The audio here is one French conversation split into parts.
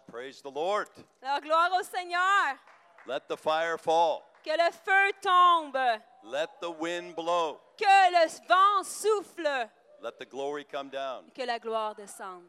praise the Lord. Alors, gloire au Seigneur. Let the fire fall. Que le feu tombe. Let the wind blow. Que le vent souffle. Let the glory come down. Que la gloire descende.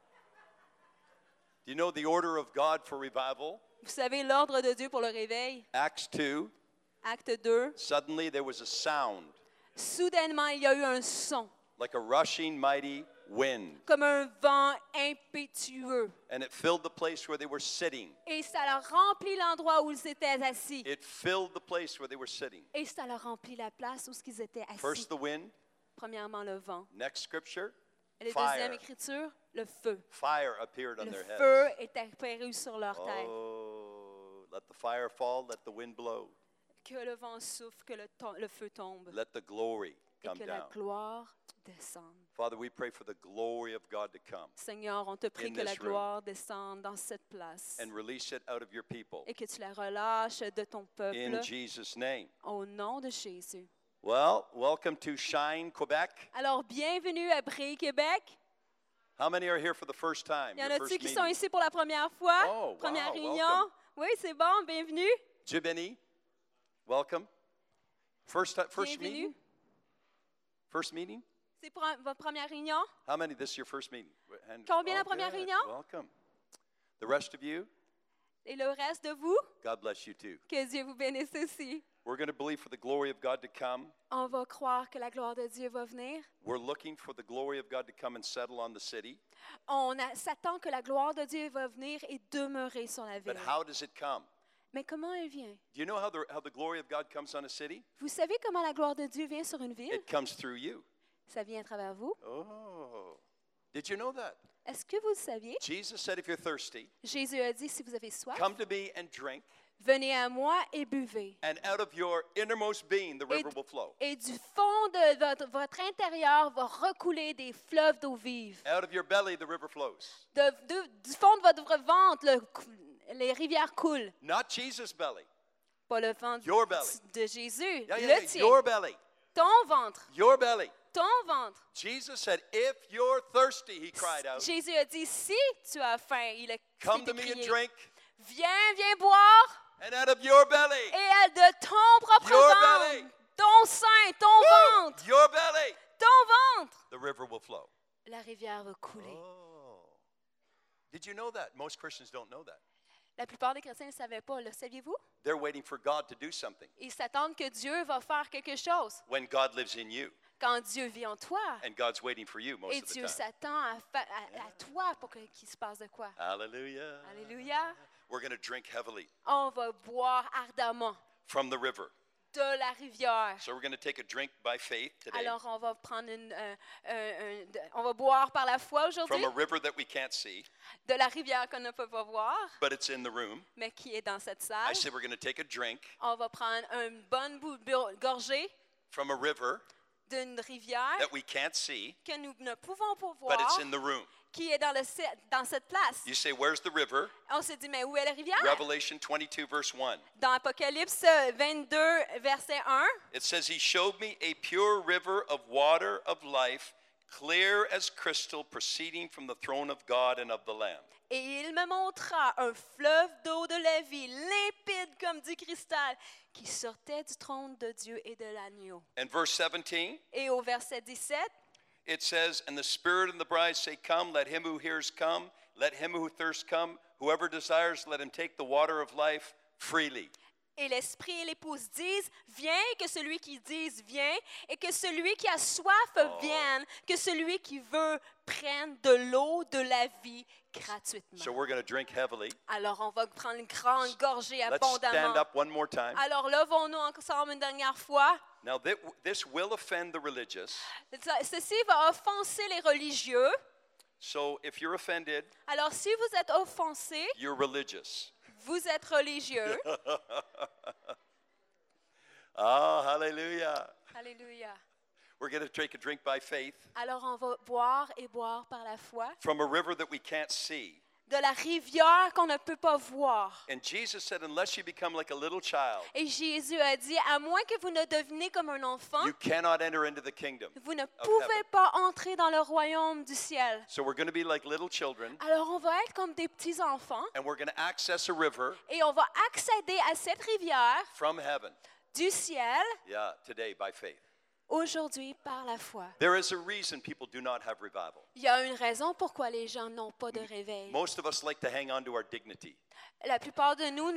Do you know the order of God for revival? Vous savez l'ordre de Dieu pour le réveil? Acts 2, Acte 2. suddenly there was a sound, Soudainement, il y a eu un son, like a rushing mighty wind. comme un vent impétueux. And it filled the place where they were sitting. Et ça leur remplit l'endroit où ils étaient assis. It filled the place where they were sitting. Et ça leur remplit la place où ils étaient assis. First the wind, Premièrement, le vent. next scripture, Et la fire. deuxième écriture, le feu. Fire appeared on Le their feu heads. est apparu sur leur tête. Oh, let the fire fall, let the wind blow. Que le vent souffle, que le feu tombe. Let the glory Et come que la down. gloire descende. Father, we pray for the glory of God to come Seigneur, on te prie In que la this room. gloire descende dans cette place. and release it out of your people. Et que tu la relâches de ton peuple. In Jesus' name. Au nom de Jésus. Well, welcome to Shine, Quebec. Alors, bienvenue à Bré, Québec. How many are here for the first time? Il y en Your a-tu first qui sont meeting? ici pour la première fois? Oh, Première wow, réunion. welcome. Oui, c'est bon, bienvenue. Jibini, welcome. First Bienvenue. meeting? First meeting? C'est pour votre première réunion. How many? This is your first meeting. Combien la première good. réunion? Welcome. The rest of you, Et le reste de vous, God bless you too. que Dieu vous bénisse aussi. We're going to believe for the glory of God to come. On va croire que la gloire de Dieu va venir. We're looking for the glory of God to come and settle on the city. On s'attend que la gloire de Dieu va venir et demeurer sur la ville. But how does it come? Mais comment elle vient? Do you know how the glory of God comes on a city? Vous savez comment la gloire de Dieu vient sur une ville? It comes through you. Ça vient à travers vous. Oh. Did you know that? Est-ce que vous le saviez? Jesus said, if you're thirsty, Jésus a dit, si vous avez soif, come to me and drink, venez à moi et buvez. and out of your innermost being, the river will flow. Et du fond de votre intérieur va recouler des fleuves d'eau vive. Out of your belly, the river flows. Du fond de votre ventre, les rivières coulent. Not Jesus' belly. Pas le ventre Your belly. de Jésus, Yeah, le yeah, yeah. tien. Your belly. Ton ventre, Your belly. ton ventre. Jesus said, if you're thirsty, he cried out, Jésus a dit, si tu as faim, il a come to me and crié, drink, viens boire, and out of your belly, et de ton propre Your ventre, belly. ton sein, ton ventre, your belly, ton ventre, the river will flow. la rivière va couler. Oh. Did you know that? Most Christians don't know that. La plupart des chrétiens ne savaient pas, le saviez-vous? They're waiting for God to do something Ils s'attendent que Dieu va faire quelque chose when God lives in you, quand Dieu vit en toi. and God's waiting for you most Et of the Dieu time. s'attend à toi pour qu'il se passe de quoi? Hallelujah. Alléluia. We're going to drink heavily On va boire ardemment from the river. de la rivière. So we're going to take a drink by faith today Alors, on va prendre on va boire par la foi aujourd'hui from a river that we can't see, de la rivière qu'on ne peut pas voir, but it's in the room. mais qui est dans cette I salle. said we're going to take a drink On va prendre une bonne gorgée from a river d'une rivière that we can't see, que nous ne pouvons pas but it's voir, in the room. qui est dans cette place. You say, where's the river? On s'est dit, mais où est la rivière? Revelation 22, verse 1. Dans Apocalypse 22, verset 1, It says, he showed me a pure river of water of life, clear as crystal, proceeding from the throne of God and of the Lamb. et il me montra un fleuve d'eau de la vie, limpide comme du cristal, qui sortait du trône de Dieu et de l'agneau. And verse 17, Et au verset 17, it says, and the Spirit and the bride say, come, let him who hears come, let him who thirsts come, whoever desires, let him take the water of life freely. et l'Esprit et l'épouse disent, viens, que celui qui dise, viens, et que celui qui a soif vienne, que celui qui veut prenne de l'eau de la vie gratuitement. So we're going to drink heavily. Alors, on va prendre une grande gorgée Let's stand abondamment. up one more time. Alors, levons-nous ensemble une dernière fois. Now, this will offend the religious. Ceci va offenser les religieux. So if you're offended, Alors, si vous êtes offensé, you're religious. vous êtes religieux. Oh, hallelujah. Alléluia. We're going to take a drink by faith Alors, on va boire et boire par la foi from a river that we can't see, de la rivière qu'on ne peut pas voir. And Jesus said, unless you become like a little child, Et Jésus a dit, à moins que vous ne devenez comme un enfant, you cannot enter into the kingdom. vous ne of pouvez heaven. pas entrer dans le royaume du ciel. So we're going to be like little children, Alors on va être comme des petits enfants and we're going to access a river et on va accéder à cette rivière from heaven. du ciel Yeah, today by faith. aujourd'hui par la foi. There is a reason people do not have revival. Il y a une raison pourquoi les gens n'ont pas de réveil. Most of us like to hang on to our dignity. La plupart de nous,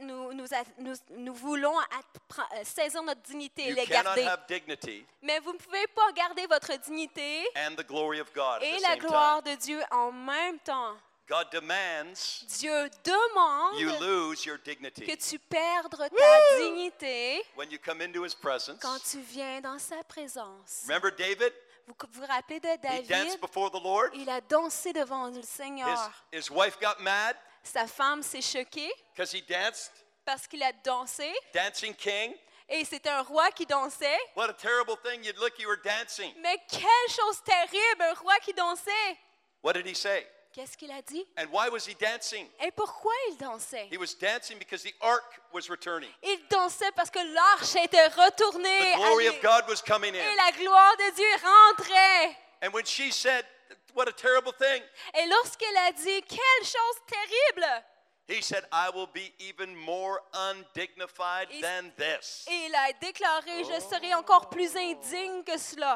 nous voulons saisir notre dignité et You les cannot garder. have dignity Mais vous ne pouvez pas garder votre dignité and the glory of God at et the la same gloire time. de Dieu en même temps. God demands Dieu demande you lose your que dignity tu perdes ta dignité when you come into His presence. quand tu viens dans sa présence. Remember David? Vous vous rappelez de He danced David? before the Lord. Il a dansé devant le Seigneur. His wife got mad Sa femme s'est choquée because he danced. parce qu'il a dansé. Dancing king. Et c'était un roi qui dansait. What a terrible thing. You'd look, you were dancing. Mais quelle chose terrible, un roi qui dansait. What did he say? Qu'est-ce qu'il a dit? And why was he dancing? Et pourquoi il dansait? He was dancing because the ark was returning. Il dansait parce que l'arche était retournée. The glory à of lui. God was coming Et in. la gloire de Dieu rentrait. And when she said, what a terrible thing, Et lorsqu'elle a dit, quelle chose terrible, he said, I will be even more undignified Et- than this. et il a déclaré, je serai encore plus indigne que cela.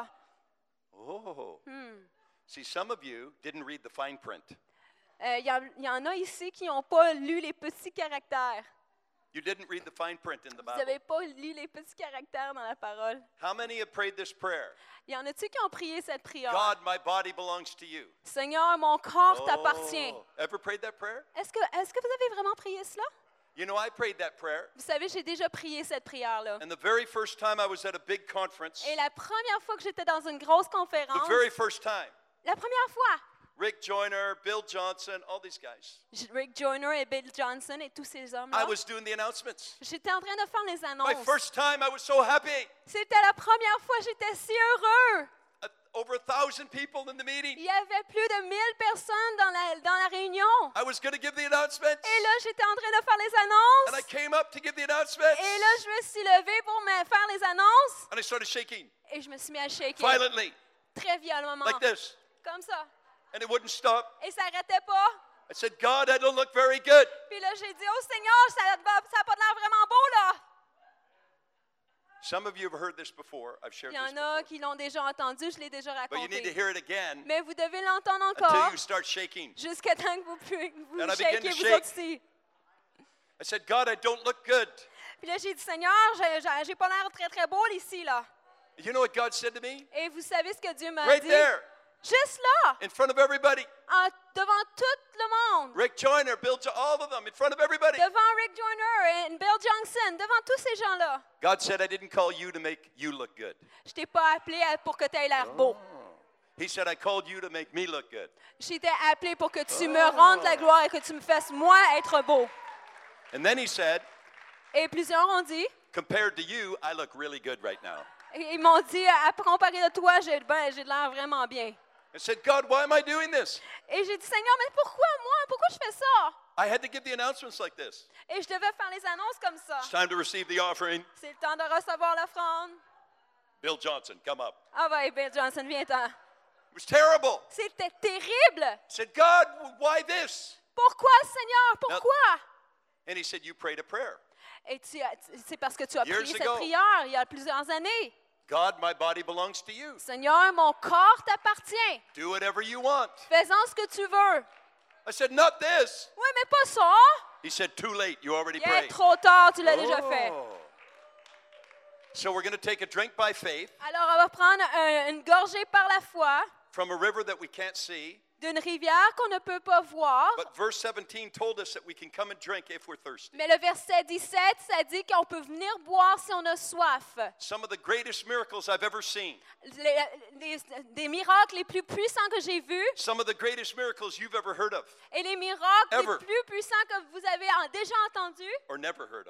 Oh. See, some of you didn't read the fine print. Il y en a ici qui n'ont pas lu les petits caractères. You didn't read the fine print in the Vous Bible. n'avez pas lu les petits caractères dans la parole. How many have prayed this prayer? Il y en a-tu qui ont prié cette prière? God, my body belongs to you. Seigneur, mon corps t'appartient. Oh. Ever prayed that prayer? Est-ce que vous avez vraiment prié cela? You know, I prayed that prayer. Vous savez, j'ai déjà prié cette prière-là. And the very first time I was at a big conference, Et la première fois que j'étais dans une grosse the conférence, very first time, la première fois, Rick Joyner, Bill Johnson, all these guys, Rick Joyner et Bill Johnson et tous ces I hommes-là, was doing the announcements. j'étais en train de faire les My annonces. first time, I was so happy. C'était la première fois, j'étais si heureux. Over 1,000 people in the meeting. Il y avait plus de 1000 personnes dans la réunion. I was going to give the announcements. Et là, j'étais en train de faire les And I annonces. came up to give the announcements. Et là, je me suis levée pour faire les annonces. And I started shaking Et je me suis mis à shaker. violently, Très violemment. like this. Comme ça. And it wouldn't stop. Et ça n'arrêtait pas. I said, God, I don't look very good. Puis là, j'ai dit, oh Seigneur, ça n'a pas l'air vraiment beau, là. Some of you have heard this before. I've shared Il y this en a before. qui l'ont déjà entendu, je l'ai déjà But you need to raconté. hear it again Mais vous devez l'entendre until encore you start shaking. jusqu'à temps que vous And I began shakez to vous shake. autres aussi. I said, God, I don't look good. Puis là, j'ai dit, Seigneur, j'ai pas l'air très, très beau ici, là. You know what God said to me? Et vous savez ce que Dieu m'a Right dit? there, Juste là, in front of everybody. devant tout le monde. Rick Joyner, all of them, in front of everybody. Devant Rick Joyner et Bill Johnson, devant tous ces gens-là. God said, I didn't call you to make you look good. Je t'ai pas appelé pour que tu aies l'air beau. He said, I called you to make me look good. Je t'ai appelé pour que tu me rendes la gloire et que tu me fasses, moi, être beau. And then he said, Et plusieurs ont dit, compared to you, I look really good right now. et ils m'ont dit, à comparer de toi, j'ai de l'air vraiment bien. I said, God, why am I doing this? Et j'ai dit, Seigneur, mais pourquoi moi? Pourquoi je fais ça? I had to give the announcements like this. Et je devais faire les annonces comme ça. It's time to receive the offering. C'est le temps de recevoir l'offrande. Bill Johnson, come up. Ah ouais, Bill Johnson, viens-t'en. It was terrible. C'était terrible. I said, God, why this? Pourquoi, Seigneur? Pourquoi? And he said, you prayed a prayer. Et c'est parce que tu as Years prié cette ago. prière il y a plusieurs années. God, my body belongs to you. Seigneur, mon corps t'appartient. Do whatever you want. Fais-en ce que tu veux. I said, not this. Oui, mais pas ça. He said, too late. You already Il est prayed. trop tard, tu l'as déjà fait. Oh. So we're going to take a drink by faith Alors, on va prendre une gorgée par la foi from a river that we can't see. d'une rivière qu'on ne peut pas voir. But verse 17 told us that we can come and drink if we're thirsty. Mais le verset 17, ça dit qu'on peut venir boire si on a soif. Some of the greatest miracles I've ever seen. Des miracles les plus puissants que j'ai vus Some of the greatest miracles you've ever heard of et les miracles Ever. les plus puissants que vous avez déjà entendus or never heard of.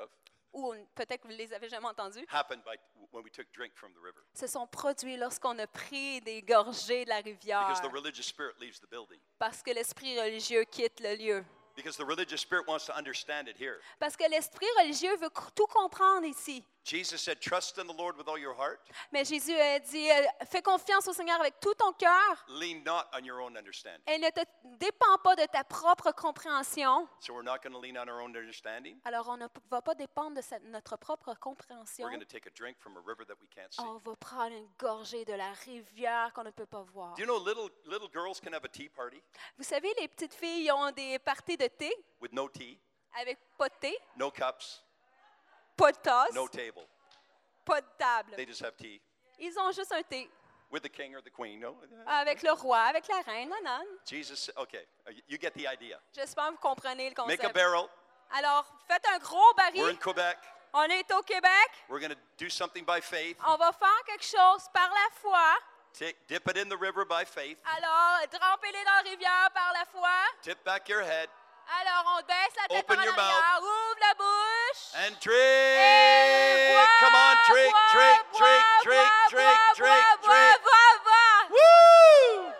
ou peut-être que vous ne les avez jamais entendus, happened when we took drink from the river. se sont produits lorsqu'on a pris des gorgées de la rivière, Because the religious spirit leaves the building. parce que l'esprit religieux quitte le lieu. Because the religious spirit wants to understand it here. Parce que l'esprit religieux veut tout comprendre ici. Jesus said, trust in the Lord with all your heart. Mais Jésus a dit, fais confiance au Seigneur avec tout ton cœur Lean not on your own understanding. et ne te dépends pas de ta propre compréhension. So we're not going to lean on our own understanding. Alors, on ne va pas dépendre de notre propre compréhension. We're going to take a drink from a river that we can't see. On va prendre une gorgée de la rivière qu'on ne peut pas voir. Do you know little girls can have a tea party Vous savez, les petites filles ont des parties de thé with no tea, avec pas de thé, no cups, pas de tasse, no table. pas de table. They just have tea Ils ont juste un thé with the king or the queen. No? avec le roi, avec la reine. Non, non. Jesus, okay, you get the idea. J'espère que vous comprenez le Make a concept. barrel. Alors, faites un gros We're in baril. Quebec. On est au Québec. We're going to do something by faith. On va faire quelque chose par la foi. Dip it in the river by faith. Alors, trempez-les dans la rivière par la foi. Tip back your head Alors, on baisse la tête Open par en your arrière, ouvre la bouche. and Et drink. bois, Come on, drink, bois, drink, bois, drink, bois, drink, bois, drink, bois, drink, bois, drink. bois, bois. Woo!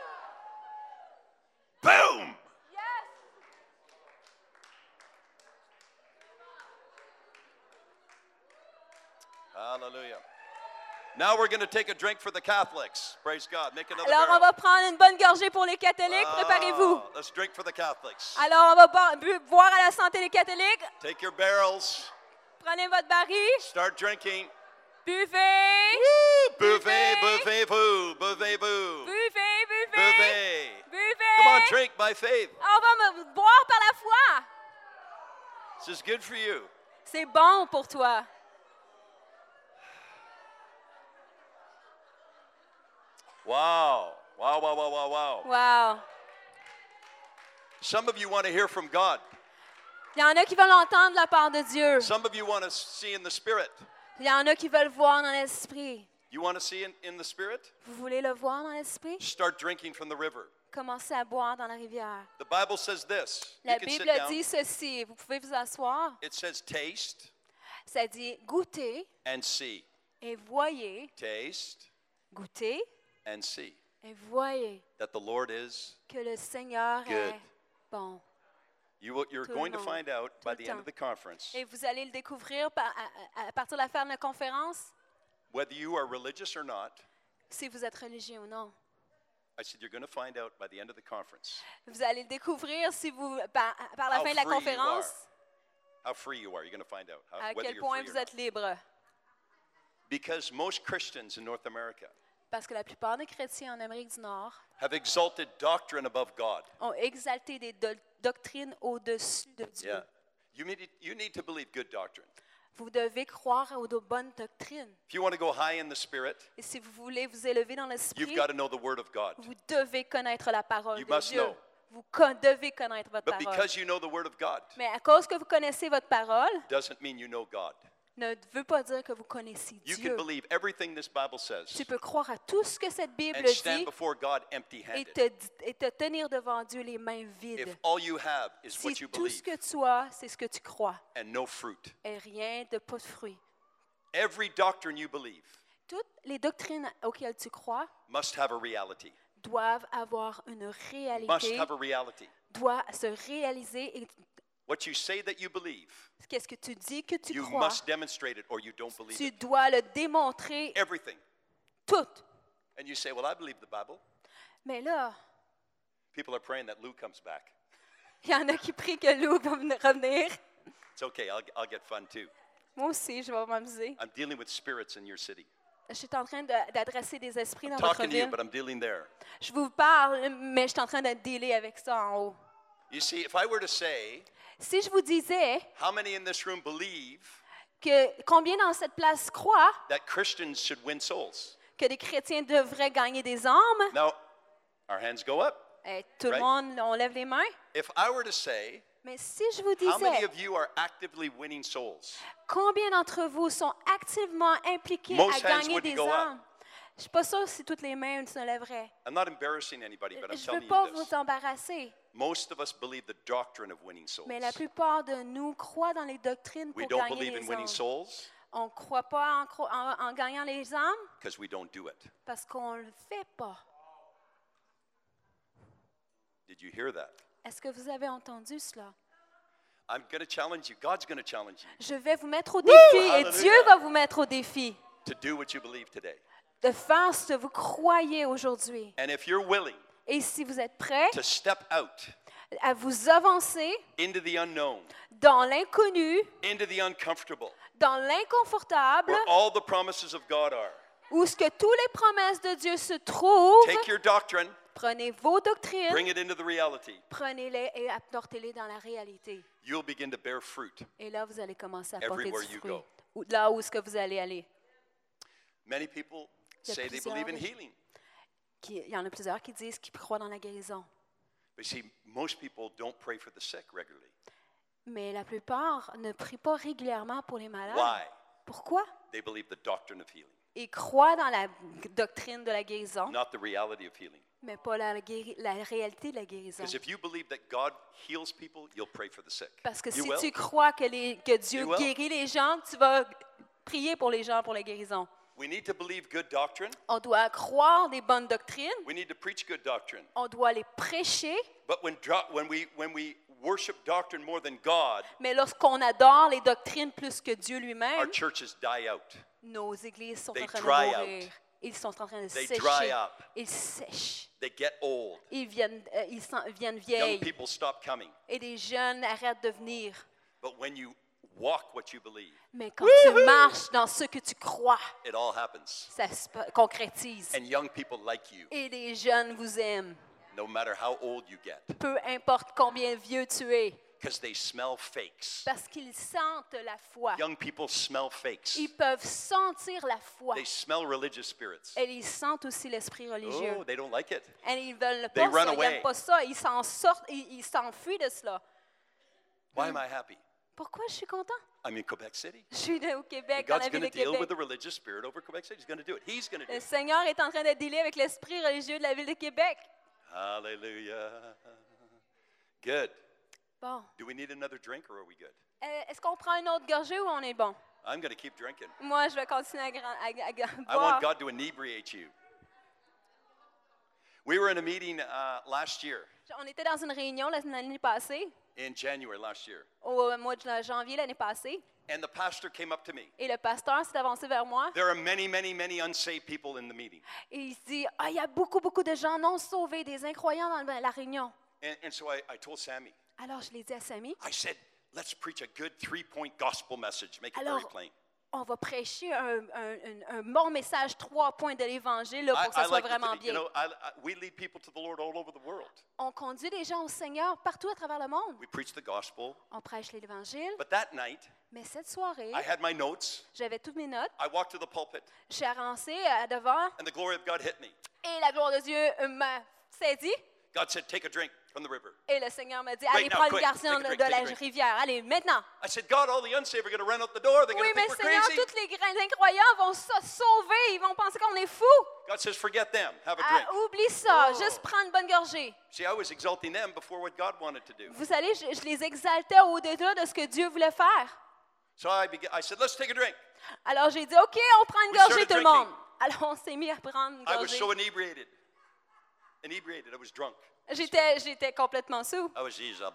Boom! Yes. Hallelujah. Now we're going to take a drink for the Catholics. Praise God. Make another Alors, on barrel. va prendre une bonne gorgée pour les catholiques. Préparez-vous. Ah, let's drink for the Catholics. Alors, on va boire à la santé des catholiques. Take your barrels. Prenez votre baril. Start drinking. Buvez. Buvez, buvez-vous, buvez-vous. Buvez, buvez. Buvez. Buvez. Come on, drink by faith. On va boire par la foi. This is good for you. C'est bon pour toi. Wow. Wow, wow, wow, wow, wow. Wow. Some of you want to hear from God. Il y en a qui veulent entendre la part de Dieu. Some of you want to see in the Spirit. Il y en a qui veulent voir dans l'esprit. You want to see in the Spirit? Vous voulez le voir dans l'esprit? Start drinking from the river. Commencez à boire dans la rivière. The Bible says this. La You can sit Bible down. dit ceci. Vous pouvez vous asseoir. It says taste Ça dit goûtez and see. et voyez. Taste Goûtez and see et voyez that the Lord is que le Seigneur good. est bon. You're Tout le going to monde. find out by Tout le the end temps. of the conference Et vous allez le découvrir à partir de la fin de la conférence, whether you are religious or not. si vous êtes religieux ou non. I said you're going to find out by the end of the conference Vous allez le découvrir si vous, par la How fin de la free you conférence, how free you are. You're going to find out à whether quel you're point free or vous not. êtes libre. Because most Christians in North America Parce que la plupart des chrétiens en Amérique du Nord have exalted doctrine above God. ont exalté des doctrines au-dessus de Dieu. Yeah. You need to believe good doctrine. Vous devez croire aux bonnes doctrines. If you want to go high in the Spirit, Et si vous voulez vous élever dans you've l'esprit, got to know the Word of God. vous devez connaître la parole You de must Dieu. know. Vous devez connaître votre But parole. because you know the Word of God Mais à cause que vous connaissez votre parole, doesn't mean you know God. ne veut pas dire que vous connaissez You can Dieu. believe everything this Bible says Tu peux croire à tout ce que cette Bible and stand dit before God et empty-handed. te tenir devant Dieu les mains vides. If all you have is Si what you tout ce believe que tu as, c'est ce que tu crois, and no fruit, et rien de pas de fruits. every doctrine you believe Toutes les doctrines auxquelles tu crois must have a reality. doivent avoir une Must réalité, have a reality. doivent se réaliser. Et What you say that you believe, qu'est-ce que tu dis que tu you crois, must demonstrate it or you don't believe tu it. dois le démontrer Everything. tout. And you say, well, I believe the Bible. Mais là, People are praying that Lou comes back. il y en a qui prient que Lou va revenir. It's okay, I'll get fun too. Moi aussi, je vais m'amuser. I'm dealing with spirits in your city. Je suis en train d'adresser des esprits dans I'm votre talking to you, ville. but I'm dealing there. Je vous parle, mais je suis en train de dealer avec ça en haut. You see, if I were to say, Si je vous disais how many in this room believe que combien dans cette place croient that Christians should win souls? que les chrétiens devraient gagner des âmes, Now, our hands go up. tout le Right. monde, on lève les mains. If I were to say, Mais si je vous how many disais of you are actively winning souls? combien d'entre vous sont activement impliqués Most à hands gagner wouldn't des go up. âmes, je ne suis pas sûre si toutes les mains se lèveraient. I'm not embarrassing anybody, but I'm Je ne telling veux you pas this. vous embarrasser, most of us believe the doctrine of winning souls. Mais la plupart de nous croient dans les doctrines We pour don't gagner believe in les winning âmes. souls On ne croit pas en gagnant les âmes because we don't do it. parce qu'on ne le fait pas. Did you hear that? Est-ce que vous avez entendu cela? I'm going to challenge you. God's going to challenge you Je vais vous mettre au défi et Hallelujah. Dieu va vous mettre au défi to do what you believe today. de faire ce que vous croyez aujourd'hui. And if you're willing Et si vous êtes prêts to step out à vous avancer into the unknown, dans l'inconnu, into the uncomfortable, dans l'inconfortable, where all the promises of God are, où ce que toutes les promesses de Dieu se trouvent, take your doctrine, prenez vos doctrines, bring it into the reality. prenez-les et apportez-les dans la réalité. You'll begin to bear fruit. Et là, vous allez commencer à porter Everywhere du you fruit. go. Là où est-ce que vous allez aller. Many people Il y a say they plusieurs believe in des- healing. Il y en a plusieurs qui disent qu'ils croient dans la guérison. But see, most people don't pray for the sick regularly. Mais la plupart ne prient pas régulièrement pour les malades. Why? Pourquoi? They believe the doctrine of healing, Ils croient dans la doctrine de la guérison, not the reality of healing. mais pas la réalité de la guérison. Because if you believe that God heals people, you'll pray for the sick. Parce que You si will. tu crois que Dieu You will. guérit les gens, tu vas prier pour les gens pour la guérison. We need to believe good doctrine. On doit croire des bonnes doctrines, We need to preach good doctrine. on doit les prêcher, But when we worship doctrine more than God, mais lorsqu'on adore les doctrines plus que Dieu our lui-même, churches die out. nos églises sont They en train de dry mourir. out. Ils sont en train de They sécher. dry up. Ils sèchent. They get old. Ils viennent Young vieilles. people stop coming. Et les jeunes arrêtent de venir. But when you walk what you believe, Mais quand tu marches dans ce que tu crois, it all happens. ça se concrétise. And young people like you, Et les jeunes vous aiment. no matter how old you get, Peu importe combien vieux tu es. because they smell fakes. Parce qu'ils sentent la foi. Young people smell fakes. Ils peuvent sentir la foi. They smell religious spirits. Et ils sentent aussi l'esprit religieux. Oh, they don't like it. Et ils veulent They pas run ça, ils away. n'aiment pas ça. Ils s'en sortent, ils s'enfuient de cela. Why am I happy? Pourquoi je suis content? I'm in Quebec City. Je suis au And Québec, dans God's la going ville to de deal with Québec. the religious spirit over Quebec City. He's going to do it. He's going to do Le it. Seigneur est en train de dealer avec l'esprit religieux de la ville de Québec. Hallelujah. Good. Bon. Do we need another drink or are we good? Est-ce qu'on prend une autre gorgée ou on est bon? I'm going to keep drinking. Moi, je vais continuer à I want boire. God to inebriate you. We were in a meeting last year, On était dans une réunion l'année passée, in January last year, au mois de janvier l'année passée, and the pastor came up to me. et le pasteur s'est avancé vers moi There are many unsaved people in the meeting. et il se dit « Ah, il y a beaucoup de gens non sauvés, des incroyants dans la réunion. And so I told Sammy, » Alors, je l'ai dit à Samy, I said, let's preach a good 3-point gospel message. Make it Alors, very plain. on va prêcher un bon message, 3 points de l'Évangile là, pour que ça soit vraiment bien. We lead people to the Lord all over the world. On conduit les gens au Seigneur partout à travers le monde. We preach the gospel. On prêche l'Évangile. But that night, Mais cette soirée, I had my notes. j'avais toutes mes notes. I walked to the pulpit, Je suis avancée devant and the glory of God hit me. et la gloire de Dieu m'a saisi. God said, take a drink from the river. Et le Seigneur m'a dit, Right allez, now, prends une quick, garçon take a drink, de take a la drink. rivière. Allez, maintenant. I said, God, all the unsaved are going to run out the door. They're Oui, going to mais think we're Seigneur, crazy. tous les incroyants vont se sauver. Ils vont penser qu'on est fous. God says, forget them. Have a Ah, drink. oublie ça. Oh. Juste prendre une bonne gorgée. See, I was exalting them before what God wanted to do. Vous savez, je les exaltais au-delà de ce que Dieu voulait faire. So I said, let's take a drink. Alors, j'ai dit, OK, on prend une We gorgée, started tout le drinking. monde. Alors, on s'est mis à prendre une I was gorgée. so inebriated. Inebriated. I was drunk. J'étais complètement sous. I was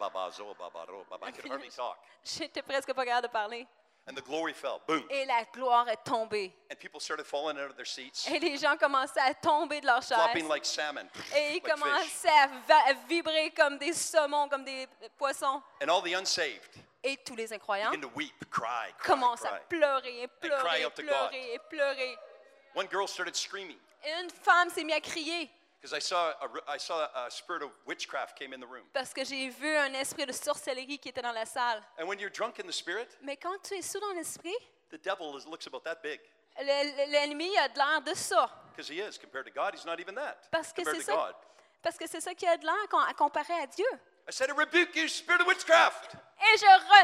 I could hardly talk. J'étais presque pas capable de parler. And the glory fell. Boom. Et la gloire est tombée. And people started falling out of their seats, Et les gens commençaient à tomber de leur chaise. flopping like salmon, Et ils like fish. commençaient à vibrer comme des saumons, comme des poissons. And all the unsaved Et tous les incroyants begin to weep, cry, commencent à cry. pleurer et cry pleurer et out to pleurer et pleurer. One girl started screaming Et une femme s'est mise à crier because I saw a spirit of witchcraft came in the room. parce que j'ai vu un esprit de sorcellerie qui était dans la salle. And when you're drunk in the spirit, Mais quand tu es sous dans l'esprit, the devil looks about that big l'ennemi a de l'air de ça. because he is compared to God. He's not even that Parce que compared c'est to ça, God. parce que c'est ça qui a de l'air à comparer à Dieu. I said, I rebuke you, spirit of witchcraft. Et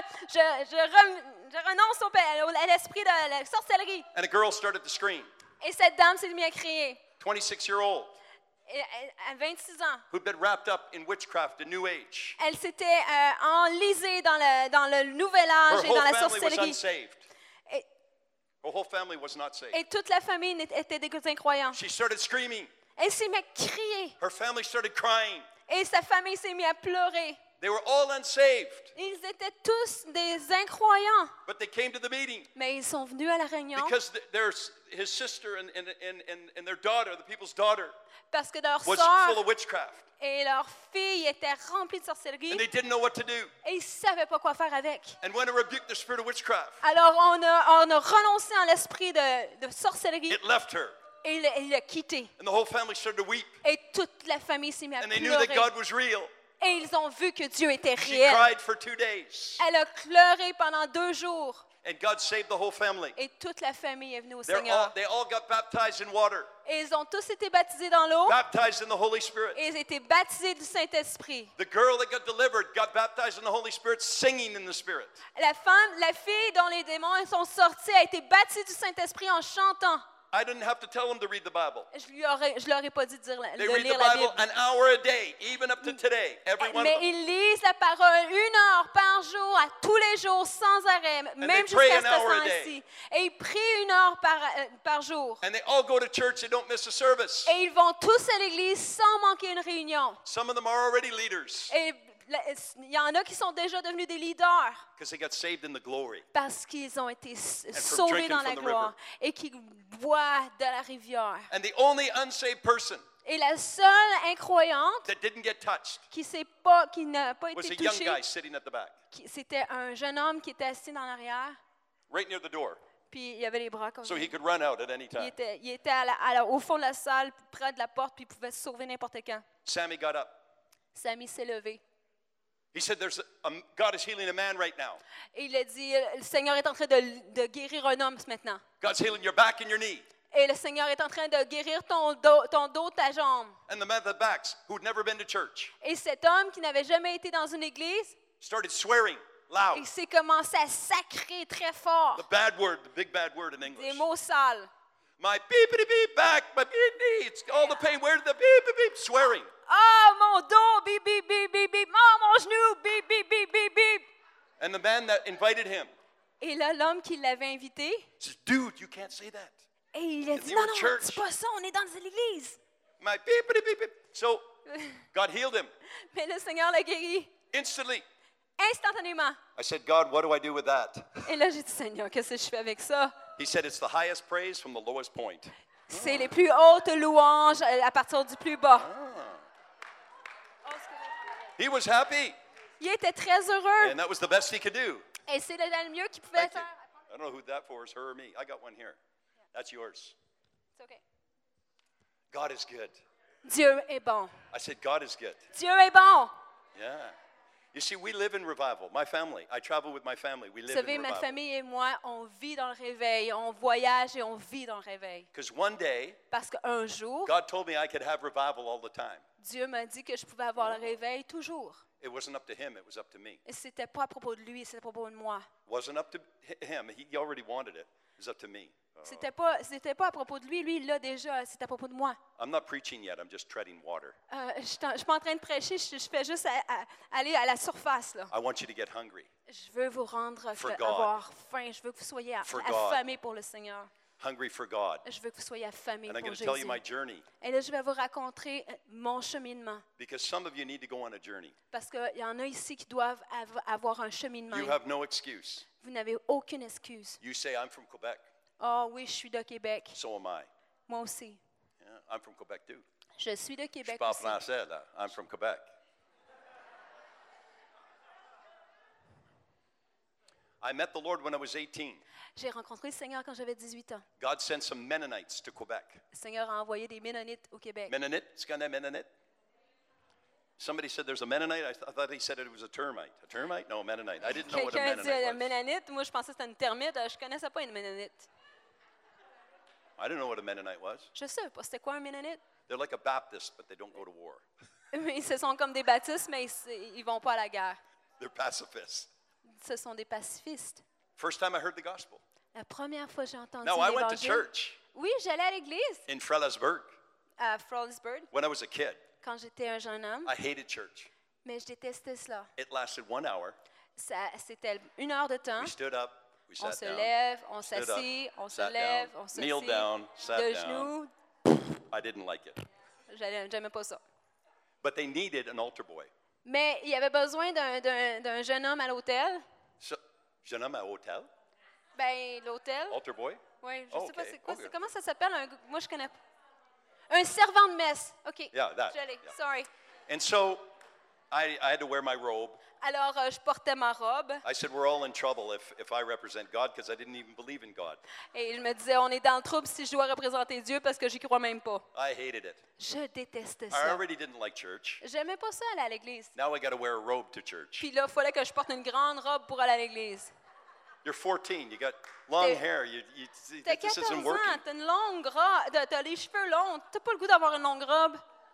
je renonce à l'esprit de la sorcellerie. And a girl started to scream, Et cette dame s'est mise à crier. 26-year-old. À 26 ans, who'd been wrapped up in witchcraft and New Age. elle s'était enlisée dans le nouvel âge Her et whole dans la family was sorcellerie. unsaved. Et, Her whole family was not saved. et toute la famille était des incroyants. She started screaming. Elle s'est mise à crier. Her family started crying. Et sa famille s'est mise à pleurer. They were all unsaved, Ils étaient tous des incroyants. but they came to the meeting Mais ils sont venus à la réunion because his sister and their daughter, the people's daughter, parce que leur was full sœur of witchcraft. et leur fille étaient remplies de sorcellerie And they didn't know what to do. et ils ne savaient pas quoi faire avec. And when I rebuked the spirit of witchcraft, Alors on a renoncé en l'esprit de sorcellerie it left her. et il l'a quitté. And the whole family started to weep. Et toute la famille s'est mise à And they knew that pleurer. God was real. Et ils ont vu que Dieu était She réel. cried for 2 days. Elle a pleuré pendant 2 jours. And God saved the whole family. Et toute la famille est venue au They Seigneur. all got baptized in water, Et ils ont tous été baptisés dans l'eau. baptized in the Holy Spirit. Et ils ont été baptisés du Saint-Esprit. The girl that got delivered got baptized in the Holy Spirit, singing in the Spirit. La fille dont les démons sont sortis a été baptisée du Saint-Esprit en chantant. I didn't have to tell them to read the Bible. Je leur ai pas dit de They de read lire the la Bible Bible. an hour a day, even up to today. Every one of Mais them. ils lisent la parole 1 heure par jour, à tous les jours, sans arrêt, même they pray jusqu'à an ce hour a temps-ci. Et ils prient 1 heure par jour. And they all go to church. They don't miss a service. Et ils vont tous à l'église sans manquer une réunion. Some of them are already leaders Et il y en a qui sont déjà devenus des leaders because they got saved in the glory. parce qu'ils ont été from sauvés drinking dans la from the gloire et qui boivent de la rivière. And the only unsaved person Et la seule incroyante that didn't get touched qui n'a pas was été a young touchée, guy sitting at the back, c'était un jeune homme qui était assis dans l'arrière, right near the door, puis il avait les bras comme so ça. he could run out at any time. Il était au fond de la salle, près de la porte, puis il pouvait se sauver n'importe quand. Sammy got up. Samy s'est levé. He said, God is healing a man right now. Et il a dit, le Seigneur est en train de guérir un homme maintenant. God's healing your back and your knee. Et le Seigneur est en train de guérir ton dos, ta jambe. And the man at the backs, who'd never been to church, Et cet homme qui n'avait jamais été dans une église, started swearing loud. il s'est commencé à sacrer très fort. The bad word, the big bad word in Des English. mots sales. My beep back, my beep knee, it's all the pain. Where's the beep, swearing. Oh, mon dos, bip, bip, bip, bip, bip. Oh, mon genou, bip, bip, bip, bip, bip. And the man that invited him Et là, l'homme qui l'avait invité, says, dude, you can't say that. et il a dit, They non, were non, church. c'est pas ça, on est dans l'église. My beep. So God healed him Mais le Seigneur l'a guéri instantly. instantanément. I said, God, what do I do with that? Et là, j'ai dit, Seigneur, qu'est-ce que je fais avec ça? He said, it's the highest praise from the lowest point. C'est les plus hautes louanges à partir du plus bas. He was happy, Il était très heureux. and that was the best he could do. Et c'est le mieux qu'il pouvait Thank you. faire. I don't know who that for is, her or me. I got one here. That's yours. C'est OK. God is good. Dieu est bon. I said, God is good. Dieu est bon. Yeah. You see, we live in revival. My family, I travel with my family. We Vous live savez, in ma revival. famille et moi, on vit dans le réveil. On voyage et on vit dans le réveil. Because one day, Parce qu'un jour, God told me I could have revival all the time. Dieu m'a dit que je pouvais avoir le réveil toujours. It wasn't up to him, it was up to me. Et c'était pas à propos de lui, c'était à propos de moi. It wasn't up to him. He already wanted it. It was up to me. C'était pas à propos de lui, lui il l'a déjà, c'est à propos de moi. I'm not preaching yet. I'm just treading water. Je suis pas en train de prêcher, je fais juste aller à la surface là. I want you to get hungry. Je veux vous rendre For God. avoir faim, je veux que vous soyez For God. affamés pour le Seigneur. Hungry for God. Je veux que vous soyez affamés And I'm pour going to tell you Jésus. my journey Et là, je vais vous raconter mon cheminement. because some of you need to go on a journey. Parce qu'il y en a ici qui doivent avoir un cheminement. You have no excuse. Vous n'avez aucune excuse. You say, I'm from Quebec. Oh oui, je suis de Québec. So am I. Moi aussi. Yeah, I'm from Quebec too. Je suis de Je Québec parle aussi. français, là. I'm from Quebec. I met the Lord when I was 18. J'ai rencontré le Seigneur quand j'avais 18 ans. God sent some Mennonites to Quebec. Le Seigneur a envoyé des Ménonites au Québec. Mennonite? It's got a Mennonite? Somebody said there's a Mennonite. I thought he said it was a termite. A termite? No, a Mennonite. I didn't know what a Quelqu'un dit Mennonite was. Ménonite. Moi, je pensais que c'était une termite. Je ne connaissais pas une Ménonite. I didn't know what a Mennonite was. Je ne sais pas c'était quoi un Ménonite. They're like a Baptist, but they don't go to war. Mais ce sont comme des baptistes, mais ils ne vont pas à la guerre. They're pacifists. Ce sont des pacifistes. First time I heard the gospel. La première fois que j'ai entendu No, I went to l'Évangile. church Oui, j'allais à l'église in Frelesburg. à Frolicsburg when I was a kid, quand j'étais un jeune homme, I hated church. mais je détestais cela. It lasted 1 hour. C'était 1 heure de temps. We stood up, we On sat se down, lève, on stood up, s'assit, on se sat lève, down, on kneel s'assit, down, sat de down. genoux. I didn't like it. J'aimais pas ça. But they needed an altar boy. Mais il y avait besoin d'un jeune homme à l'hôtel. So, jeune homme à hôtel, Ben, l'hôtel, altar boy. oui, je sais pas Okay, c'est quoi, okay. comment ça s'appelle. Moi, je connais pas. Un servant de messe. OK. Yeah, that, Je l'ai. yeah. Sorry. And so I had to wear my robe. Alors, je portais ma robe I said, we're all in trouble if I represent God because I didn't even believe in God. et je me disais, on est dans le trouble si je dois représenter Dieu parce que j'y crois même pas. I hated it. Je détestais I ça. already didn't like church. J'aimais pas ça aller à l'église. Now I got to wear a robe to church. Puis là, il fallait que je porte une grande robe pour aller à l'église. You're 14. You got long T'es- hair. T'as This 14 isn't ans, working. t'as une longue robe, t'as les cheveux longs, t'as pas le goût d'avoir une longue robe.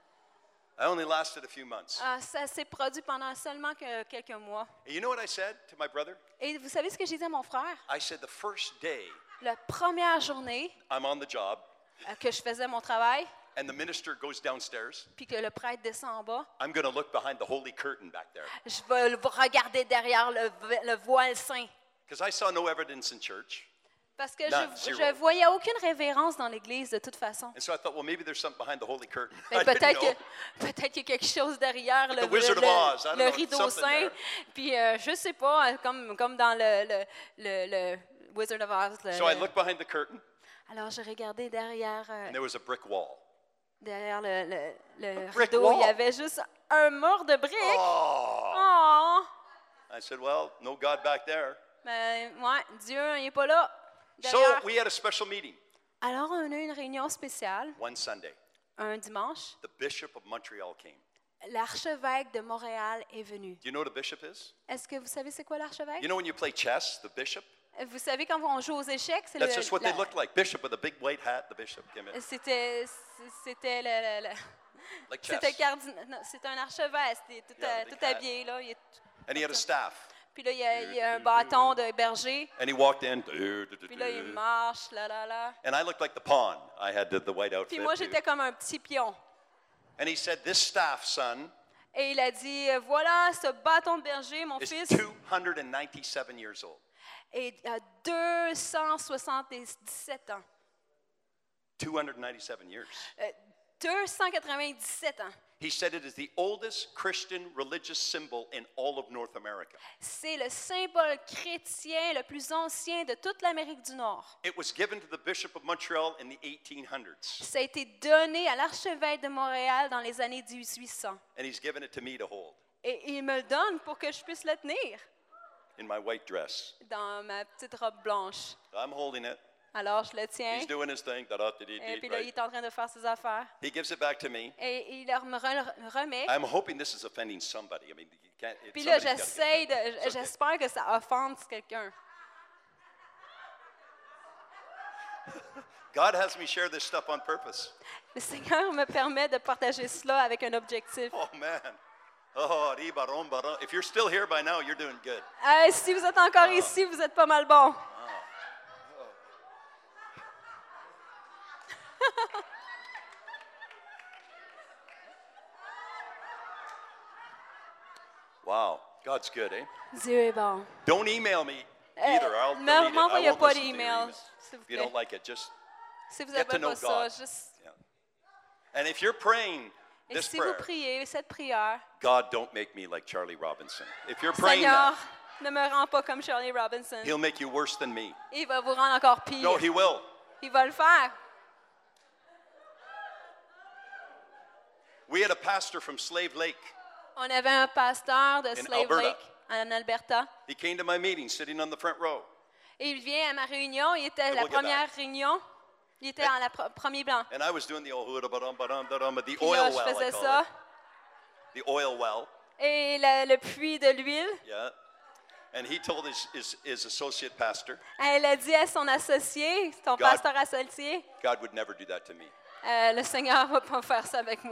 I only lasted a few months. Ça s'est produit pendant seulement quelques mois. And you know what I said to my brother? Et vous savez ce que j'ai dit à mon frère? I said, the first day La première journée I'm on the job que je faisais mon travail, and the minister goes downstairs, puis que le prêtre descend en bas, I'm going to look behind the holy curtain back there. je vais regarder derrière le voile saint. Because I saw no evidence in church. Parce que None, je zero. voyais aucune révérence dans l'Église de toute façon. And so I thought, well, maybe there's something behind the holy curtain. Mais I didn't peut-être know. peut-être qu'il y a quelque chose derrière Like the Wizard of Oz, I don't le know, rideau something saint. there. Puis je sais pas, comme dans le Wizard of Oz. So I looked behind the curtain, Alors j'ai regardé derrière, and there was a brick wall. derrière le brick rideau, il y wall. avait juste un mur de briques. Oh! Oh! I said, well, no God back there. Mais ouais, Dieu, il n'est pas là. So Derrière. we had a special meeting Alors on a eu une réunion spéciale one Sunday. un dimanche. The Bishop of Montreal came. L'archevêque de Montréal est venu. Do you know what a bishop is? Est-ce que vous savez c'est quoi l'archevêque? You know when you play chess, the bishop? Vous savez quand on joue aux échecs, c'est That's just what they look like. Bishop with a big white hat, the bishop came in. C'était Like chess. c'était un archevêque, c'était tout, Yeah, the big tout hat. habillé là. And he had a staff. Puis là il y a un bâton de berger. And he walked in. Puis là il marche là. And I looked like the pawn. I had the white outfit. Puis moi too. j'étais comme un petit pion. And he said, this staff, son, Et il a dit voilà ce bâton de berger, mon is fils, 297 years old. a 277 ans. 297 years. 297 ans. He said it is the oldest Christian religious symbol in all of North America. C'est le symbole chrétien le plus ancien de toute l'Amérique du Nord. It was given to the Bishop of Montreal in the 1800s. Ça a été donné à l'archevêque de Montréal dans les années 1800. And he's given it to me to hold Et il me le donne pour que je puisse le tenir in my white dress. dans ma petite robe blanche. I'm holding it. Alors je le tiens. He's doing his thing. Et puis là, il Right? est en train de faire ses affaires. He gives it back to me. Et il leur me remet. I'm hoping this is offending somebody. I mean, you can't. Puis là, somebody's gotta get offended. It's okay. j'espère que ça offense quelqu'un. God has me share this stuff on purpose. Le Seigneur me permet de partager cela avec un objectif. Oh man. Oh, ribaron, baron. If you're still here by now, you're doing good. Si vous êtes encore ici, vous êtes pas mal bon. Wow, God's good, eh? Dieu est bon. Don't email me either. I'll delete it. I M'envoyez won't pas listen to your d'email, emails. s'il vous If you don't plaît. like it, just Si vous get to n'avez know pas ça, God. juste... Yeah. And if you're praying Et this si vous prayer, priez cette prière, God, don't make me like Charlie Robinson. If you're praying Seigneur, that, ne me rends pas comme Shirley Robinson. He'll make you worse than me. Il va vous rendre encore pire. No, He will. Il va le faire. We had a pastor from Slave Lake. On avait un pasteur de Slave Alberta. Lake en Alberta. He came to my meeting, sitting on the front row. Et il vient à ma réunion. Il était à la Look at première réunion. Il était en la premier banc. And I was doing the the Puis oil là, je well, I faisais call ça. it. The oil well. Et le puits de l'huile. Yeah. And he told his associate pastor, Elle a dit à son associé, son God- pasteur associé, God would never do that to me. le Seigneur va pas faire ça avec moi.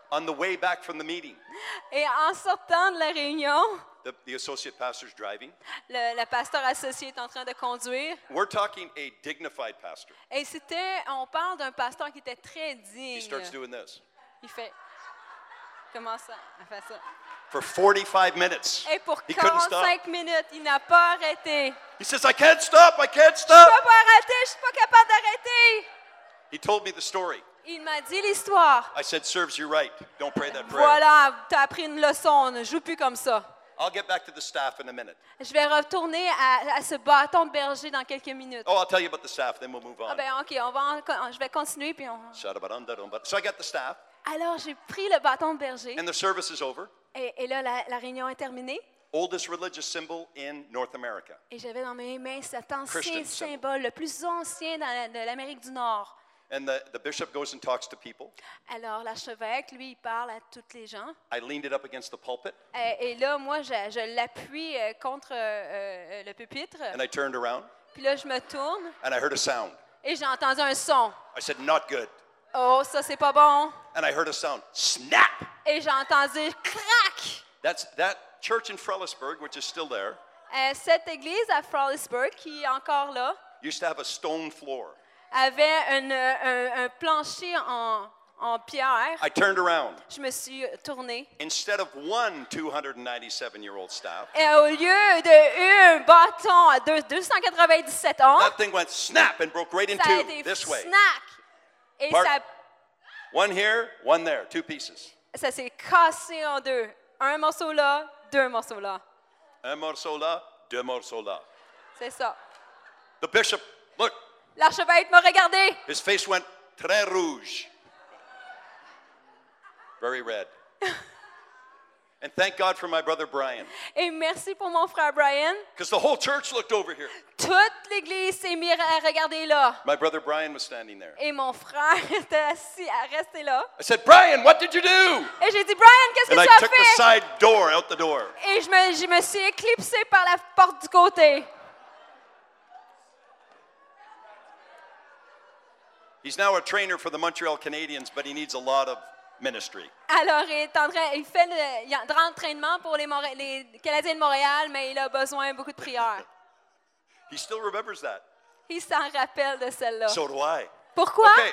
On the way back from the meeting, Et en sortant de la réunion, the associate pastor's driving. le pasteur associé est en train de conduire. We're talking a dignified pastor. Et on parle d'un pasteur qui était très He digne. starts doing this. Il fait, comment ça? Il fait ça. For 45 minutes, Et pour he couldn't stop. 45 minutes, il n'a pas arrêté. He says, I can't stop, I can't Je stop. peux pas arrêter, je suis pas capable d'arrêter. He told me the story. Il m'a dit l'histoire. I said, serves you right. Don't pray that prayer. Voilà, tu as appris une leçon, ne joue plus comme ça. I'll get back to the staff in a minute. Je vais retourner à ce bâton de berger dans quelques minutes. Oh, I'll tell you about the staff, then we'll move Ah on. ben ok, je vais continuer puis on. So I got the staff, Alors j'ai pris le bâton de berger and the service is over. et là la réunion est terminée Oldest religious symbol in North America. et j'avais dans mes mains cet Christian ancien symbol. symbole, le plus ancien de l'Amérique du Nord. And the bishop goes and talks to people. Alors l'archevêque, lui, il parle à toutes les gens. I leaned it up against the pulpit, Et là, moi, je l'appuie contre le pupitre. and I turned around, Puis là, je me tourne and I heard a sound. et j'ai entendu un son. I said, not good. Oh, ça, c'est pas bon. And I heard a sound, snap. Et j'ai entendu crac. That church in Frellisburg, which is still there, Cette église à Frolicsburg, qui est encore là, used to have a stone floor. avait un plancher en pierre. I turned around. Je me suis tournée. Instead of one 297-year-old staff, Et au lieu d'un bâton à 297 ans, that thing went snap and broke right in ça a two, été this way. snack. Et Part- ça, One here, one there, two pieces. ça s'est cassé en deux. Un morceau là, deux morceaux là. Un morceau là, deux morceaux là. C'est ça. The bishop, look, L'archevêque m'a regardé. his face went très rouge. Very red. And thank God for my brother Brian, Et merci pour mon frère Brian. because the whole church looked over here. Toute l'église s'est mise à regarder là. My brother Brian was standing there. Et mon frère était assis à rester là. I said, Brian, what did you do? Et j'ai dit, Brian, qu'est-ce And que I tu as took the fait? side door, out the door. Et je me suis éclipsée par la porte du côté. He's now a trainer for the Montreal Canadiens, but he needs a lot of ministry. Alors, il fait de l'entraînement pour les Canadiens de Montréal, mais il a besoin de beaucoup de prières. He still remembers that. Il s'en rappelle de celle-là. So do I. Pourquoi? Okay.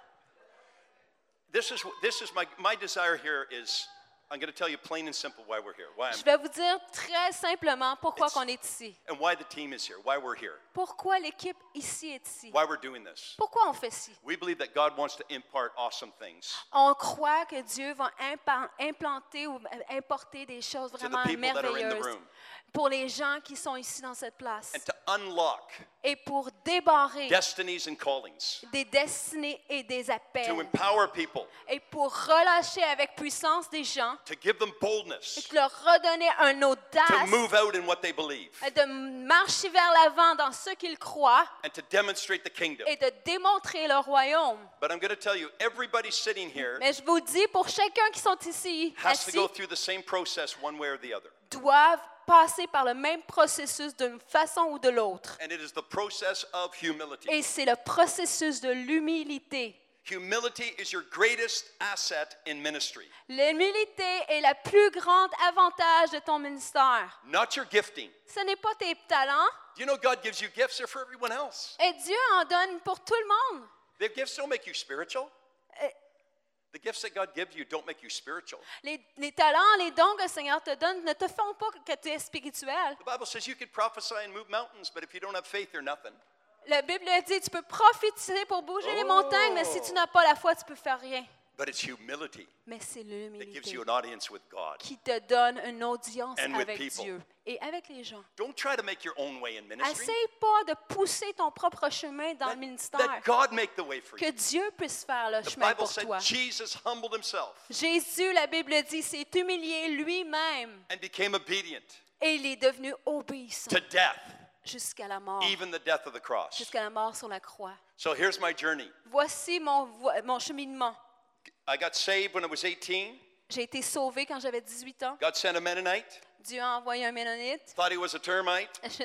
This is my desire here is, I'm going to tell you plain and simple why we're here, Je vais vous dire très simplement pourquoi on est ici. and why the team is here, why we're here, Pourquoi l'équipe ici est ici. why we're doing this. Pourquoi on fait ci? We believe that God wants to impart awesome things On croit que Dieu va implanter ou importer des choses to the vraiment people that are in the merveilleuses room pour les gens qui sont ici dans cette place and to unlock et pour débarrer destinies and callings, des destinées et des to appels empower people, et pour relâcher avec puissance des gens to give them et boldness, de leur redonner un to audace move out in what they believe, de marcher vers l'avant dans ce qu'ils croient and to demonstrate the kingdom. et de démontrer le royaume. But I'm going to tell you, everybody sitting here Mais je vous dis, pour chacun qui sont ici, has to assis, go through the same process one way or the other. doivent passer par le même processus d'une façon ou de l'autre. And it is the process of humility. Et c'est le processus de l'humilité. Humility is your greatest asset in ministry, L'humilité est le plus grand avantage de ton ministère. not your gifting. Ce n'est pas tes talents. Do you know God gives you gifts? They're for everyone else. Et Dieu en donne pour tout le monde. The gifts don't make you spiritual. Euh, The gifts that God gives you don't make you spiritual. Les talents, les dons que le Seigneur te donne ne te font pas que tu es spirituel. The Bible says you can prophesy and move mountains, but if you don't have faith, you're nothing. La Bible dit tu peux prophétiser pour bouger les montagnes, mais si tu n'as pas la foi, tu peux faire rien. But it's humility Mais c'est that gives l'humilité you an audience with God. qui te donne une audience And with avec people. Dieu et avec les gens. Don't try to make your own way in ministry. Essaye pas de pousser ton propre chemin dans le ministère. Let God make the way for you. Que Dieu puisse faire le The chemin Bible pour said toi. Jesus humbled himself Jésus, la Bible dit, s'est humilié lui-même and became obedient et il est devenu obéissant to death, jusqu'à la mort, even the death of the cross. jusqu'à la mort sur la croix. So here's my journey. Voici mon cheminement. I got saved when I was 18. J'ai été sauvée quand j'avais 18 ans. God sent a Mennonite. Dieu a envoyé un Ménonite. Thought he was a termite. Je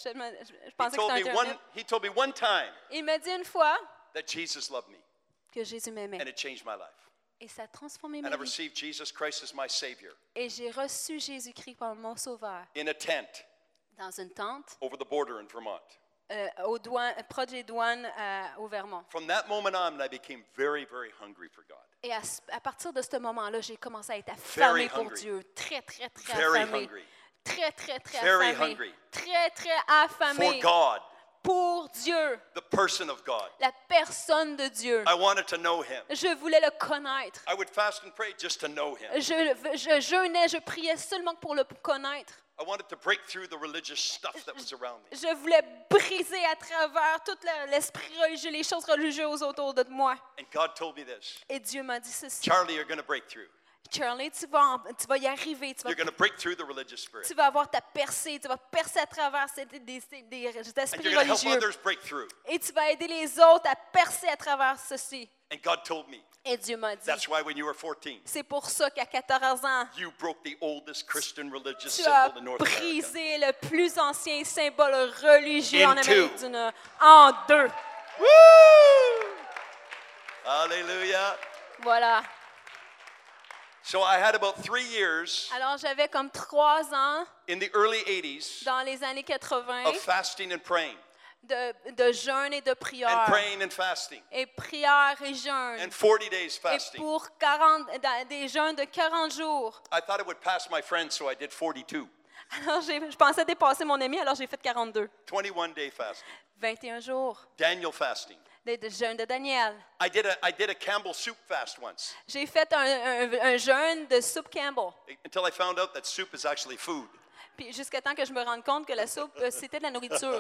He pensais que told c'était me un termite. he told me one time Il m'a dit une fois that Jesus loved me, que Jésus m'aimait. and it changed my life. Et ça a transformé And ma I vie. received Jesus Christ as my Savior Et j'ai reçu Jésus-Christ comme mon sauveur in a tent dans une tente over the border in Vermont. proche des douanes au Vermont. From that moment on, I became very, very hungry for God. Et à partir de ce moment-là, j'ai commencé à être affamée pour hungry. Dieu. Très, très, très Very affamée. hungry. Très, très, très Very affamée. hungry. Très, très For affamée God, pour Dieu, the person of God. la personne de Dieu. I wanted to know Him. Je voulais le connaître. I would fast and pray just to know Him. Je jeûnais, je priais seulement pour le connaître. I wanted to break through the religious stuff that was around me. Je voulais briser à travers tout l'esprit religieux, les choses religieuses autour de moi. And God told me this. Et Dieu m'a dit ceci. Charlie, you're going to break through. Charlie, tu vas y arriver. You're going to break through the religious spirit. Tu vas avoir ta percée. Tu vas percer à travers des And esprits you're going to help religieux. others break through. Et tu vas aider les autres à percer à travers ceci. And God told me. Et Dieu m'a dit, That's why when you were 14, c'est pour ça qu'à 14 ans, you broke the oldest Christian religious tu as symbol in North America. brisé le plus ancien symbole religieux In en Amérique two. du Nord en deux. Woo! Hallelujah. Voilà. So I had about 3 years Alors, j'avais comme 3 ans in the early 80s dans les années 80 of fasting and praying, de jeûne et de and prière. praying and fasting, Et prière et jeûne. and 40 days Et fasting. pour des jeûnes de 40 jours. I thought it would pass my friends, so I did 42. Alors, je pensais dépasser mon ami, alors j'ai fait 42. 21-day fasting. 21 jours Daniel fasting. de jeûne de Daniel. I did a Campbell soup fast once J'ai fait un jeûne de soupe Campbell. until I found out that soup is actually food. Puis jusqu'à temps que je me rende compte que la soupe, c'était de la nourriture.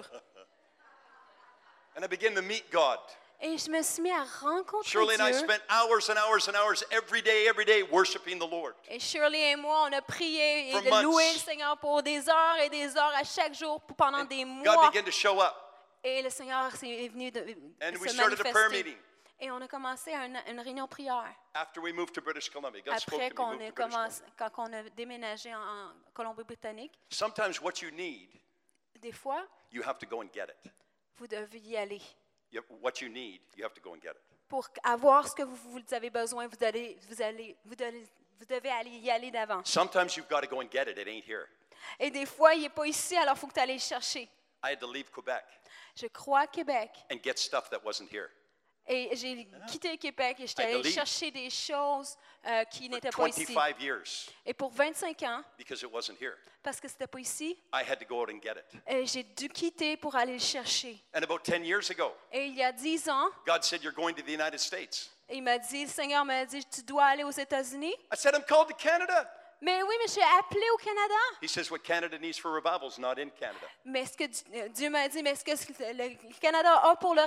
And I began to meet God. Et je me suis mis à rencontrer Shirley and I Dieu. spent hours and hours and hours every day worshiping the Lord. Et Shirley et moi, on a prié For et months. loué le Seigneur pour des heures et des heures à chaque jour pendant des God mois. began to show up. Et le Seigneur est venu And we se started a prayer manifester. meeting. Et on a commencé une réunion prière. After we moved to British Columbia, God spoke Après to me. qu'on Move ait to British commencé, Columbia. quand on a déménagé en Colombie-Britannique, Sometimes what you need, des fois, you have to go and get it. vous devez y aller. What you need, you have to go and get it. Pour avoir ce que vous avez besoin, vous devez y aller d'avant. Sometimes you've got to go and get it. It ain't here. Et des fois, il n'est pas ici, alors il faut que tu ailles le chercher. I had to leave Quebec Je crois à Québec. and get stuff that wasn't here. Et j'ai quitté le Québec et j'étais I allée believe. chercher des choses qui n'étaient For pas ici. 25 years, Et pour 25 ans, because it wasn't here, parce que c'était pas ici, I had to go out and get it. j'ai dû quitter pour aller le chercher. And about 10 years ago, Et il y a 10 ans, God said, "You're going to the United States." il m'a dit, le Seigneur m'a dit, tu dois aller aux États-Unis. I said, "I'm called to Canada." Mais oui, mais je suis appelée au Canada. He says, "What Canada needs for revival is not in Canada." Mais ce que Dieu m'a dit, mais ce que le Canada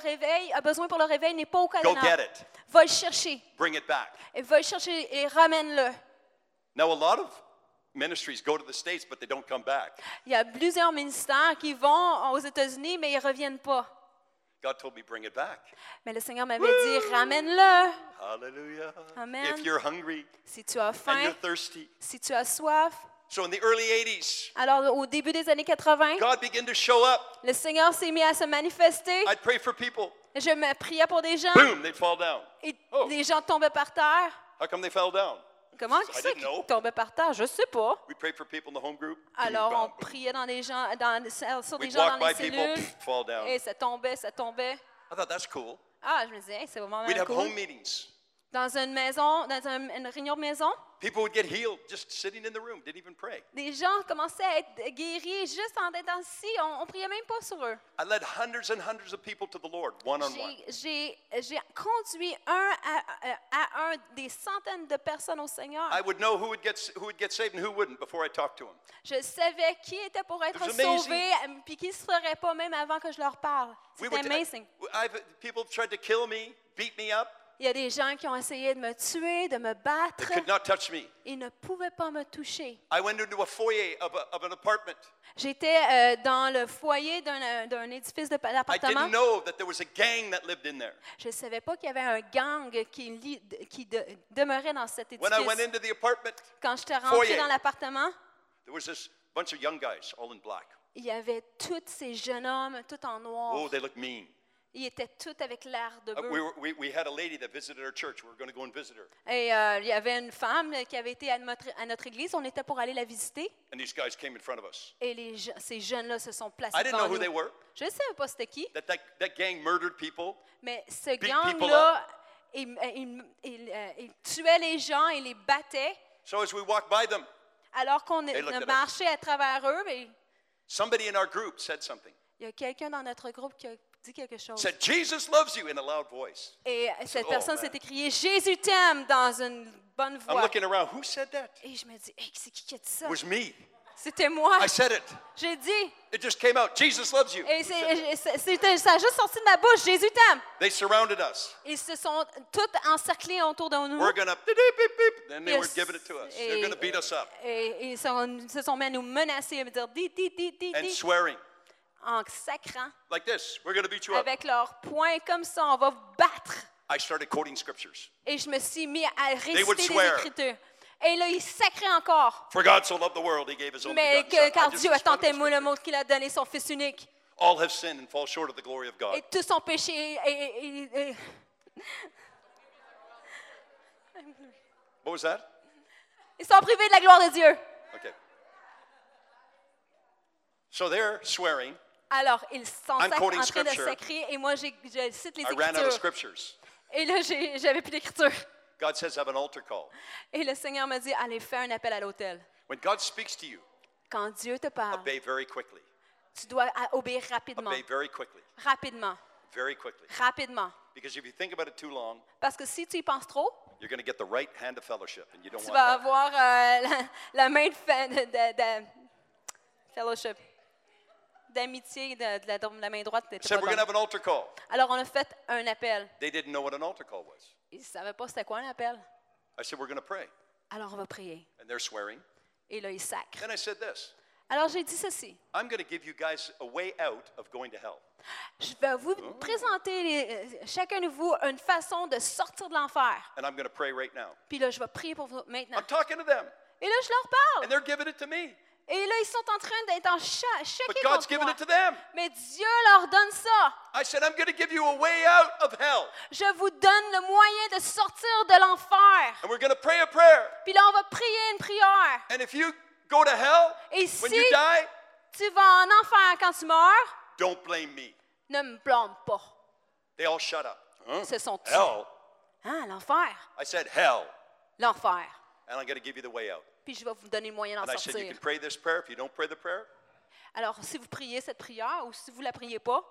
a besoin pour le réveil n'est pas au Go Canada. get it. Va le chercher. Bring it back. Et va le chercher et ramène-le. Now, a lot of ministries go to the States, but they don't come back. Il y a plusieurs ministères qui vont aux États-Unis, mais ils ne reviennent pas. God told me, bring it back. Mais le Seigneur m'avait dit, ramène-le. Hallelujah. Amen. If you're hungry Si tu as and faim, you're thirsty. si tu as soif. So in the early 80s, Alors, au début des années 80, God began to show up. le Seigneur s'est mis à se manifester. I'd pray for people. Je me priais pour des gens Boom, they'd fall down. et Oh. les gens tombaient par terre. How come they fell down? Comment I ça didn't know. qu'ils tombaient par terre? Je ne sais pas. We prayed for people in the home group. Alors, Boom, on bam, boom. priait sur des gens We'd dans walk les by people, cellules. fall down. Et ça tombait, ça tombait. I thought that's cool. Ah, je me disais, hey, c'est vraiment We'd have cool. home meetings. Dans une maison, une réunion de maison, People would get healed just sitting in the room, didn't even pray. des gens commençaient à être guéris juste en étant assis. On ne priait même pas sur eux. I led hundreds and hundreds of people to the Lord, one-on-one. J'ai conduit à un des centaines de personnes au Seigneur. I would know who would get saved and who wouldn't before I talked to them. Je savais qui était pour être It was amazing. sauvé, puis qui ne se ferait pas même avant que je leur parle. C'était amazing. People tried to kill me, beat me up. Il y a des gens qui ont essayé de me tuer, de me They battre. could not touch me. Ils ne pouvaient pas me toucher. I went into a foyer of an apartment. J'étais dans le foyer d'un édifice I d'appartement. didn't know that there was a gang that lived in there. Je ne savais pas qu'il y avait un gang qui demeurait dans cet When I went édifice. into the apartment, Quand j'étais rentrée foyer. dans l'appartement, there was this bunch of young guys, all in black. il y avait tous ces jeunes hommes, tout en noir. Oh, they looked mean. Ils étaient tous avec l'air de bœuf. We had a lady that visited our church. We were going to go and visit her. Et il y avait une femme qui avait été à notre église. On était pour aller la visiter. And these guys came in front of us. Et ces jeunes-là se sont placés I didn't devant know who nous. they were. Je ne savais pas c'était qui, That gang murdered people. mais ce people gang-là, il tuait les gens, il les battait. So as we walked by them, Alors qu'on They looked at us. marchait à travers eux, mais somebody in our group said something. il y a quelqu'un dans notre groupe qui a dit quelque chose. Said, Jesus loves you in a loud voice. Et cette Oh, personne man. s'est écriée « Jésus t'aime » dans une bonne I'm voix. looking around. Who said that? Et je me dis, hey, c'est qui a dit ça? It was me. C'était moi. I said it. J'ai dit. It just came out. Jesus loves you. Et ça a juste sorti de ma bouche. Jésus t'aime. They surrounded us. Ils se sont tous encerclés autour de nous. We're gonna beep, beep, beep. Then they were Yes. giving it to us. They're gonna beat us up Et ils se sont mis à nous menacer, à me dire di, and swearing en sacrant like this. We're gonna beat you up. avec leurs poings comme ça. On va vous battre. I started quoting scriptures. Et je me suis mis à would réciter des swear. Écritures. Et là, ils sacraient encore. For God so loved the world, He gave His only Mais begotten Son. car I just Dieu a tant expounded the aimé le scripture. monde qu'il a donné son Fils unique. All have sinned and fall short of the glory of God. Et tous ont péché. What was that? Ils sont privés de la gloire de Dieu. Okay. So they're swearing. Alors, ils sont en I'm train quoting de scripture. sacrer et moi, je cite les I ran out of Écritures. scriptures. Et là, j'avais plus d'écriture. God says have an altar call. Et le Seigneur m'a dit, allez, fais un appel à l'autel. When God speaks to you, Quand Dieu te parle, obey very quickly. tu dois obéir rapidement. Obey very quickly. Rapidement. Very quickly. Rapidement. Because if you think about it too long, Parce que si tu y penses trop, you're going to get the right hand of fellowship, and you don't tu want vas that. avoir la main de fellowship, d'amitié de la main droite. I said we're going to have an altar call. Alors, on a fait un appel. They didn't know what an altar call was. Ils ne savaient pas c'était quoi un appel. I said we're going to pray, Alors, on va prier. and they're swearing. Et là, ils sacrent. Then I said this. Alors, j'ai dit ceci. I'm going to give you guys a way out of going to hell. Je vais vous présenter, chacun de vous, une façon de sortir de l'enfer. And I'm going to pray right now. Puis là, je vais prier pour vous maintenant. I'm talking to them, Et là, je leur and parle. they're giving it to me. Et là, ils sont en train d'être en But choqués God's contre giving moi. it to them. Mais Dieu leur donne ça. I said, I'm going to give you a way out of hell. Je vous donne le moyen de sortir de l'enfer. And we're going to pray a prayer. Puis là, on va prier une prière. And if you go to hell, Et when si you die, tu vas en enfer quand tu meurs, don't blame me. ne me blâme pas. They all shut up. Huh? Ce sont tués. Hell? Hein, l'enfer. I said, hell. L'enfer. And I'm going to give you the way out. Puis je vais vous donner le moyen d'en And I said, you sortir. can pray this prayer. If you don't pray the prayer, Alors, si vous priez cette prière ou si vous ne la priez pas,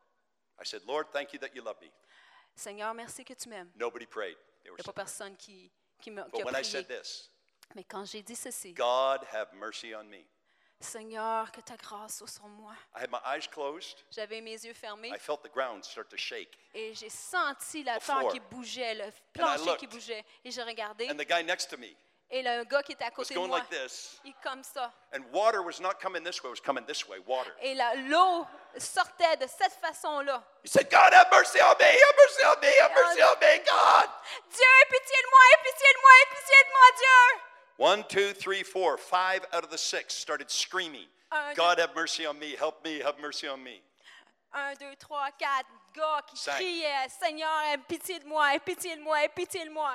I said, Lord, thank you that you love me. Seigneur, merci que tu m'aimes. Nobody prayed. They were Il n'y a pas personne qui a But when I prié. said this, Mais quand j'ai dit ceci, God have mercy on me. Seigneur, que ta grâce soit sur moi. I had my eyes closed. J'avais mes yeux fermés I felt the ground start to shake. et j'ai senti la The terre floor. qui bougeait, le plancher looked. qui bougeait. Et j'ai regardé And the guy next to me et le gars qui était à was côté de going moi, like this. il comme ça. And water was not coming this way, it was coming this way, water. Et l'eau sortait de cette façon-là. He said, God have mercy on me, have mercy on me, have mercy on me, God. Dieu, aie pitié de moi, aie pitié de moi, aie pitié de moi, Dieu. 1, 2, 3, 4, 5 out of the 6 started screaming, God have mercy on me, help me, have mercy on me. 1, 2, 3, 4 gars qui 5. criaient, Seigneur, aie pitié de moi, aie pitié de moi, aie pitié de moi.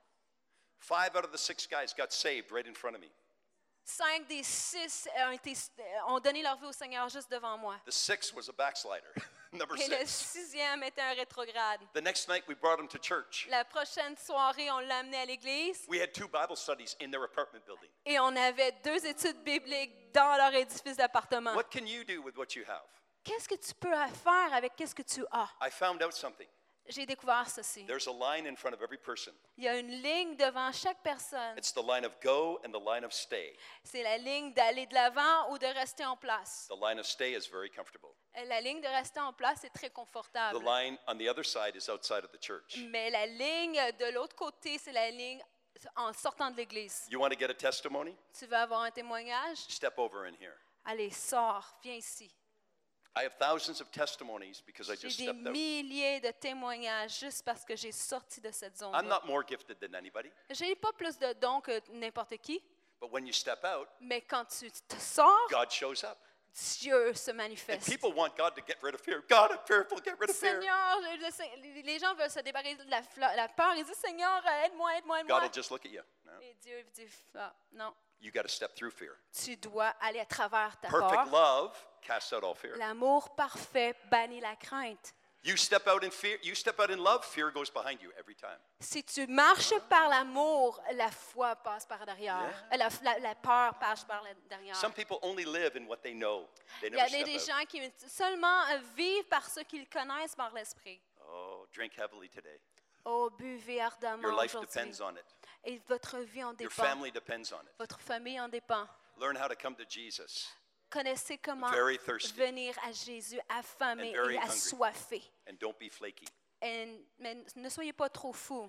5 out of the 6 guys got saved right in front of me. 5 des 6 ont donné leur vie au Seigneur juste devant moi. The 6th was a backslider, number Et le 6. 6e était un rétrograde. The next night we brought him to church. La prochaine soirée, on l'a amené à l'église We had 2 Bible studies in their apartment building. et on avait 2 études bibliques dans leur édifice d'appartement. What can you do with what you have? Qu'est-ce que tu peux faire avec qu'est-ce que tu as? I found out something. J'ai découvert ceci. There's a line in front of every person. Il y a une ligne devant chaque personne. It's the line of go and the line of stay. C'est la ligne d'aller de l'avant ou de rester en place. The line of stay is very comfortable. La ligne de rester en place est très The confortable. line on the other side is outside of the church. Mais la ligne de l'autre côté, c'est la ligne en sortant de l'église. You want to get a testimony? Tu veux avoir un témoignage? Step over in here. Allez, sors, viens ici. I have thousands of testimonies because I just J'ai des stepped out. milliers de témoignages juste parce que j'ai sorti de cette I'm zone-là. not more gifted than anybody, Je n'ai pas plus de dons que n'importe qui, but when you step out, mais quand tu te sors, God shows up. Dieu se And manifeste. people want God to get rid of fear. God, I'm fearful, get rid of fear. Seigneur, les gens veulent se débarrasser de la peur. Ils disent, Seigneur, aide-moi, aide-moi, God aide-moi. will just look at you. No. Et Dieu dit, ah, non, You got to step through fear. tu dois aller à travers ta Perfect peur. love casts out all fear. L'amour parfait bannit la crainte. You step out in fear, you step out in love, fear goes behind you every time. Si tu marches par l'amour, la foi passe par derrière. La peur passe par derrière. Some people only live in what they know. They Il y a never des step out. gens qui seulement vivent par ce qu'ils connaissent par l'esprit. Oh, drink heavily today. Oh, buvez ardemment Your life aujourd'hui. depends on it. Et votre vie en Your dépend. family depends on it. Votre famille en dépend. Learn how to come to Jesus Connaissez comment Very thirsty. venir à Jésus affamé And very et hungry. assoiffé. and don't be flaky. Mais ne soyez pas trop fous.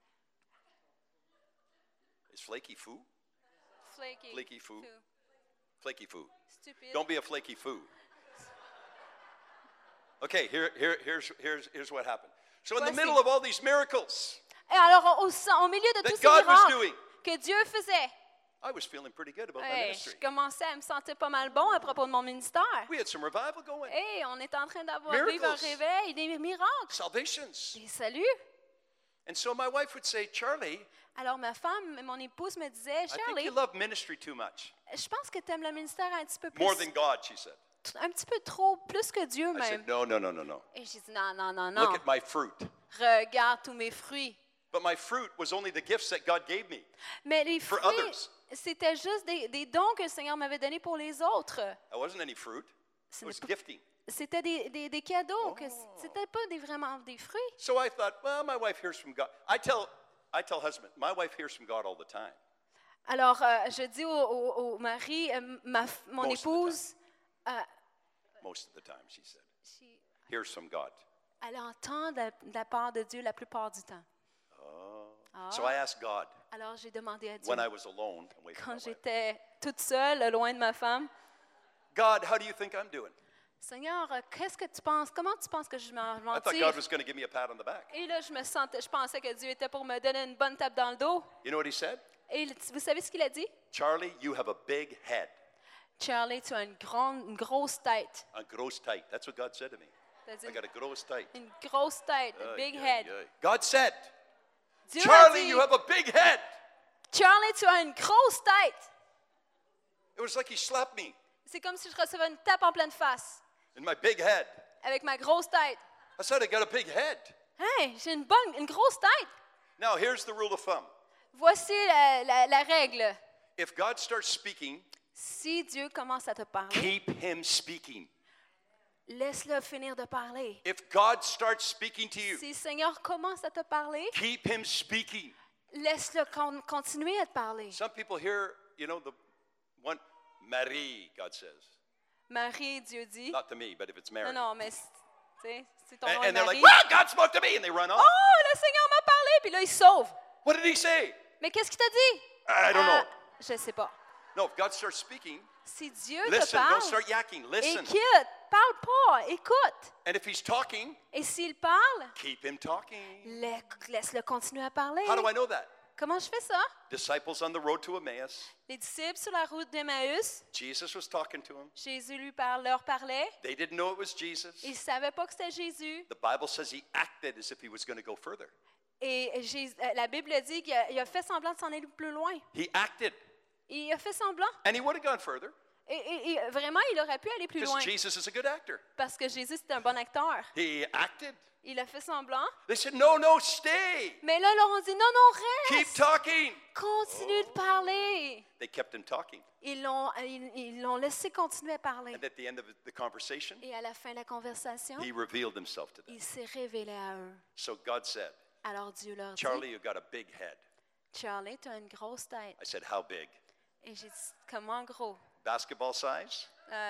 Is flaky foo? Flaky. Flaky foo. Fou. Flaky foo. Stupide. Don't be a flaky foo. Okay, here's what happened. So in the Voici. middle of all these miracles, Et alors, au milieu de That tous ces God was miracles doing. que Dieu faisait, I was feeling pretty good about my hey, ministry. je commençais à me sentir pas mal bon à propos de mon ministère. We had some revival going, Hey, on est en train d'avoir Miracles. vivre un réveil, des miracles, salvations. des saluts. And so my wife would say, Charlie, Alors ma femme, mon épouse me disait, I think Shirley, you love ministry too much. je pense que tu aimes le ministère un petit peu plus, More than God, she said. un petit peu trop, plus que Dieu I même. said, no. Et j'ai dit, non, non, non, Look non, at my fruit. regarde tous mes fruits. But my fruit was only the gifts that God gave me. Mais les For fruits, others. c'était juste des dons que le Seigneur m'avait donnés pour les autres. That wasn't any fruit. Ce It n'est was pas- gifting. C'était des cadeaux, que c'était pas vraiment des fruits. So I thought, well, my wife hears from God. I tell husband, my wife hears from God all the time. Alors, je dis au mari, mon Most of the épouse, Most of the time, she said. she- Hears from God. elle entend de la part de Dieu la plupart du temps. So I asked God Alors, j'ai demandé à Dieu, when I was alone, away from quand my wife, j'étais toute seule, loin de ma femme, God, how do you think I'm doing? Seigneur, qu'est-ce que tu penses? Comment tu penses que je m'en I thought God was going to give me a pat on the back. Et là, je pensais que Dieu était pour me donner une bonne tape dans le dos. You know what he said? Et vous savez ce qu'il a dit? Charlie, you have a big head. Charlie, tu as une grosse tête. A gross tight. That's what God said to me. T'as dit I got a gross tight. une grosse tête, a big head. God said, Dieu a Charlie, dit, you have a big head. Charlie, tu as une grosse tête. It was like he slapped me C'est comme si je recevais une tape en pleine face in my big head. avec ma grosse tête. I said, I got a big head. Hey, j'ai une grosse tête. Now, here's the rule of thumb. Voici la règle. If God starts speaking, Si Dieu commence à te parler, keep him speaking. laisse-le finir de parler. If God starts speaking to you, Si le Seigneur commence à te parler, keep him speaking. laisse-le continuer à te parler. Some people hear, the one, Marie, God says. Marie, Dieu dit. Not to me, but if it's Mary. Non, mais c'est ton nom And est they're like, Marie. well, God spoke to me, and they run off. Oh, le Seigneur m'a parlé, puis là, il se sauve. What did he say? Mais qu'est-ce qu'il t'a dit? I don't know. Je ne sais pas. No, if God starts speaking, Si Dieu te listen, don't parle, start yakking. Listen. écoute, parle pas, écoute. And if he's talking, Et s'il parle, keep him talking. laisse-le continuer à parler. How do I know that? Comment je fais ça? Disciples on the road to Emmaus. Les disciples sur la route d'Emmaüs, Jesus was talking to them. Jésus leur parlait. They didn't know it was Jesus. Ils ne savaient pas que c'était Jésus. The Bible says he acted as if he was going to go further. Et la Bible dit qu'il a fait semblant de s'en aller plus loin. He acted, Il a fait semblant. and he would have gone further Et vraiment, il aurait pu aller plus loin. because Jesus is a good actor. Parce que Jésus, c'est un bon acteur. He acted. Il a fait semblant. They said, no, stay. Mais là, on dit, non, Keep reste. talking. Continue de parler. They kept him talking. Ils l'ont laissé continuer à parler. And at the end of the conversation, Et à la fin de la conversation, he revealed himself to them. il s'est révélé à eux. So God said, Alors Dieu leur dit, Charlie, you got a big head. Charlie, tu as une grosse tête. I said, how big? Et j'ai dit, comment gros? Basketball size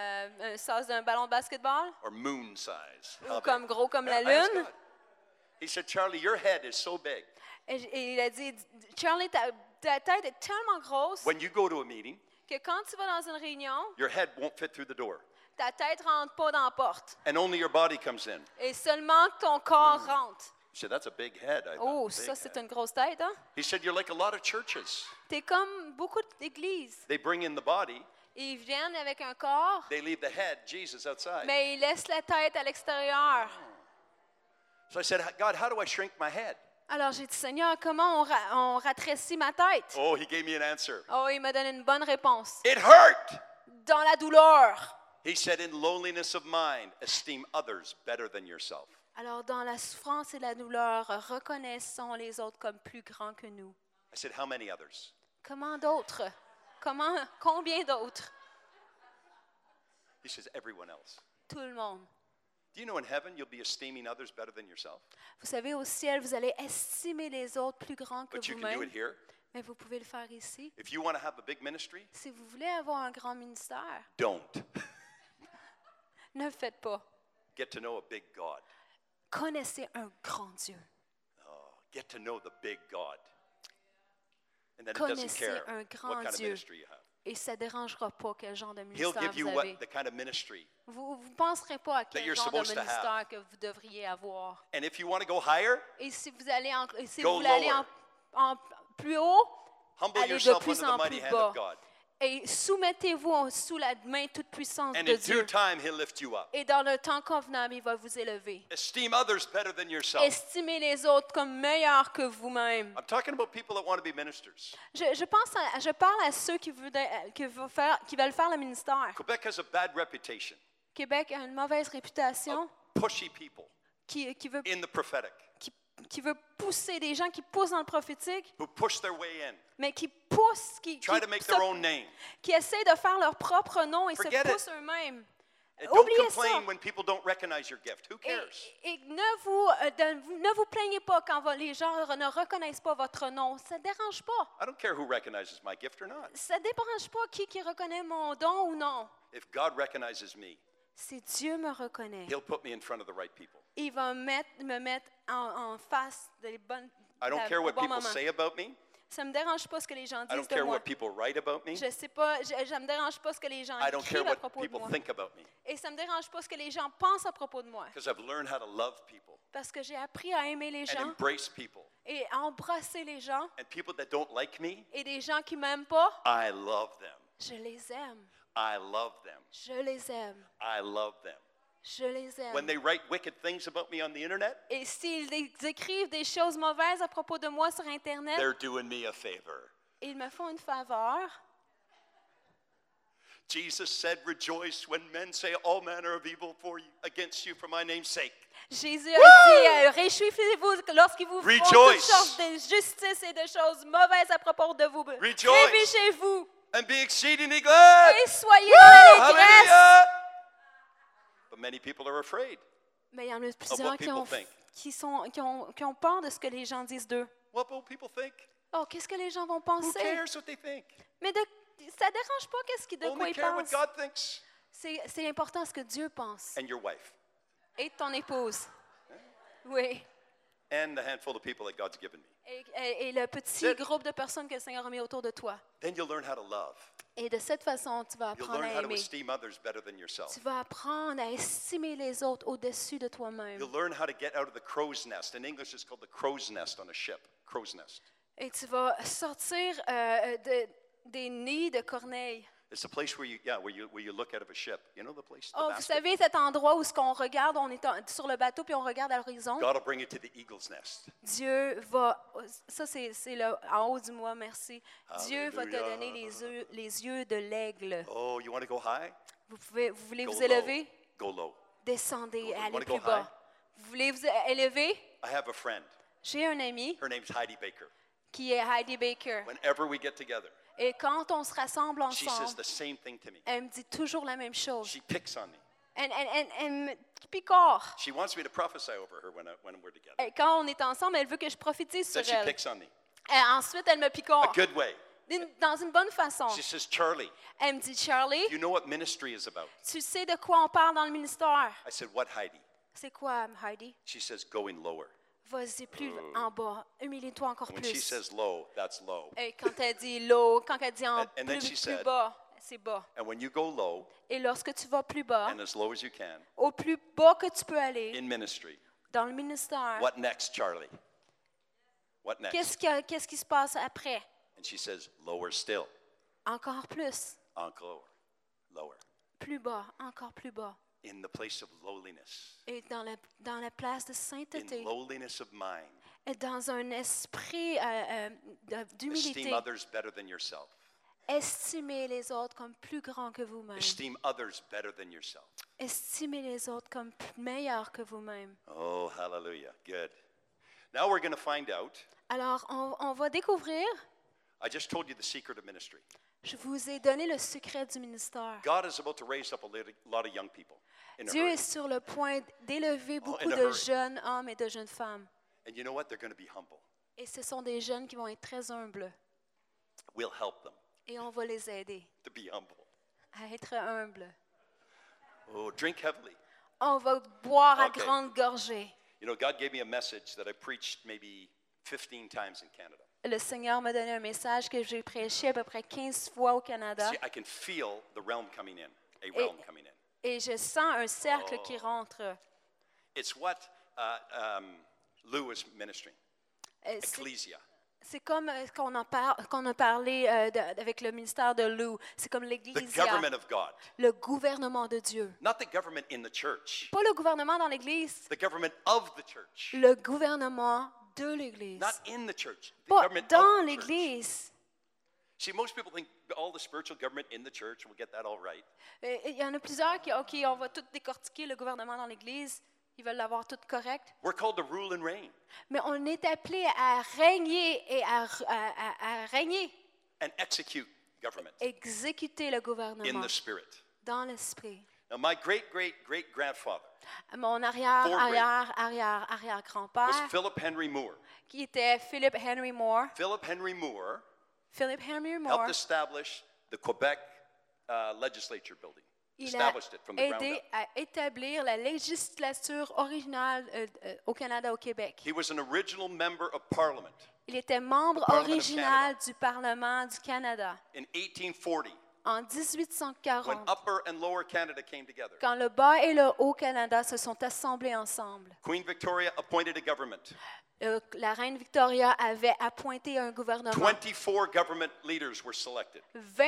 Un size d'un ballon de basketball? or moon size? Ou How comme big? gros comme la I asked lune? God. He said, Charlie, your head is so big. Et il a dit, Charlie, ta tête est tellement grosse When you go to a meeting, que quand tu vas dans une réunion, your head won't fit through the door, ta tête rentre pas dans la porte. and only your body comes in. Et seulement ton corps rentre. He said, that's a big head. I thought, Oh, big ça, c'est head. une grosse tête, hein? He said, you're like a lot of churches. T'es comme beaucoup d'églises. They bring in the body, Ils viennent avec un corps, They leave the head, Jesus, outside. mais ils laissent la tête à l'extérieur. So I said, God, how do I shrink my head? Alors j'ai dit, Seigneur, comment on ratrécit ma tête? Oh, he gave me an answer. Oh, il m'a donné une bonne réponse. It hurt. Dans la douleur. He said, in loneliness of mind, esteem others better than yourself. Alors dans la souffrance et la douleur, reconnaissons les autres comme plus grands que nous. I said, how many others? Comment d'autres? Combien d'autres? He says, everyone else. Tout le monde. Do you know in heaven you'll be esteeming others better than yourself? Vous savez, au ciel, vous allez estimer les autres plus grands que But you can do vous-même. it here. Mais vous pouvez le faire ici. If you want to have a big ministry, Si vous voulez avoir un grand ministère, don't. ne le faites pas. Get to know a big God. Connaissez un grand Dieu. Oh, get to know the big God. And then it doesn't Connaissez care un what grand kind of Dieu. ministry you have. Et ça ne dérangera pas quel genre de He'll ministère give you vous avez. the kind of ministry. Vous ne penserez pas à quel you're genre de supposed to have. ministère que vous devriez avoir. And if you want to go higher, Et si vous allez si Go vous voulez aller lower. en plus haut, humble allez de yourself plus under the en mighty plus hand bas. of God. Et soumettez-vous sous la main toute puissante And de in due Dieu. time, He'll lift you up. Et dans le temps convenable, il va vous élever. Esteem others better than yourself. Estimez les autres comme meilleurs que vous-même. I'm talking about people that want to be ministers. Je parle à ceux qui veulent faire le ministère. Quebec has a bad reputation. Québec a une mauvaise réputation Pushy people qui veut in the prophetic pousser des gens qui poussent dans le prophétique, who push their way in, mais qui poussent, try to make their own name. qui essaient de faire leur propre nom et Forget se it. poussent eux-mêmes. And don't Oubliez ça. complain when people don't recognize your gift. Who Et, cares? et ne vous plaignez pas quand les gens ne reconnaissent pas votre nom. Ça ne dérange pas. I don't care who recognizes my gift or not. Ça ne dérange pas qui reconnaît mon don ou non. If God recognizes me, Si Dieu me reconnaît, He'll put me in front of the right people. il va me mettre en face des bonnes I don't care au what bon people moment. say about me. Ça ne me dérange pas ce que les gens I don't disent de care moi. what people write about me. Je sais pas, ça me dérange pas ce que les gens I don't care écrivent à what propos de people moi. think about me. Et ça me dérange pas ce que les gens pensent à propos de moi. Because I've learned how to love people Parce que j'ai appris à aimer les and gens embrace people. et à embrasser les gens. And people that don't like me, Et des gens qui m'aiment pas, I love them. je les aime. I love them. Je les aime. I love them. Je les aime. When they write wicked things about me on the internet, Et s'ils écrivent des choses mauvaises à propos de moi sur Internet, they're doing me a favor. ils me font une faveur. Jesus said, rejoice when men say all manner of evil against you for my name's sake. Jésus a dit, réjouissez-vous lorsqu'ils vous font toutes Rejoice. sortes d'injustices et de choses mauvaises à propos de vous. Rejoice. Réjouissez-vous And be exceedingly glad. et soyez dans l'allégresse. Hallelujah. But many people are afraid. Mais il y en a what plusieurs people think. qui ont peur de ce que les gens disent d'eux. What will people think? Oh, qu'est-ce que les gens vont Who penser? cares what they think? Mais ça ne dérange pas de quoi Only ils care what pensent. God thinks. C'est important ce que Dieu pense. And your wife. Et ton épouse. Oui. And the handful of people that God's given me. Et le petit That's it. groupe de personnes que le Seigneur a mis autour de toi. Then you'll learn how to love. Et de cette façon, tu vas You'll apprendre learn à how to aimer. esteem others better than yourself. Tu vas apprendre à estimer les autres au-dessus de toi-même. You'll learn how to get out of the crow's nest. In English, it's called the crow's nest on a ship. Crow's nest. Et tu vas sortir des nids de corneilles. It's a place where you look out of a ship. You know the place? The Oh, vous basket? savez, cet endroit où on regarde, on est sur le bateau puis on regarde à l'horizon. God will bring you to the eagle's nest. Dieu va, ça c'est en haut du moi, merci. Dieu va te Alléluia. donner les yeux de l'aigle. Oh, you want to go high? Vous voulez Go vous low. élever? Go low. Descendez, Go low. allez Wanna plus go bas. high? Vous voulez vous élever? I have a friend. J'ai un ami Her name's Heidi Baker. qui est Heidi Baker. Whenever we get together, Et quand on se rassemble she says ensemble, the same thing to me. elle me dit toujours la même chose. She picks on me. Elle me picore. She wants me to prophesy over her when we're together. Et quand on est ensemble, elle veut que je prophétise sur Then she elle. picks on me. Et ensuite, elle me A picore. good way. Dans une bonne façon. She says, Charlie, Elle me dit, Charlie, you know what ministry is about? tu sais de quoi on parle dans le ministère? I said, what, Heidi? C'est quoi, Heidi? She says, going lower. Vas-y plus en bas. Humilie-toi encore When she plus. says low, that's low. Et quand elle dit low, quand elle dit And then she plus said- bas, c'est bas. And when you go low, Et lorsque tu vas plus bas, and as low as you can, au plus bas que tu peux aller in ministry, dans le ministère, what next, Charlie? What next? qu'est-ce qui se passe après? And she says, lower still. Encore plus. Encore. lower. plus bas, encore plus bas. In the place of lowliness, Et dans la place de in sainteté, lowliness of mind, et dans un esprit esteem d'humilité, others better than yourself. estimez les autres comme plus grands que vous-même. Esteem others better than yourself. Estimez les autres comme meilleurs que vous-même. Oh, hallelujah. Good. Now we're going to find out. Alors, on va découvrir, I just told you the secret of ministry. je vous ai donné le secret du ministère. God is about to raise up a lot of young people in a Dieu hurry. est sur le point d'élever beaucoup in a de hurry. jeunes hommes et de jeunes femmes. And you know what? They're going to be humble. Et ce sont des jeunes qui vont être très humbles. We'll help them Et on va les aider to be humble. à être humbles. Oh, drink heavily. On va boire à Okay. grande gorgée. You know, God gave me a message that I preached maybe 15 times in Canada. Le Seigneur m'a donné un message que j'ai prêché à peu près 15 fois au Canada. See, I can feel the realm coming in, a realm coming in. Et je sens un cercle qui rentre. It's what Lou was ministering, C'est ecclesia. c'est comme qu'on a parlé avec le ministère de Lou. C'est comme The l'Église, government of God. le gouvernement de Dieu. Not the government in the church, Pas le gouvernement dans l'Église, the government of the church. le gouvernement de l'Église. Not in the church, the Pas government dans of the church. l'Église. See, most people think all the spiritual government in the church, we'll get that all right. Et il y en a plusieurs qui, OK, on va tout décortiquer le gouvernement dans l'Église. Ils veulent l'avoir tout correct. We're called to rule and reign Mais on est appelé à régner et à régner, and execute government exécuter le in gouvernement the spirit. dans l'esprit. Now, my great-great-great-grandfather Mon was arrière-grand-père, Philip Henry Moore. qui était Philip Henry Moore. Philip Henry Moore Philip Henry Moore, helped establish the Quebec legislature building. il a Established it from the ground aidé up. à établir la législature originale au Canada, au Québec. He was an original member of Parliament Il était membre Parliament of original du Parlement du Canada in 1840 en when 1840, Upper and Lower Canada came together. quand le Bas et le Haut Canada se sont assemblés ensemble. Queen Victoria appointed a government. La reine Victoria avait appointé un gouvernement. 24 government leaders were selected.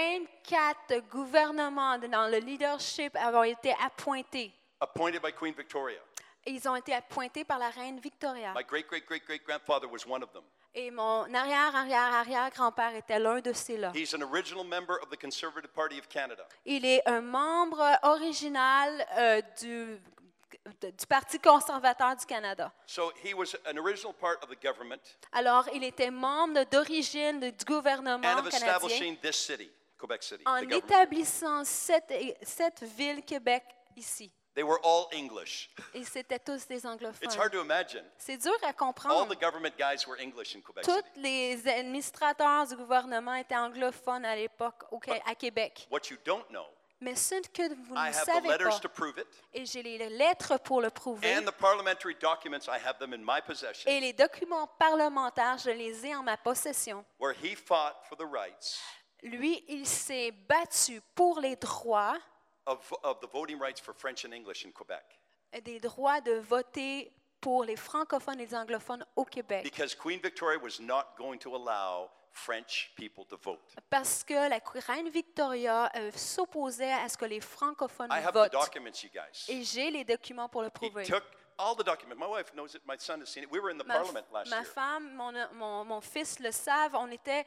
24 gouvernements dans le leadership ont été appointés. Appointed by Queen Victoria. Ils ont été appointés par la reine Victoria. My great-great-great-great-grandfather was one of them. Et mon arrière-arrière-arrière-grand-père était l'un de ceux-là. He's an original member of the Conservative Party of Canada. Il est un membre original du Parti conservateur du Canada. So he was an original part of the government Alors, il était membre d'origine du gouvernement and of canadien establishing this city, Quebec City, en the government. établissant cette ville, Québec, ici. They were all English. Et c'était tous des It's anglophones. hard to imagine. C'est dur à All comprendre. the government guys were English in Quebec Tous City. les administrateurs du gouvernement étaient anglophones à l'époque à Québec. What you don't know, Mais ce que vous I ne have the savez letters pas, to prove it, et j'ai les lettres pour le prouver, and the parliamentary documents, I have them in my possession, et les documents parlementaires, je les ai en ma possession. where he fought for the rights Lui, il s'est battu pour les droits, of the voting rights for French and English in Quebec. des droits de voter pour les francophones et les anglophones au Québec. Because Queen Victoria was not going to allow French people to vote. Parce que la reine Victoria s'opposait à ce que les francophones I have the votent. documents, you guys. Et j'ai les documents pour le He prouver. took all the documents. My wife knows it. My son has seen it. We were in the parliament last Ma year. femme, mon fils le savent. On était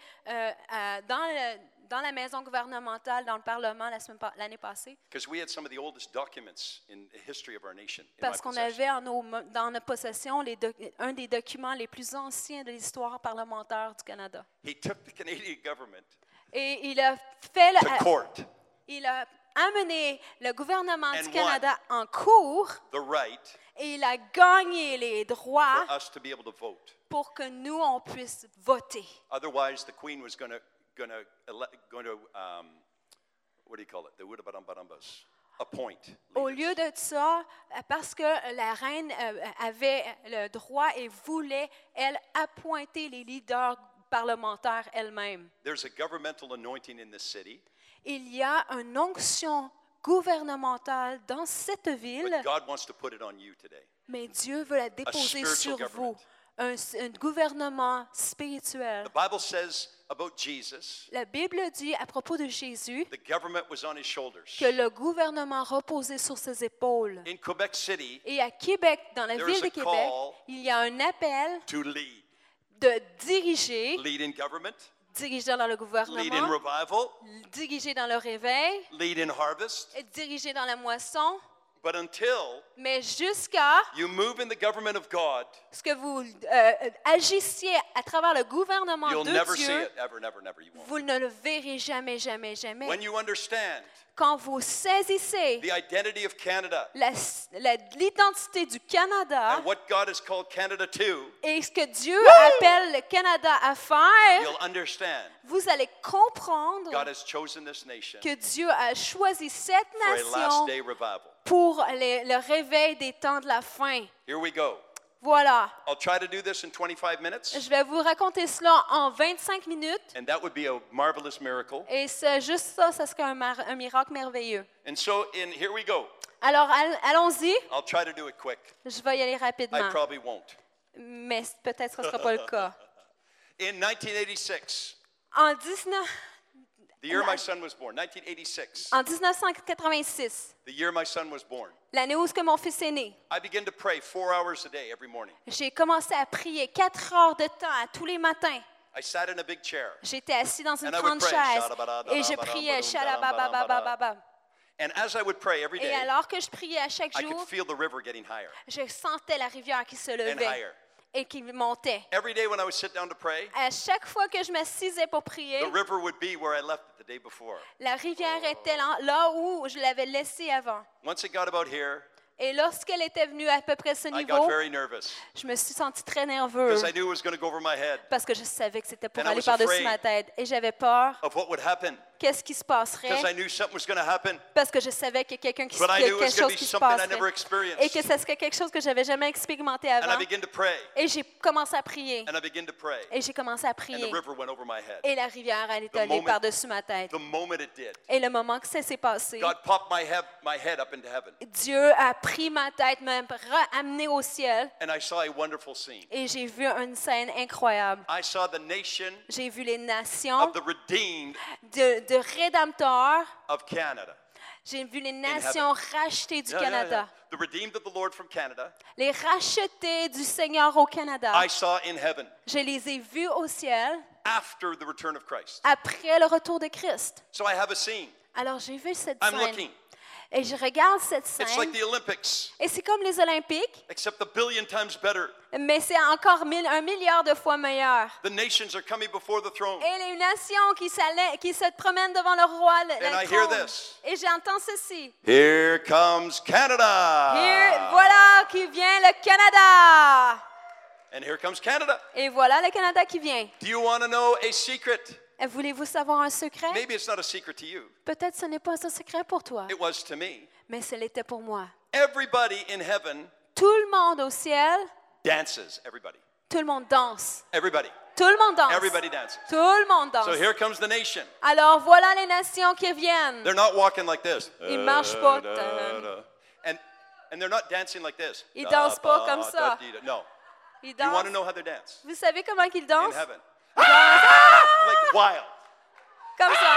dans la maison gouvernementale, dans le Parlement l'année passée, Because we had some of the oldest documents in the history of our nation. In my parce qu'on possession. avait dans notre possession un des documents les plus anciens de l'histoire parlementaire du Canada. He took the Canadian government Et il a fait to court il a amené le gouvernement And du Canada en cours the right et il a gagné les droits for us to be able to vote. pour que nous, on puisse voter. Otherwise, the Queen was going to what do you call it? The Wudabadambadambas. Appoint. Au leaders. lieu de ça, parce que la reine avait le droit et voulait, elle, appointer les leaders parlementaires elle-même. There's a governmental anointing in this city, Il y a une onction gouvernementale dans cette ville, but God wants to put it on you today. mais Dieu veut la déposer spiritual sur vous. government. un gouvernement spirituel. The Bible says about Jesus, La Bible dit à propos de Jésus the government was on his shoulders. que le gouvernement reposait sur ses épaules. In Quebec City, Et à Québec, dans la There ville is de a Québec, call il y a un appel to lead. de diriger, Lead in government, diriger dans le lead in gouvernement, revival, diriger dans le réveil, lead in harvest. et diriger dans la moisson. But until Mais jusqu'à you move in the government of God, ce que vous agissiez à travers le gouvernement you'll de never see Dieu, it. Ever, never, never. You won't. vous ne le verrez jamais, jamais, jamais. When you understand Quand vous saisissez the identity of Canada l'identité du Canada and what God has called Canada to, et ce que Dieu appelle le Canada à faire, you'll understand vous allez comprendre God has chosen this nation que Dieu a choisi cette for a last nation day revival. pour le réveil des temps de la fin. Here we go. Voilà. I'll try to do this in 25 minutes, Je vais vous raconter cela en 25 minutes. and that would be a marvelous miracle. Et c'est juste ça, ça serait un miracle merveilleux. And so, here we go. Alors, allons-y. I'll try to do it quick. Je vais y aller I rapidement. probably won't. Mais peut-être que ce ne sera pas le cas. In 1986, En 19 the year my son was born, 1986, En 1986, the year my son was born, l'année où mon fils est né, I began to pray 4 hours a day every morning. j'ai commencé à prier 4 heures de temps tous les matins. I sat in a big chair, J'étais assis dans une And I would grande pray. chaise et je priais. Shalabababababa. and as I would pray every Et day, alors que je priais à chaque I could jour, feel the river getting higher je sentais la rivière qui se and levait higher. et qui montait. Every day when I would sit down to pray, À chaque fois que je m'assisais pour prier, the river would be where I left it the day before. la rivière était là où je l'avais laissée avant. Once it got about here, Et lorsqu'elle était venue à peu près à ce I got niveau, very nervous je me suis sentie très nerveuse because I knew it was going to go over my head parce que je savais que c'était pour And I aller was par-dessus afraid. ma tête. Et j'avais peur. of what would happen Qu'est-ce qui se passerait? because I knew something was going to happen, Parce que je savais qu'il y a but I quelque knew it was going to chose be qui se something I passerait. never Et que experienced. ce serait quelque chose que j'avais jamais expérimenté And I avant. began to pray, Et j'ai commencé à prier. and I began to pray, Et j'ai commencé à and the prier. river went over my head. Et la rivière allait The aller moment- par-dessus ma tête. The moment it did, Et le moment que ça s'est passé, God popped my head up into heaven, Dieu a pris ma tête, m'a amené au ciel. and I saw a wonderful scene. Et j'ai vu une scène incroyable. I saw the nation J'ai vu les nations of the redeemed de rédempteurs. of Canada. J'ai vu les nations rachetées du Canada. The redeemed of the Lord from Canada, Les rachetés du Seigneur au Canada. I saw in heaven Je les ai vus au ciel after the return of Christ. après le retour de Christ. So I have a scene. Alors j'ai vu cette I'm scène. looking. Et je regarde cette It's like scène. the Olympics, Et c'est comme les Olympiques, except a billion times better. mais c'est encore 1 milliard de fois meilleur. The nations are coming before the throne. Et les nations qui se promènent devant le roi, And I le hear trône. this. Et j'entends ceci. Here comes Canada. Voilà qui vient le Canada. And here comes Canada. Et voilà le Canada qui vient. Do you want to know a secret? Voulez-vous savoir un secret? Maybe it's not a secret to you. Peut-être ce n'est pas un secret pour toi, It was to me. mais ce l'était pour moi. Everybody in heaven Tout le monde au ciel, dances. Everybody. tout le monde danse. Everybody. Tout le monde danse. Everybody dances. Tout le monde danse. So here comes the nation. Alors voilà les nations qui viennent. They're not walking like this. Ils marchent pas. And they're not dancing like this. Ils dansent pas comme ça. No. Ils You want to dansent. know how they dance? Vous savez comment ils In dansent? heaven. Ils dansent Like wild. comme ça.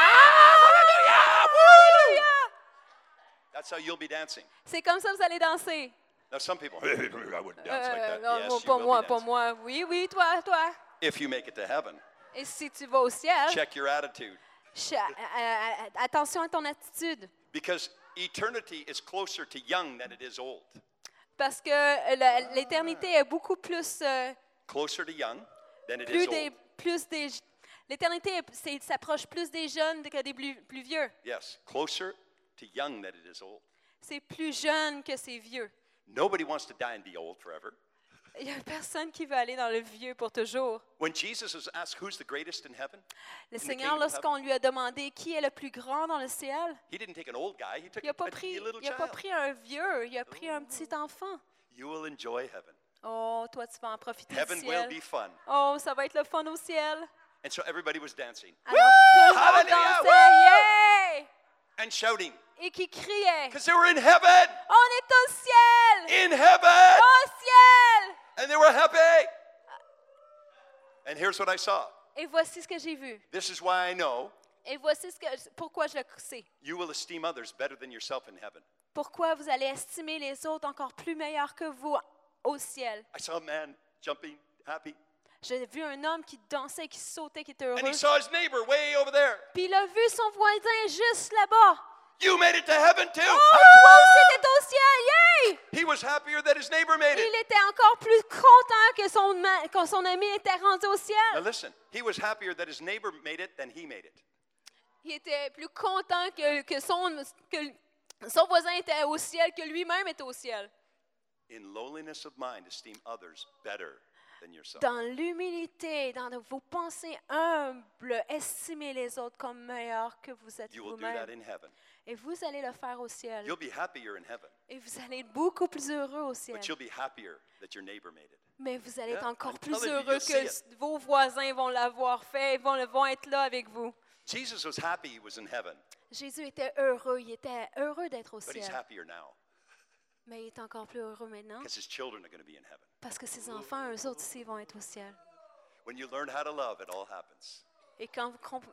Alléluia! That's how you'll be dancing. C'est comme ça que vous allez danser. Now some people, I wouldn't dance like that. Non, Yes, non, you pas will moi, be pas dancing. moi. Oui, oui, toi. If you make it to heaven, Et si tu vas au ciel, check your attitude. attention à ton attitude. Because eternity is closer to young than it is old. Parce que l'éternité est beaucoup plus, Closer to young than it is old. l'éternité s'approche plus des jeunes que des plus vieux. Yes, closer to young than it is old. C'est plus jeune que c'est vieux. Nobody wants to die and be old forever. Il n'y a personne qui veut aller dans le vieux pour toujours. When Jesus was asked who's the greatest in heaven, Le the Seigneur, kingdom of lorsqu'on lui a demandé qui est le plus grand dans le ciel, he didn't take an old guy, he took il n'a pas, a little il a pas child. pris un vieux, il a pris un petit enfant. You will enjoy heaven. Oh, toi, tu vas en profiter Heaven du will ciel. be fun. Oh, ça va être le fun au ciel. And so everybody was dancing Alors, tout le monde Hallelujah! dansait, yeah! and shouting Et qui criait. because they were in heaven. On est au ciel! In heaven. Au ciel! And they were happy. And here's what I saw. Et voici ce que j'ai vu. This is why I know Et voici pourquoi je le sais. you will esteem others better than yourself in heaven. Pourquoi vous allez estimer les autres encore plus meilleurs que vous au ciel. I saw a man jumping, happy. J'ai vu un homme qui dansait, qui sautait, qui était And heureux. he saw his neighbor way over there. Puis il a vu son voisin juste là-bas. You made it to heaven too. Oh, toi aussi t'es au ciel, yay! He was happier that his neighbor made it. Il était encore plus content que son ami était rendu au Now ciel. listen, he was happier that his neighbor made it than he made it. Il était plus content que son voisin était au ciel, que lui-même était au ciel. In lowliness of mind, esteem others better than yourself. Dans l'humilité, dans vos pensées humbles, estimez les autres comme meilleurs que vous êtes You will do that vous-même. in heaven. Et vous allez le faire au ciel. You'll be happier in heaven, Et vous allez être beaucoup plus heureux au ciel. but you'll be happier that your neighbor made it. Mais vous allez être Yeah, encore I'm plus telling you, heureux you'll see que vos voisins vont l'avoir fait, vont être là avec vous. Jesus was happy he was in heaven, Jésus était heureux, il était heureux d'être au but he's ciel. happier now Mais il est encore plus heureux maintenant because his children are going to be in heaven. parce que ses enfants, eux autres aussi, vont être au ciel. When you learn how to love, it all happens. Et quand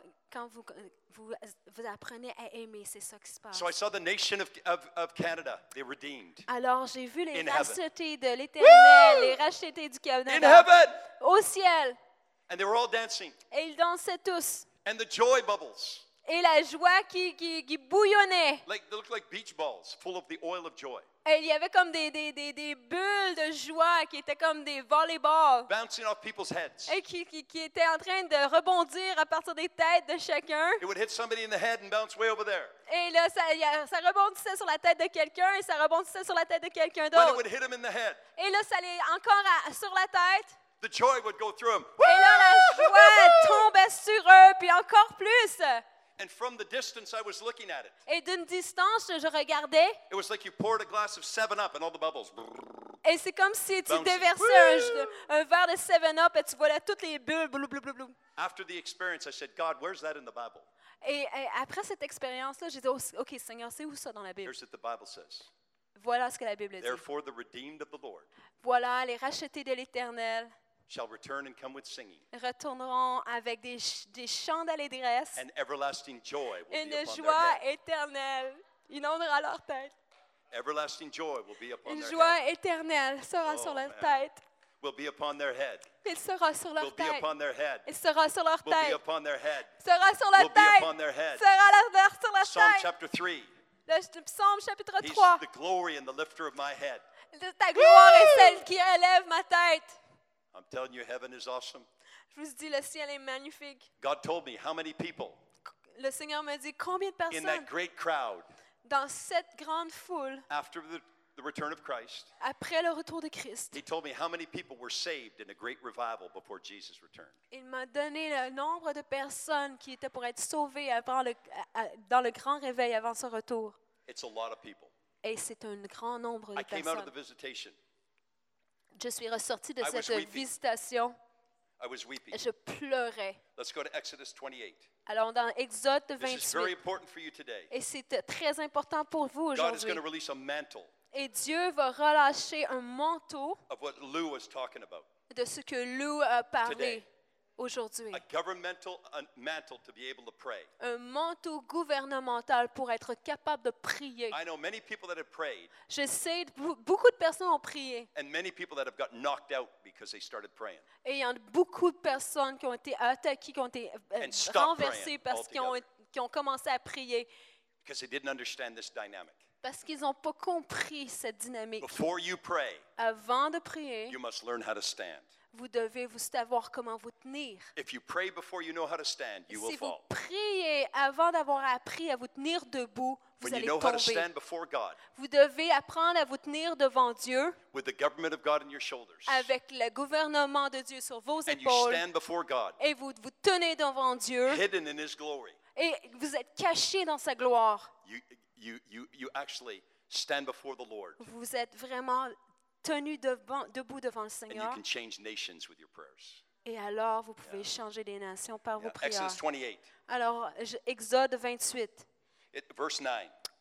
vous apprenez à aimer, c'est ça qui se passe. So I saw the nation of Canada, they redeemed. Alors, j'ai vu les In heaven. rachetés de l'Éternel, les rachetés du In Canada heaven! au ciel. And they were all dancing. Et ils dansaient tous. And the joy bubbles, Et la joie qui bouillonnait. they looked like beach balls full of the oil of joy, Et il y avait comme des bulles de joie qui étaient comme des volleyballs. bouncing off people's heads. Et qui étaient en train de rebondir à partir des têtes de chacun. It would hit somebody in the head and bounce way over there. Et là, ça rebondissait sur la tête de quelqu'un et ça rebondissait sur la tête de quelqu'un When it d'autre. would hit him in the head, Et là, ça allait encore sur la tête. the joy would go through him. Et là, la joie tombait sur eux, puis encore plus. And from the distance, I was looking at it. Et d'une distance, je regardais. It was like you poured a glass of 7-Up and all the bubbles. Et c'est comme si tu Bouncing. déversais un verre de 7-Up et tu voyais toutes les bulles. Blou, blou, blou, blou. After the experience, I said, God, where's that in the Bible? Et après cette expérience-là, j'ai dit, OK, Seigneur, c'est où ça dans la Bible? Here's what the Bible says. Voilà ce que la Bible dit. Therefore, the redeemed of the Lord Voilà, les rachetés de l'Éternel shall return and come with singing, retourneront avec des chants d'allégresse. and everlasting joy will be Une upon their joie head. éternelle inondera leur tête. Everlasting joy will be upon Une their joie head. éternelle sera Oh, sur leur man. tête. Will be upon their head. Il sera sur Will leur be tête. upon their head. Il sera sur leur Will be tête. upon their head. Sera sur Will leur be tête. upon their head. Sera sur leur Psalm tête. chapter 3. Le psaume chapitre He's 3. the glory and the lifter of my head. Ta gloire est celle qui élève ma tête. I'm telling you, heaven is awesome. Je vous dis, le ciel est magnifique. God told me how many people Le Seigneur me dit combien de in personnes that great crowd dans cette grande foule, after the return of Christ. après le retour de Christ, He told me how many people were saved in a great revival before Jesus returned. il m'a donné le nombre de personnes qui étaient pour être sauvées avant dans le grand réveil avant son retour. It's a lot of people. Et c'est un grand nombre de I came out of the personnes. visitation. Je suis ressortie de I was cette weeping. visitation. I was weeping. Je pleurais. Let's go to Exodus 28. Alors, dans Exode This is very 28, important for you today. et c'est très important pour vous God is aujourd'hui. going to release a mantle Et Dieu va relâcher un manteau of what Lou was talking about. de ce que Lou a parlé Today. aujourd'hui. A governmental mantle to be able to pray. Un manteau gouvernemental pour être capable de prier. I know many people that have prayed Je sais, beaucoup de personnes ont prié. and many people that have got knocked out because they started praying. Et il y a beaucoup de personnes qui ont été attaquées, qui ont été And stop renversées praying parce qu'ils ont commencé à prier. Because they didn't understand this dynamic. Parce qu'ils n'ont pas compris cette dynamique. Before you pray, Avant de prier, you must learn how to stand. vous devez savoir comment vous tenir. If you pray before you know how to stand, you will Si vous fall. priez avant d'avoir appris à vous tenir debout, vous When you allez know how to tomber. stand before God Vous devez apprendre à vous tenir devant Dieu with the government of God on your shoulders, avec le gouvernement de Dieu sur vos and you épaules stand before God, et vous tenez devant Dieu hidden in His glory, et vous êtes cachés dans sa gloire. you actually stand before the Lord, Vous êtes vraiment tenus debout devant le and you Seigneur can change nations with your prayers. et alors vous pouvez changer des nations par vos Yeah. prières. Exodus 28, Alors, Exode 28, verse 9.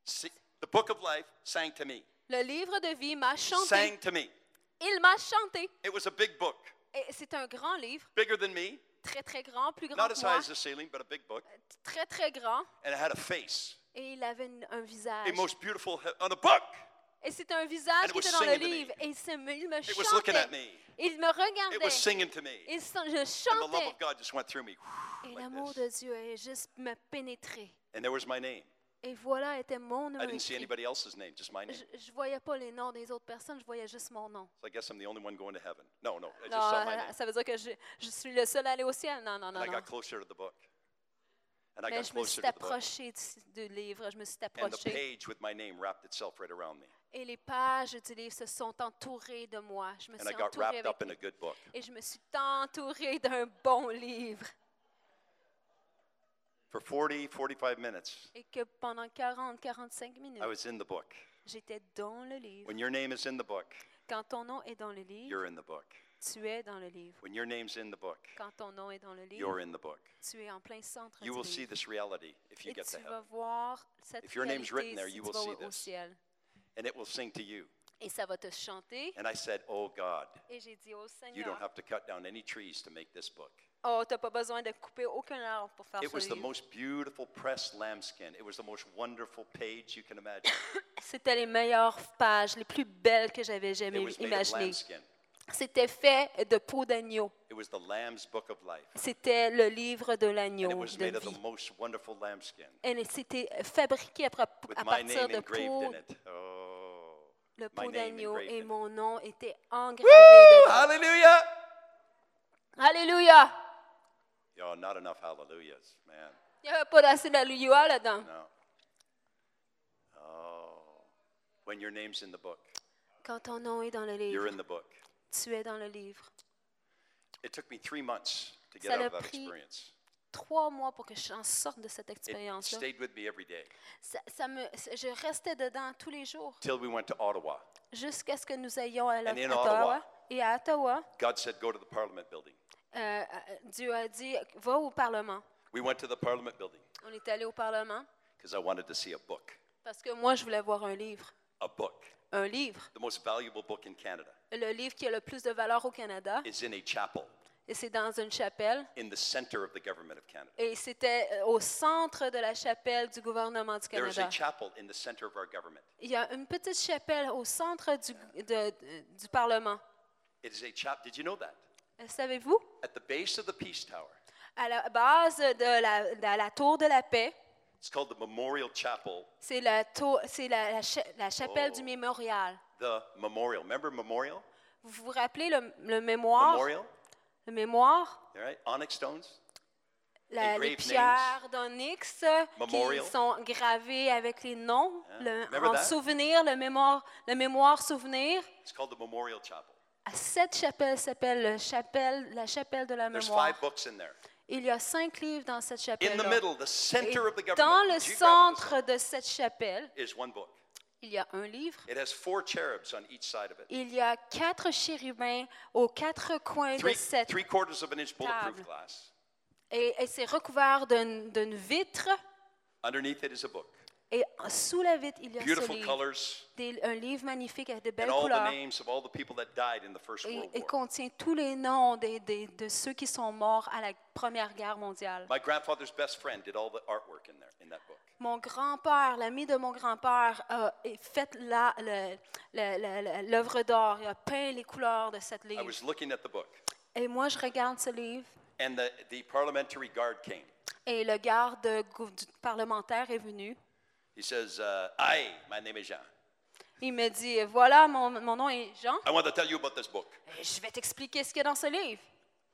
The book of life sang to me. Le livre de vie m'a chanté. Sang to me. Il m'a chanté. It was a big book. Et c'est un grand livre, Bigger than me. très très grand, plus grand Not que as moi, high as the ceiling, but a big book. très très grand. And it had a face. Et il avait un visage. A most beautiful on a book. Et c'était un visage And it qui was était dans le singing to me. livre. Et il me It was looking chantait. at me. Il me It was regardait. singing to me. Je And the love chantais. of God just went through me. Et Like l'amour this. de Dieu a juste me pénétré. And there was my name. Et voilà était mon I nom didn't see écrit. anybody else's name, just my name. Je voyais pas les noms des autres personnes, je voyais juste mon nom. So I guess I'm the only one going to heaven. No, I just Non, saw my name. ça veut dire que je suis le seul à aller au ciel. Non, non, non, And I non. got closer to the book. And I Mais got je me suis closer to the book. approchée du livre, je me suis And the approchée. page with my name wrapped itself right around me. Et les pages du livre se sont entourées de moi. Je me And I suis got entourée wrapped avec up in a good book. et je me suis entourée d'un bon livre. For 40, 45 minutes, Et que pendant 40-45 minutes, I was in the book. j'étais dans le livre. When your name is in the book, Quand ton nom est dans le livre, you're in the book. tu es dans le livre. When your name's in the book, Quand ton nom est dans le livre, you're in the book. tu es en plein centre You du will see livre. this reality if you Et get to tu vas heaven. voir cette If your name's written réalité there, si you tu will vas see au this. ciel. And it will sing to you. Et ça va te chanter. And I said, Oh God, Et j'ai dit au you Seigneur, don't have to cut down any trees to make this book. oh, tu n'as pas besoin de couper aucun arbre pour faire It ce was the livre. most beautiful pressed lambskin. It was the most wonderful page you can imagine. C'était les meilleures pages, les plus belles que j'avais It jamais was made of imaginées. lambskin. C'était fait de peau d'agneau. It was the Lamb's Book of Life. C'était le livre de And it l'agneau was de made of vie. the most wonderful lambskin Et c'était fabriqué with à my partir name de engraved peau, in it. Oh, le my peau name d'agneau engraved et in it. mon nom était engravé Woo! dedans. Hallelujah! Alléluia! Oh, not enough hallelujahs, man. Il n'y avait pas d'assez d'alléluia là-dedans. No. Oh, when your name's in the book, Quand ton nom est dans le you're livre, in the book. tu es dans le livre. It took me 3 months to get Ça out l'a of that pris experience. 3 mois pour que j'en sorte de cette It expérience-là. stayed with me every day Je restais dedans tous les jours till we went to Ottawa. jusqu'à ce que nous ayons à And in Ottawa. Ottawa. Et à Ottawa, God said, Go to the Parliament building. Dieu a dit, va au Parlement. We went to the Parliament building On est allé au Parlement because I wanted to see a book. parce que moi, je voulais voir un livre. A book. Un livre. The most valuable book in Canada Le livre qui a le plus de valeur au Canada. is in a chapel Et c'est dans une chapelle. in the center of the government of Canada. Et c'était au centre de la chapelle du gouvernement du There is a Canada. chapel in the center of our government. Il y a une petite chapelle au centre du Parlement. It is a chapel. Did you know that? Savez-vous? At the base of the Peace Tower, À la base de la tour de la paix, it's called the Memorial Chapel. c'est la chapelle du mémorial. The Memorial. Remember Memorial? Vous vous rappelez le mémoire? Memorial? Le mémoire? All right. Onyx stones. Les Engraved pierres d'onyx Memorial. qui sont gravées avec les noms, Remember en that? souvenir, le mémoire souvenir. It's called the Memorial Chapel. Cette chapelle s'appelle la chapelle de la There's mémoire. 5 books in there. Il y a 5 livres dans cette In the chapelle-là. middle, the center of the Et government, dans the le geographical centre de cette chapelle, center, is one book. il y a un livre. It has 4 cherubs on each side of it. Il y a 4 chérubins aux 4 coins de cette 3/4 of an inch bulletproof table. glass. et c'est recouvert d'une vitre. Underneath it is a book. Et sous la vitre, il y a ce Beautiful livre. colors Un livre magnifique avec de belles and all the couleurs. names of all the people that died in the First Et World il War. contient tous les noms de ceux qui sont morts à la Première Guerre mondiale. My grandfather's best friend did all the artwork in that book. Mon grand-père, l'ami de mon grand-père, a fait l'œuvre d'art. Il a peint les couleurs de cette I livre. was looking at the book, Et moi, je regarde ce livre. and the parliamentary guard came. Et le garde du parlementaire est venu. He says, "Aye, my name is Jean. Il me dit, voilà, mon nom est Jean. I want to tell you about this book." Et je vais t'expliquer ce qu'il y a dans ce livre.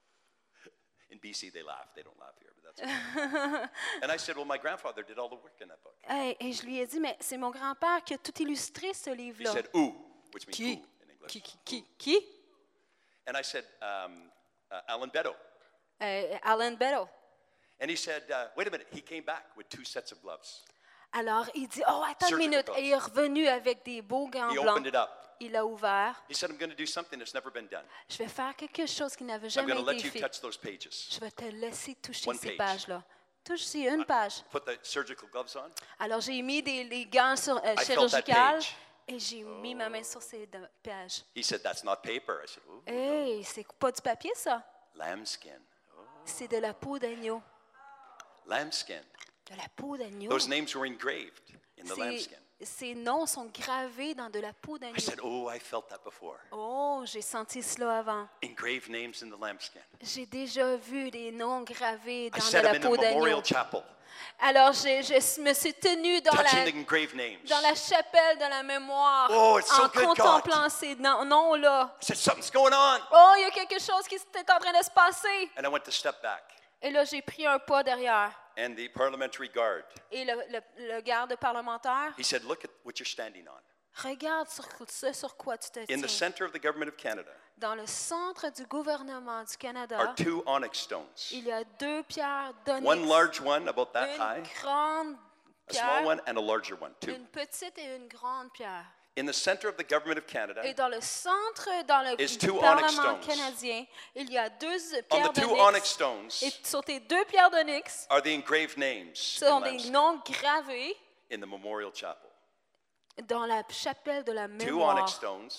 In BC, they laugh. They don't laugh here, but that's okay. And I said, "Well, my grandfather did all the work in that book." Et je lui ai dit, mais c'est mon grand-père qui a tout illustré ce He livre-là. said, "Ooh," which means Qui? ooh in English. Qui? And I said, "Alan Beddoe." Alan Beddoe. And he said, "Wait a minute." He came back with 2 sets of gloves. Alors, il dit, oh, attends une Surgical minute. gloves. Et il est revenu avec des beaux gants He blancs. opened it up. Il a ouvert. He said, "I'm going to do something that's never been done. Je vais faire quelque chose qui n'avait I'm jamais going to let été you fait. touch those pages." Je vais te laisser toucher One ces page. pages-là. touche ici, une page. Put the surgical gloves on. Alors, j'ai mis les gants felt that chirurgicales page. et j'ai mis ma main sur ces pages. He said, that's not paper. I said, ooh, Hey, c'est pas du papier, ça. lambskin. C'est de la peau d'agneau. Lambskin. De la peau d'agneau. Those names were engraved in the lambskin. Ces noms sont gravés dans de la peau d'agneau. I said, oh, I felt that before. Oh, j'ai senti cela avant. Engraved names in the lambskin. J'ai déjà vu des noms gravés I dans de said la them in the peau d'agneau. memorial chapel, Alors, je me suis tenue dans touching la, the engraved names. dans la chapelle de la mémoire Oh, it's so en good, contemplant ces noms-là. I said, something's going on. Oh, il y a quelque chose qui est en train de se passer. And I went to step back. Et là, j'ai pris un pas derrière. And the parliamentary guard, Et le garde parlementaire, he said, look at what you're standing on. regarde sur quoi tu te In the tiens. center of the government of Canada Dans le centre du gouvernement du are Canada, 2 onyx stones. il y a 2 pierres d'onyx. One large one, about that Une high, grande a small pierre, one, and a larger one, too. une petite et une grande pierre. In the center of the government of Canada, Et dans le centre, dans le is 2 onyx Parlement stones. canadien, il y a 2 on pierres the 2 d'onyx. onyx stones Et sur ces 2 pierres d'onyx, are the engraved names ce in sont des lambskin noms gravés in the memorial chapel. dans la chapelle de la 2 mémoire. onyx stones,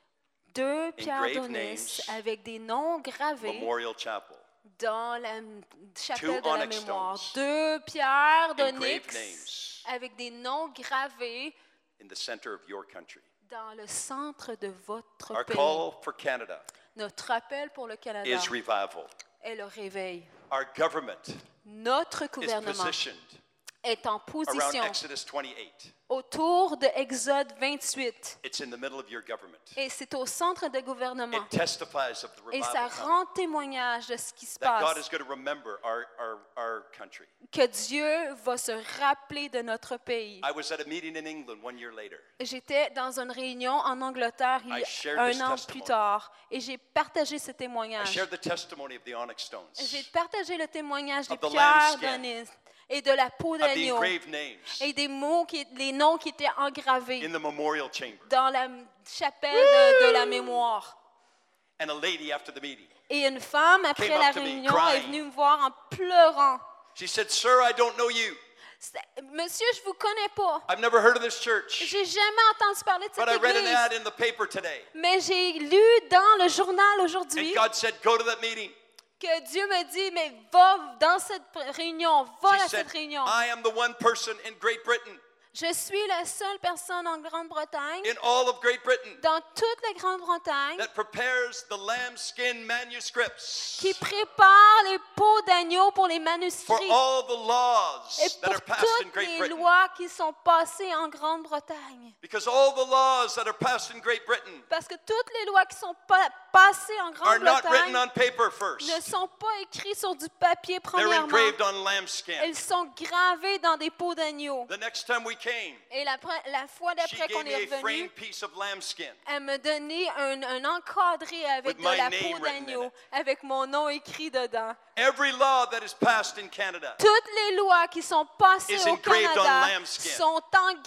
2 pierres engraved d'onyx names, avec des noms gravés memorial chapel. dans la chapelle 2 de la onyx mémoire. stones, 2 pierres engraved d'onyx names avec des noms gravés in the center of your country. dans le centre de votre Our pays. call for Canada Notre appel pour le Canada is revival. est le réveil. Our government Notre is gouvernement positioned est en around position Exodus 28. autour de Exode 28. It's in the middle of your government. Et c'est au centre de gouvernement. It testifies of the Et ça revival coming, rend témoignage de ce qui se that God passe. is going to remember our country. Que Dieu va se rappeler de notre pays. I was at a meeting in England 1 year later. J'étais dans une réunion en Angleterre il y I shared a this un an testimony. plus tard et j'ai partagé ce I témoignage. shared the testimony of the onyx stones, J'ai partagé le témoignage des Of the pierres lambskin. d'onyx et de la peau of the d'agneau engraved names et des mots, les noms qui étaient engravés in the memorial chamber. dans la chapelle de la mémoire. And a lady after the meeting, Et une femme, après Came la up to me réunion, crying. est venue me voir en pleurant. she said, "Sir, I don't know you. Monsieur, je vous connais pas. I've never heard of this church, J'ai jamais entendu parler de but I cette read an ad église. in the paper today." Mais j'ai lu dans le journal And aujourd'hui God said, "Go to that meeting." que Dieu me dit, mais va dans cette réunion, va She à said, cette réunion. "I am the one person in Great Britain, Je suis la seule personne en Grande-Bretagne, in all of Great Britain, dans toute la Grande-Bretagne, that prepares the lambskin manuscripts qui prépare les peaux d'agneau pour les for manuscrits all the laws et that pour are passed in toutes Great les Britain. lois qui sont passées en Grande-Bretagne. Because all the laws that are passed in Great Britain Parce que toutes les lois qui sont passées en are not written Grande-Bretagne on paper ne first. sont pas écrites sur du papier, They're premièrement. engraved on lambskin. Elles sont gravées dans des peaux d'agneau. The next time we came, Et la fois she d'après qu'on gave me est a revenu, framed piece of lambskin elle me donnait un encadré avec With de my la name peau written in d'agneau, it. avec mon nom écrit dedans. Every law that is passed in Canada Toutes les lois qui sont passées is au engraved on Canada lambskin. sont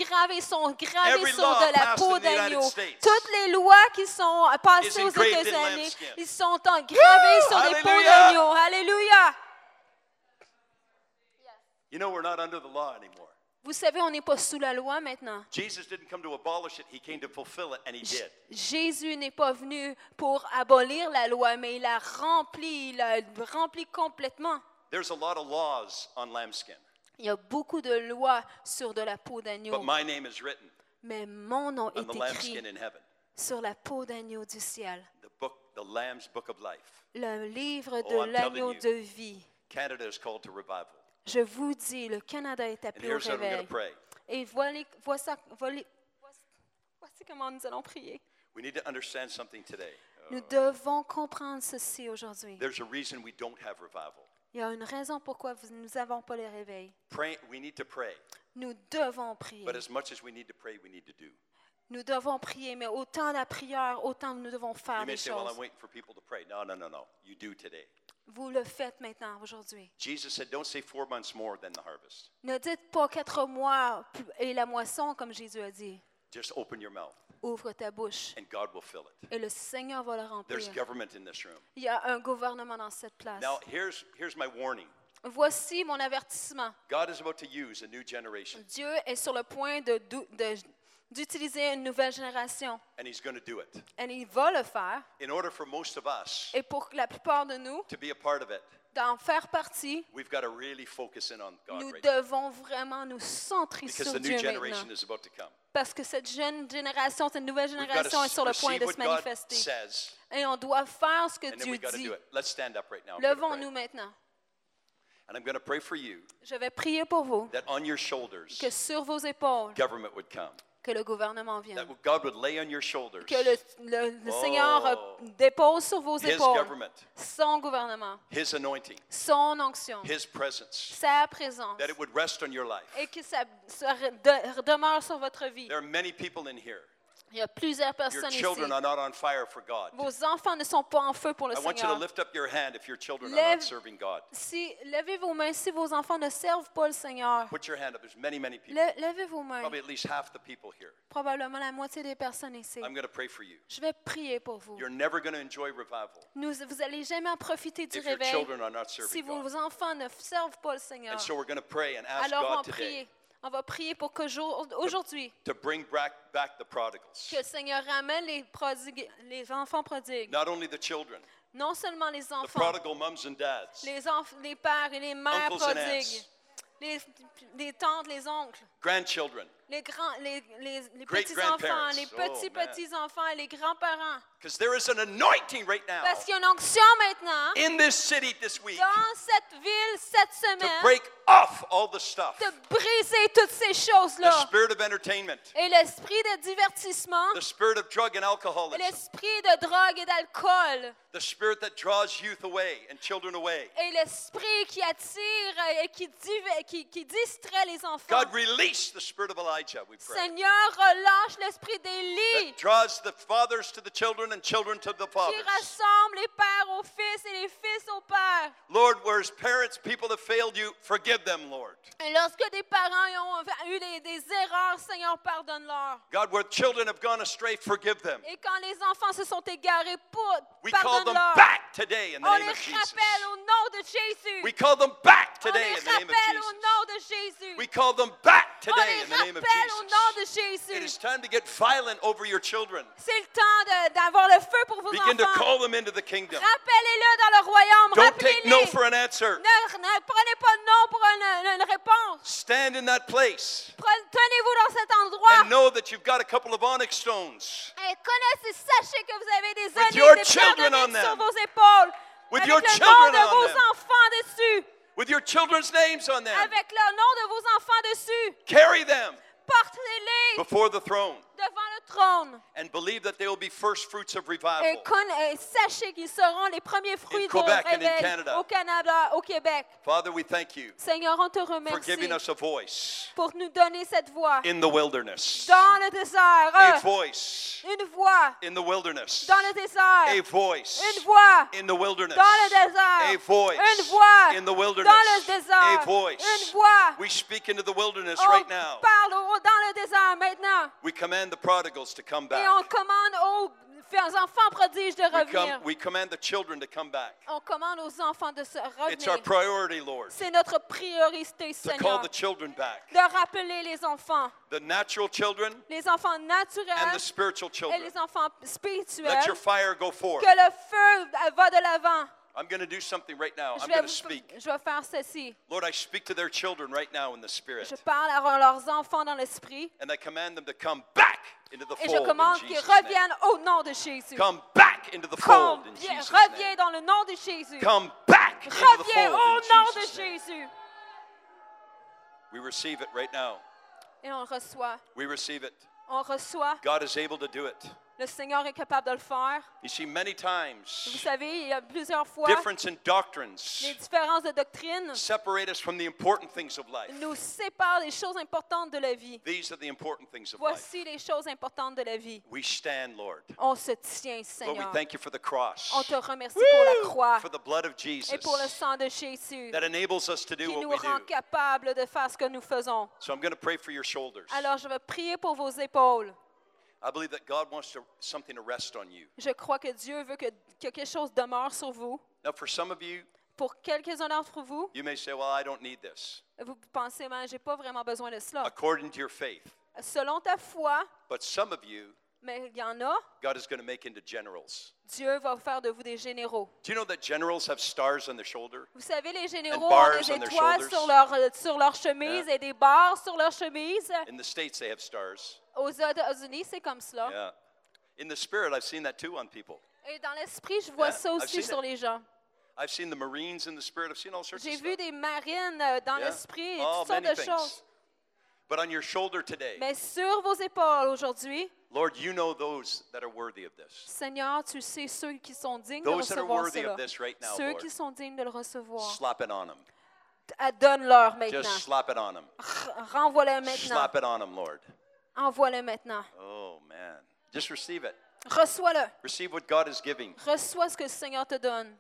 gravées Every sur law de la passed peau in the United d'agneau. States Toutes les lois qui sont passées is aux engraved in États-Unis, lambskin. ils sont gravées sur des peaux Hallelujah. d'agneau. Alléluia! You know, we're not under the law anymore. Vous savez, on n'est pas sous la loi maintenant. Jesus didn't come to abolish it, he came to fulfill it, and he did. Jésus n'est pas venu pour abolir la loi, mais il l'a rempli complètement. There's a lot of laws on lambskin, Il y a beaucoup de lois sur de la peau d'agneau, but my name is written mais mon nom on the est lambskin écrit in heaven. sur la peau d'agneau du ciel. The Lamb's Book of Life. Le livre Oh, de I'm l'agneau telling de vie. Canada is called to revival. Je vous dis, le Canada est And appelé au here's how we're going réveil. to pray. Et voici comment nous allons prier. We need to understand something today. Nous devons comprendre ceci aujourd'hui. There's a reason we don't have revival. Il y a une raison pourquoi nous n'avons pas le réveil. We need to pray, Nous devons prier. but as much as we need to pray, we need to do. Nous devons prier, mais autant la prière, autant nous devons faire You may des say, well, I'm choses. waiting for people to pray. No. You do today. Vous le faites maintenant, aujourd'hui. Jesus said, don't say 4 months more than the harvest. Ne dites pas 4 mois et la moisson, comme Jésus a dit. Just open your mouth, Ouvre ta bouche and God will fill it. et le Seigneur va le remplir. There's government in this room. Il y a un gouvernement dans cette place. Now, here's my warning. Voici mon avertissement. God is about to use a new generation, Dieu est sur le point d'utiliser une nouvelle génération. and He's going to do it. Et il va le faire. In order for most of us Et pour la plupart de nous, to be a part of it, d'en faire partie, we've got to really focus in on God nous right now, devons vraiment nous centrer because sur the new Dieu generation maintenant. is about to come. Parce que cette jeune génération, cette nouvelle We've got génération est sur to le point receive de what se God manifester. says, Et on doit faire ce que and then Dieu we've got to dit. do it. Let's stand up right now. I'm gonna pray. Levons-nous maintenant. And I'm going to pray for you Je vais prier pour vous, that on your shoulders, que sur vos épaules, government would come. que le gouvernement vienne. That God would lay on your shoulders Que le Seigneur dépose sur vos His épaules government, son gouvernement, His anointing, son onction, His presence, sa présence, that it would rest on your life. et que ça demeure sur votre vie. There are many people in here. Il y a plusieurs Your personnes ici. children are not on fire for God. Vos enfants ne sont pas en feu pour le I want you to Seigneur. lift up your hand if your children are Lève- not serving God. Levez vos mains si vos enfants ne servent pas le Seigneur. Put your hand up. There's many, many people. Levez vos mains. Probably at least half the people here. Probablement la moitié des personnes ici. I'm going to pray for you. Je vais prier pour vous. You're never going to enjoy revival Vous allez jamais en profiter du if your réveil children are not si serving God. vos enfants ne servent pas le Seigneur. And so we're going to pray and ask Alors God today on va prier pour que aujourd'hui, to bring back the prodigals. que le Seigneur ramène les enfants prodigues. Not only the children, Non seulement les the enfants, prodigal mums and dads, les pères et les mères uncles and prodigues, aunts, les tantes, les oncles, grandchildren, les Great petits-enfants, grandparents. les Oh, man. petits-petits-enfants et les grands-parents. because there is an anointing right now Parce qu'il y a une onction maintenant in this city this week dans cette ville cette to semaine break off all the stuff. de briser toutes ces The choses-là. spirit of entertainment, Et l'esprit de divertissement, the spirit of drug and alcoholism, l'esprit de drogue et d'alcool, the spirit that draws youth away and children away. et l'esprit qui attire et qui distrait les enfants. God, release the spirit of Elijah, we pray. Seigneur, relâche l'esprit d'Élie That draws the fathers to the children and children to the qui fathers. rassemble les pères aux fils et les fils aux pères. Lord, whereas parents, people have failed you, forgive them, Lord. Et lorsque des parents ont eu des erreurs, Seigneur, pardonne-leur. God, where children have gone astray, forgive them. Et quand les enfants se sont égarés, We call them pardonne-leur. back today in the On name les of Jesus. rappelle au nom de Jésus. We call them back On today les in the name of rappelle au Jesus. nom de Jésus. We call them back On today les in the name of rappelle au nom de Jesus. It Jésus. is time to get violent over your children. C'est le temps d'avoir le feu pour vos Begin to enfants. call them into the kingdom. Rappelez-le dans le royaume. Don't take no Rappelez-les. for an answer. Ne prenez pas non pour une réponse. Stand in that place Tenez-vous dans cet endroit. and know that you've got a couple of onyx stones Et connaissez, sachez que vous avez des With your onyx, des children pierres on d'onyx sur them. vos épaules. With Avec your le nom children de on vos them. enfants dessus. with your children's names on them. Avec le nom de vos enfants dessus. Carry them Portez-les before the throne devant le trône. and believe that they will be first fruits of Et revival. sachez qu'ils seront les premiers fruits de Quebec and in réveil Canada. au Canada, au Québec. Father, we thank you Seigneur, on te for remercie giving us a voice pour nous donner cette voix in the wilderness, dans le désert. a voice Une voix in the wilderness, dans le désert. a voice Une voix in the wilderness, dans le désert. a voice Une voix in the dans le wilderness, désert. a voice. Une voix. We speak into the wilderness On right now. parle dans le désert maintenant. We command the prodigals to come Et back. on commande aux enfants prodiges de revenir. We command the children to come back. On commande aux enfants de se It's our revenir. priority, Lord, C'est notre priorité, to call Seigneur, the children back. de rappeler les enfants, The natural children les enfants and naturels the spiritual et children. les enfants Let spirituels. your fire go forth. Que le feu va de l'avant. I'm going to do something right now. Je I'm vais, going to speak. je vais faire ceci. Lord, I speak to their children right now in the Spirit. Je parle à leurs enfants dans l'esprit And I command them to come back into the et je fold commande in qu'ils Jesus' name. reviennent au nom de Jésus. Come back into the fold in Jesus' Reviens name. dans le nom de Jésus. Come back into the Reviens fold au in nom de Jesus' name. Jésus. We receive it right now. Et on reçoit. We receive it. On reçoit. God is able to do it. Le Seigneur est capable de le faire. You see, many Vous times, savez, il y a plusieurs fois, difference in les doctrines différences de doctrine separate us from the important things of life. nous séparent des choses importantes de la vie. These are the important things of life. Voici les choses importantes de la vie. We stand, Lord. On se tient, Lord, we Seigneur. thank you for the cross, On te remercie pour la croix for the blood of Jesus et pour le sang de Jésus that enables us to do qui what nous we rend do. capables de faire ce que nous faisons. So I'm going to pray for your shoulders. Alors, je vais prier pour vos épaules. I believe that God wants something to rest on you. Je crois que Dieu veut que quelque chose demeure sur vous. Now, for some of you, Pour quelques-uns d'entre vous, you may say, well, I don't need this. vous pensez, ben, j'ai pas vraiment besoin de cela. According to your faith. Selon ta foi, But some of you, mais il y en a, God is going to make into generals. Dieu va faire de vous des généraux. Do you know that generals have stars on their shoulder? Vous savez, les généraux And ont bars des on their étoiles shoulders. sur leur chemise Yeah. et des barres sur leur chemise. In the States, they have stars. Aux États-Unis, c'est comme cela. Yeah. In the spirit, I've seen that too on people. Et dans l'esprit, je vois Yeah, ça I've aussi seen sur it. les gens. I've seen the Marines in the spirit. I've seen all sorts of J'ai stuff. vu des marines dans Yeah. l'esprit et Oh, toutes sortes many de things. choses. But on your shoulder today, Mais sur vos épaules aujourd'hui, Lord, you know those that are worthy of this. Seigneur, tu sais ceux qui sont dignes de Those that are recevoir worthy cela. of this right now, Ceux Lord. qui sont dignes de le recevoir. Slap it on them. Donne-leur maintenant. Just slap it on them. Renvoie-le maintenant. Slap it on them, Lord. Envoie-le maintenant. Oh, man. Just receive it. Reçois-le. Receive what God is giving. Reçois ce que le Seigneur te donne.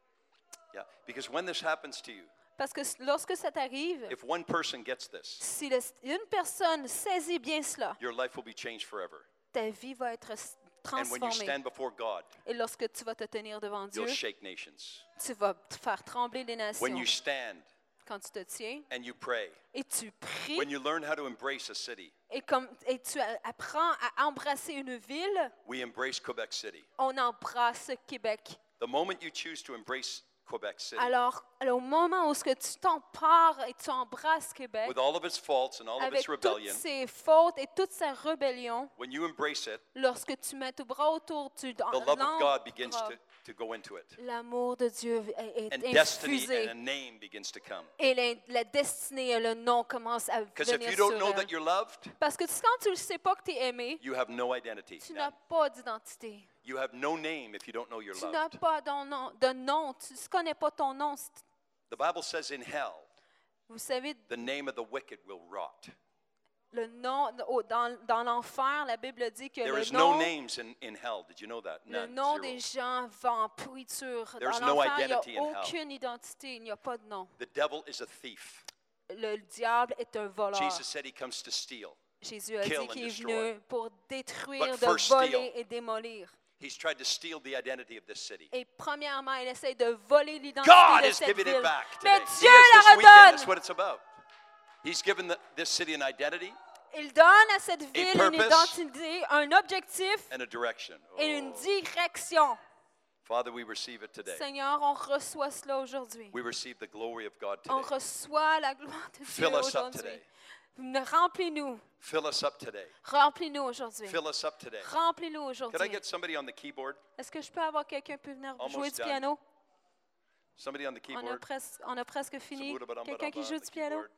Yeah. Because when this happens to you, Parce que lorsque ça t'arrive, if one person gets this, si une personne saisit bien cela, your life will be changed forever. ta vie va être And when you transformée. stand before God, Et lorsque tu vas te tenir devant Dieu, you'll shake nations. tu vas te faire trembler les nations. When you stand Quand tu te tiens and you pray, et tu pries when you learn how to embrace a city, et tu apprends à embrasser une ville, we embrace Quebec City. on embrasse Québec. The moment you choose to embrace Quebec City, Alors, au moment où ce que tu t'empares et tu embrasses Québec, with all of its faults and all of avec its toutes rebellion, ses fautes et toute sa rébellion, when you embrace it, lorsque tu mets ton bras autour, tu the love of God begins l'embrasses. to go into it. L'amour de Dieu est And destiny infusé. and a name begins to come. Et la destinée et le nom commencent à Because if venir you sur don't know elle. that you're loved, Parce que quand tu ne sais pas que tu es aimé, you have no identity. tu None. n'as pas d'identité. You have no name if you don't know you're Tu n'as loved. pas de nom. Tu ne connais pas ton nom. The Bible says in hell, Vous savez, the name of the wicked will rot. le nom dans l'enfer, la Bible dit que There le is no nom, names in hell. Did you know that? le None. nom Zero. des gens va en pourriture. There's Dans no l'enfer, il n'y identity in a hell. aucune identité, il n'y a pas de nom. The devil is a thief. Le diable est un voleur. Jesus said he comes to steal. Jésus a kill dit and qu'il est destroy. venu pour détruire, But de first voler steal. et démolir. He's tried to steal the identity of this city. Et premièrement, il essaie de voler l'identité God de is cette giving it ville. back Mais today. He Dieu is la this weekend. That's redonne. what it's about. He's given this city an identity Il donne à cette ville une purpose. identité, un objectif and a direction. et une Oh. direction. Father, we receive it today. Seigneur, on reçoit cela aujourd'hui. We receive the glory of God On today. reçoit la gloire de Dieu Fill us up aujourd'hui. today. Remplis-nous. Fill us up today. Remplis-nous aujourd'hui. Fill us up today. Remplis-nous Could I aujourd'hui. get somebody on the keyboard? Est-ce que je peux avoir quelqu'un qui peut venir Almost jouer du done. piano? Somebody on the keyboard? On a presque fini. Quelqu'un qui On joue the du piano? keyboard.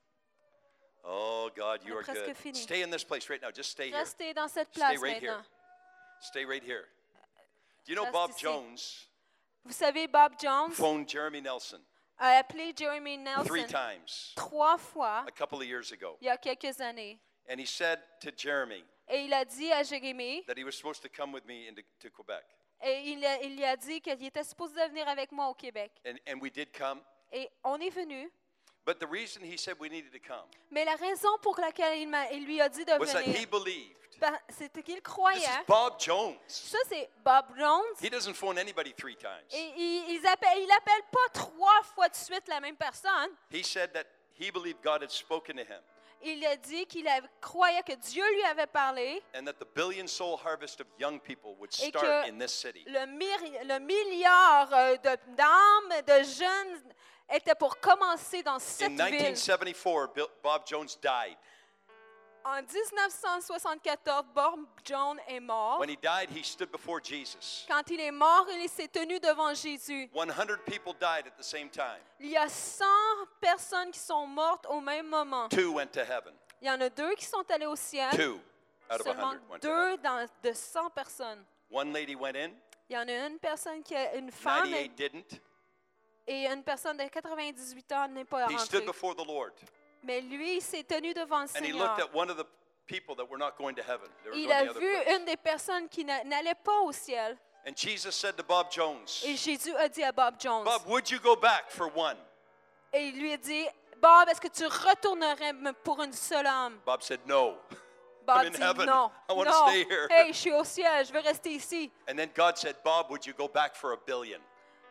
Oh God, you On a are presque good. fini. Stay in this place right now. Just stay here. Restez dans cette Stay place right here. maintenant. Stay right here. Do you know Reste Bob ici. Jones Vous savez, Bob Jones phoned Jeremy Nelson a appelé Jeremy 3 Nelson times 3 fois a couple of years ago. il y a quelques années. And he said to Jeremy Et il a dit à Jérémie, that he was supposed to come with me to Quebec. et il lui a dit qu'il était supposé de venir avec moi au Québec. And we did come. Et on est venu. But the reason he said we needed to come Mais la raison pour laquelle il lui a dit de was that he venir, believed. c'était qu'il This croyait. is Bob Jones. Ça, c'est Bob Jones. He doesn't phone anybody 3 times. Et il appelle pas 3 fois de suite la même personne. He said that he believed God had spoken to him Il a dit qu'il croyait que Dieu lui avait parlé. and that the billion soul harvest of young people would Et start que in this city. le milliard d'âmes, de jeunes, était pour commencer dans cette In ville. 1974, Bob Jones died. En 1974, Bob Jones est mort. When he died, he stood before Jesus. Quand il est mort, il s'est tenu devant Jésus. 100 people died at the same time. Il y a 100 personnes qui sont mortes au même moment. 2 went to heaven. Il y en a 2 qui sont allés au ciel. 2 out of Seulement 100 went to heaven. 2 de 100 personnes. One lady went in, Il y en a une personne une femme 98 didn't. et une personne de 98 ans n'est pas He stood rentrée. before the Lord Mais lui, il s'est tenu devant le and he Seigneur. looked at one of the people that were not going to heaven. They were Il going a the other vu place. une des personnes qui n'allait pas au ciel. And Jesus said to Bob Jones, Et Jésus a dit à Bob Jones, Bob, would you go back for one? et il lui a dit, Bob, est-ce que tu retournerais pour une seule âme? Bob said, no. Bob in dit heaven. non, I wanna non. stay here. Hey, je suis au ciel, je veux rester ici. And then God said, Bob, would you go back for 1 billion?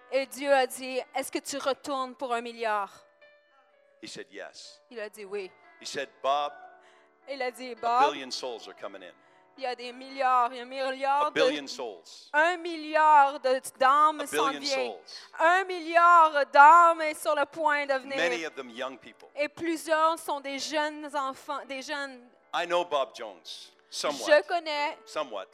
Et Dieu a dit, est-ce que tu retournes pour 1 milliard? He said, yes. Il a dit oui. He said, Bob, Il a dit, a Bob, billion souls are coming in. il y a des milliards, il y a un milliard A billion souls. 1 milliard d'âmes A s'en billion vient. souls. 1 milliard d'âmes est sur le point de Many venir. of them young people. Et plusieurs sont des jeunes enfants, des jeunes. I know Bob Jones, Je somewhat. connais, Somewhat.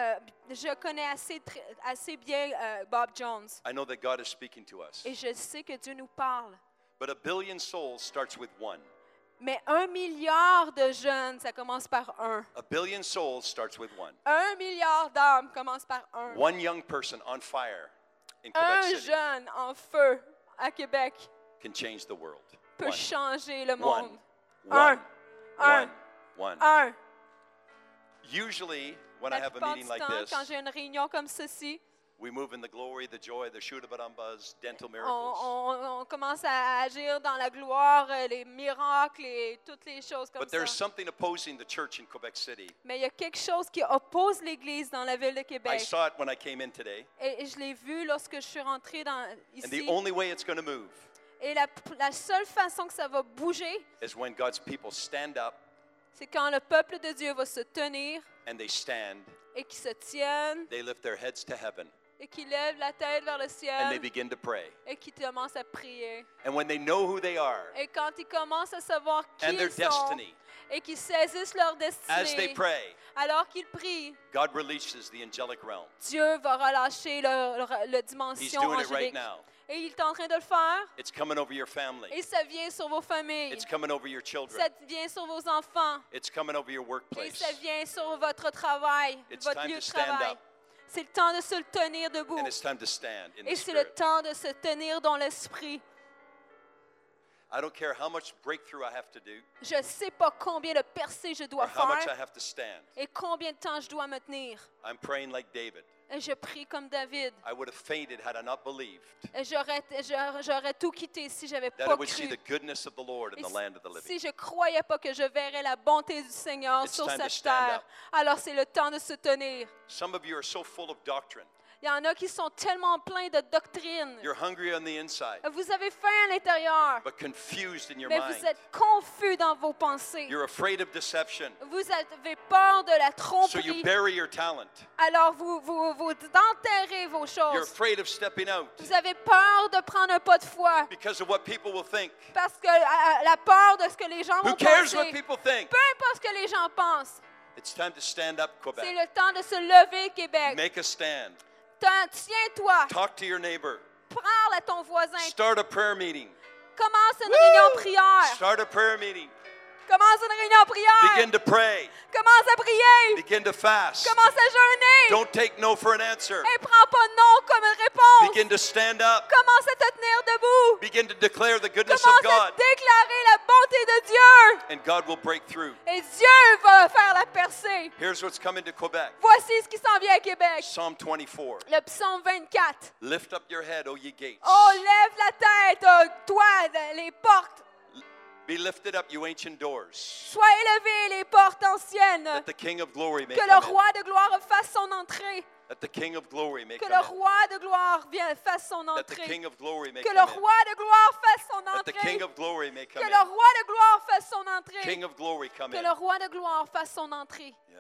assez bien Bob Jones. I know that God is speaking to us. Et je sais que Dieu nous parle. But a billion souls starts with one. Mais 1 milliard de jeunes, ça commence par un. A billion souls starts with one. 1 milliard d'âmes commence par un. One young person on fire in Quebec Un City jeune en feu à Québec can change the world. peut One. changer le One. monde. One. Un. One. Un. Usually, when I La have a plupart meeting du like temps, this, quand j'ai une réunion comme ceci, we move in the glory, the joy, the shootabarambas, dental on, miracles. on commence à agir dans la gloire, les miracles et toutes les choses comme But there's ça. something opposing the church in Quebec City. Mais il y a quelque chose qui oppose l'Église dans la ville de I Québec. saw it when I came in today. Et je l'ai vu lorsque je suis rentrée And the ici. only way it's going to move Et la seule façon que ça va bouger, is when God's people stand up c'est quand le peuple de Dieu va se tenir and they stand, et qu'ils se tiennent they lift their heads to heaven, et qu'ils lèvent la tête vers le and they ciel begin to pray. et qu'ils commencent à prier. And when they know who they are Et quand ils commencent à savoir qui and their ils sont destiny, et qu'ils saisissent leur as they destinée, pray, alors qu'ils prient, God releases the angelic realm. Dieu va relâcher la He's dimension doing it right angélique. now. Et il est en train de le faire. It's coming over your family. Et ça vient sur vos familles. It's coming over your children. Ça vient sur vos enfants. It's coming over your Et workplace. ça vient sur votre travail, It's votre time lieu to de stand travail. up. C'est le temps de se tenir debout. And it's time to stand in Et the c'est le spirit. temps de se tenir dans l'esprit. I don't care how much breakthrough I have to do Je ne sais pas combien de percées je or dois how much I faire have to stand. et combien de temps je dois me tenir. I'm praying like David. Et je prie comme David. I would have fainted had I not believed Et j'aurais tout quitté si j'avais that I pas would see cru. the goodness of the Lord in Et the land of the living. si je croyais pas que je verrais la bonté du Seigneur It's sur time to cette stand terre, up. alors c'est le temps de se tenir. Some of you are so full of doctrine. Il y en a qui sont tellement pleins de doctrines. You're hungry on the inside, Vous avez faim à l'intérieur, but confused in your mais mind. vous êtes confus dans vos pensées. You're afraid of deception, Vous avez peur de la so you tromperie, bury your talent. alors vous enterrez vos You're choses. afraid of stepping out Vous avez peur de prendre un pas de foi because of what people will think. parce que la peur de ce que les gens Who vont cares what penser. people think? Peu importe ce que les gens pensent, It's time to stand up, c'est Quebec. le temps de se lever, Québec. Make a stand. Tiens-toi, Talk to your neighbor. parle à ton voisin, Start a prayer meeting. commence une réunion de prière. Start a prayer meeting. Commence une réunion de prière. Begin to pray. Commence à prier. Begin to fast. Commence à jeûner. Don't take no for an answer. Et prends pas non comme une réponse. Begin to stand up. Commence à te tenir debout. Begin to declare the goodness of Commence à God. déclarer la bonté de Dieu. And God will break through. Et Dieu va faire la percée. Here's what's coming to Quebec. Voici ce qui s'en vient à Québec. Psalm 24. Le psaume 24. Lift up your head, O ye gates. Oh, lève la tête, toi, les portes. Be lifted up, you ancient doors, Sois élevés, les portes anciennes. that the King of glory may Que le come in. roi de gloire fasse son entrée. That the King of glory may Que come le in. roi de gloire fasse son That the entrée. King of glory may Que come le in. roi de gloire fasse son That the entrée. King of glory may come Que le in. roi de gloire fasse son entrée. King of glory, come Que in. le roi de gloire fasse son entrée. Yeah.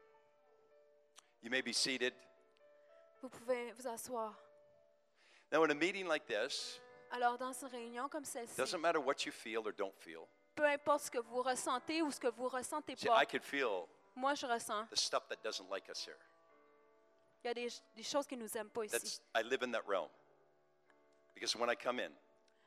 You may be seated. Vous pouvez vous asseoir. Now, in a meeting like this, Alors, dans une réunion comme it celle-ci, doesn't matter what you feel or don't feel. peu importe ce que vous ressentez ou ce que vous ressentez See, pas, I could feel moi, je ressens. the stuff that doesn't like us here. Il y a des choses qui nous aiment pas ici. I live in that realm. Because when I come in,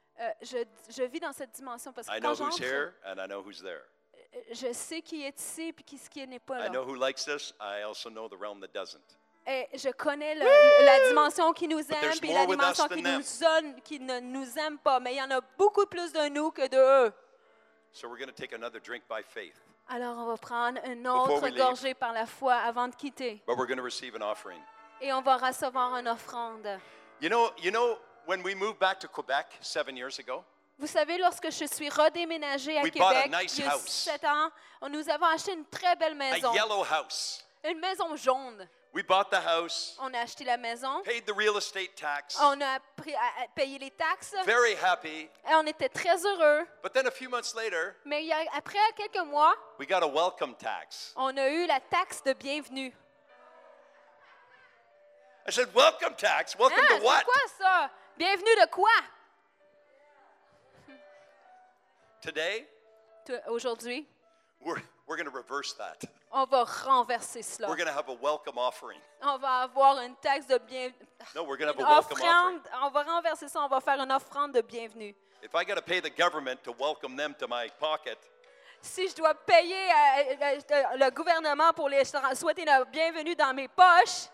Je vis dans cette dimension parce que I know quand who's j'entre, here and I know who's there. je sais qui est ici et qui n'est pas I là. know who likes this. I also know the realm that doesn't. Et je connais la dimension qui nous aime there's et la more with us dimension than qui ne nous aime pas. Mais il y en a beaucoup plus de nous que de eux. So we're going to take another drink by faith. Alors, on va prendre une Before autre we leave. gorgée par la foi avant de quitter. But we're going to receive an offering. Et on va recevoir une offrande. You know, when we moved back to Quebec 7 years ago, Vous savez, lorsque je suis redéménagée à We bought a Québec, nice il y a house. 7 ans, nous avons acheté une très belle a maison. yellow house. Une maison jaune. We bought the house, On a acheté la maison. paid the real estate tax, On a payé les taxes. very happy. Et on était très heureux. But then a few months later, Mais après quelques mois, we got a welcome tax. on a eu la taxe de bienvenue. I said, welcome tax? Welcome Ah, to what? c'est quoi ça? Bienvenue de quoi? Today, Aujourd'hui, we're going to reverse that. on va renverser cela. We're going to have a welcome offering. On va avoir une taxe de bienvenue. No, we're going to have Une a welcome offering. offrande. On va renverser ça. On va faire une offrande de bienvenue. If I got to pay the government to welcome them to my pocket, Si je dois payer le gouvernement pour les souhaiter la bienvenue dans mes poches,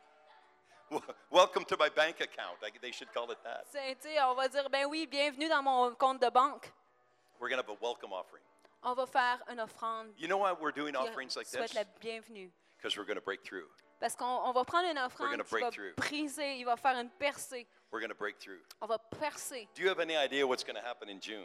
welcome to my bank account. They should call it that. on va dire, ben oui, bienvenue dans mon compte de banque. We're going to have a welcome offering. On va faire une offrande You know why we're doing qui offerings like souhaite this? la bienvenue. Because we're going to break through. Parce qu'on va prendre une offrande gonna qui va break through. briser, il va faire une percée. We're going to break through. On va percer. Do you have any idea what's going to happen in June?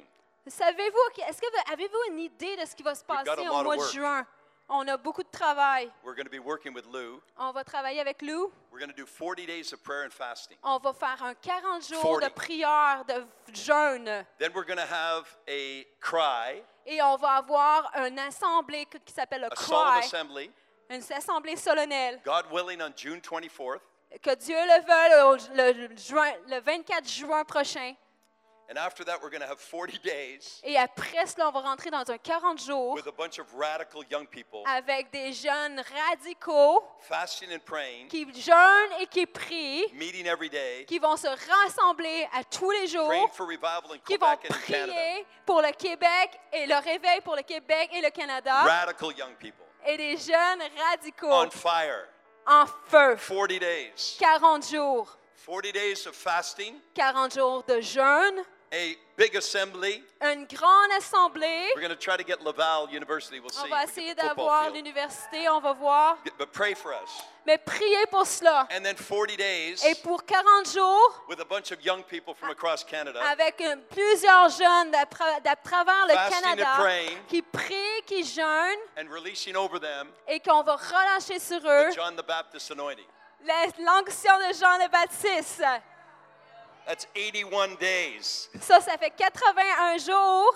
Avez-vous une idée de ce qui va se We've got passer a au lot of mois de work. juin? On a beaucoup de travail. We're going to be working with Lou. On va travailler avec Lou. We're going to do 40 days of prayer and fasting. On va faire un 40 jours 40. de prière, de jeûne. Then we're going to have a cry, Et on va avoir une assemblée qui s'appelle le a solemn Cry, assembly, une assemblée solennelle. God willing, on June 24th. Que Dieu le veuille le 24 juin prochain. And after that, we're going to have 40 days Et après cela, on va rentrer dans un 40 jours with a bunch of radical young people avec des jeunes radicaux fasting and praying, qui jeûnent et qui prient, meeting every day, qui vont se rassembler à tous les jours, praying for revival in qui vont Quebec and in Canada. prier pour le Québec et le réveil pour le Québec et le Canada, Radical young people et des jeunes radicaux on fire. en feu. 40 days. 40 jours. 40 days of fasting, 40 jours de jeûne, a big assembly. une grande assemblée. We're going to try to get Laval University. We'll see. On if va we essayer get the football d'avoir field. l'université, on va voir. But pray for us. Mais priez pour cela. And then 40 days Et pour 40 jours, with a bunch of young people from across Canada avec plusieurs jeunes d'à travers le Fasting and Canada praying. qui prient, qui jeûnent and releasing over them et qu'on va relâcher sur eux the John the Baptist anointing. l'onction de Jean le Baptiste. That's 81 days. Ça fait 81 jours.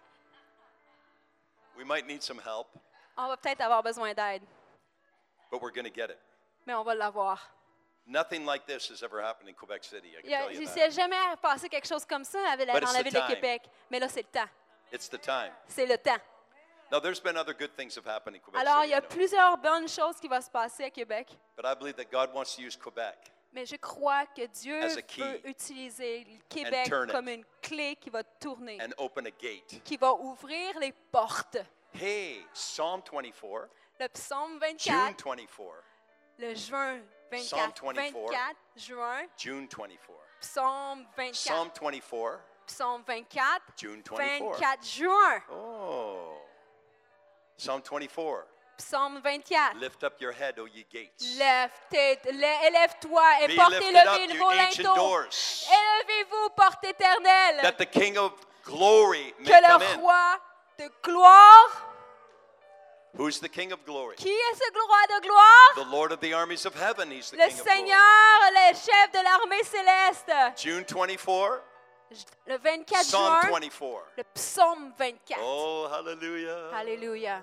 We might need some help, On va peut-être avoir besoin d'aide, but we're going to get it. mais on va l'avoir. Nothing like this has ever happened in Quebec City, I can tell you Il that. s'est jamais passé quelque chose comme ça But dans it's la the ville de time. Québec. Mais là, c'est le temps. It's the time. C'est le temps. Now, there's been other good things have happened in Quebec Alors, City, il y a I know. plusieurs bonnes choses qui vont se passer à Québec. But I believe that God wants to use Quebec. Mais je crois que Dieu As a key. veut utiliser le Québec turn it. comme une clé qui va tourner, And open a gate. qui va ouvrir les portes. Hey, Psalm 24, Le psaume June 24, 24, le juin Psalm 24, 24. 24 juin, June 24. psaume 24, Psalm 24, psaume 24, June 24. 24 juin, Oh. Psalm 24. psaume 24. Lift up your head, O ye gates. Élève-toi et Be portez lifted up, levé you vos ancient linteaux. doors, Élevez-vous, porte éternelle, that the King of glory may que come le in. roi de gloire, Who's the King of glory? qui est ce roi de gloire? The Lord of the armies of heaven. He's the Le King of glory. Seigneur, le chef de l'armée céleste. June 24, Le 24 Psalm juin, 24. le psaume 24. Oh, hallelujah. Alléluia.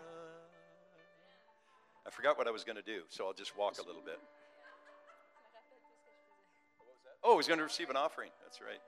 I forgot what I was going to do, so I'll just walk a little bit. Oh, he's going to receive an offering. That's right.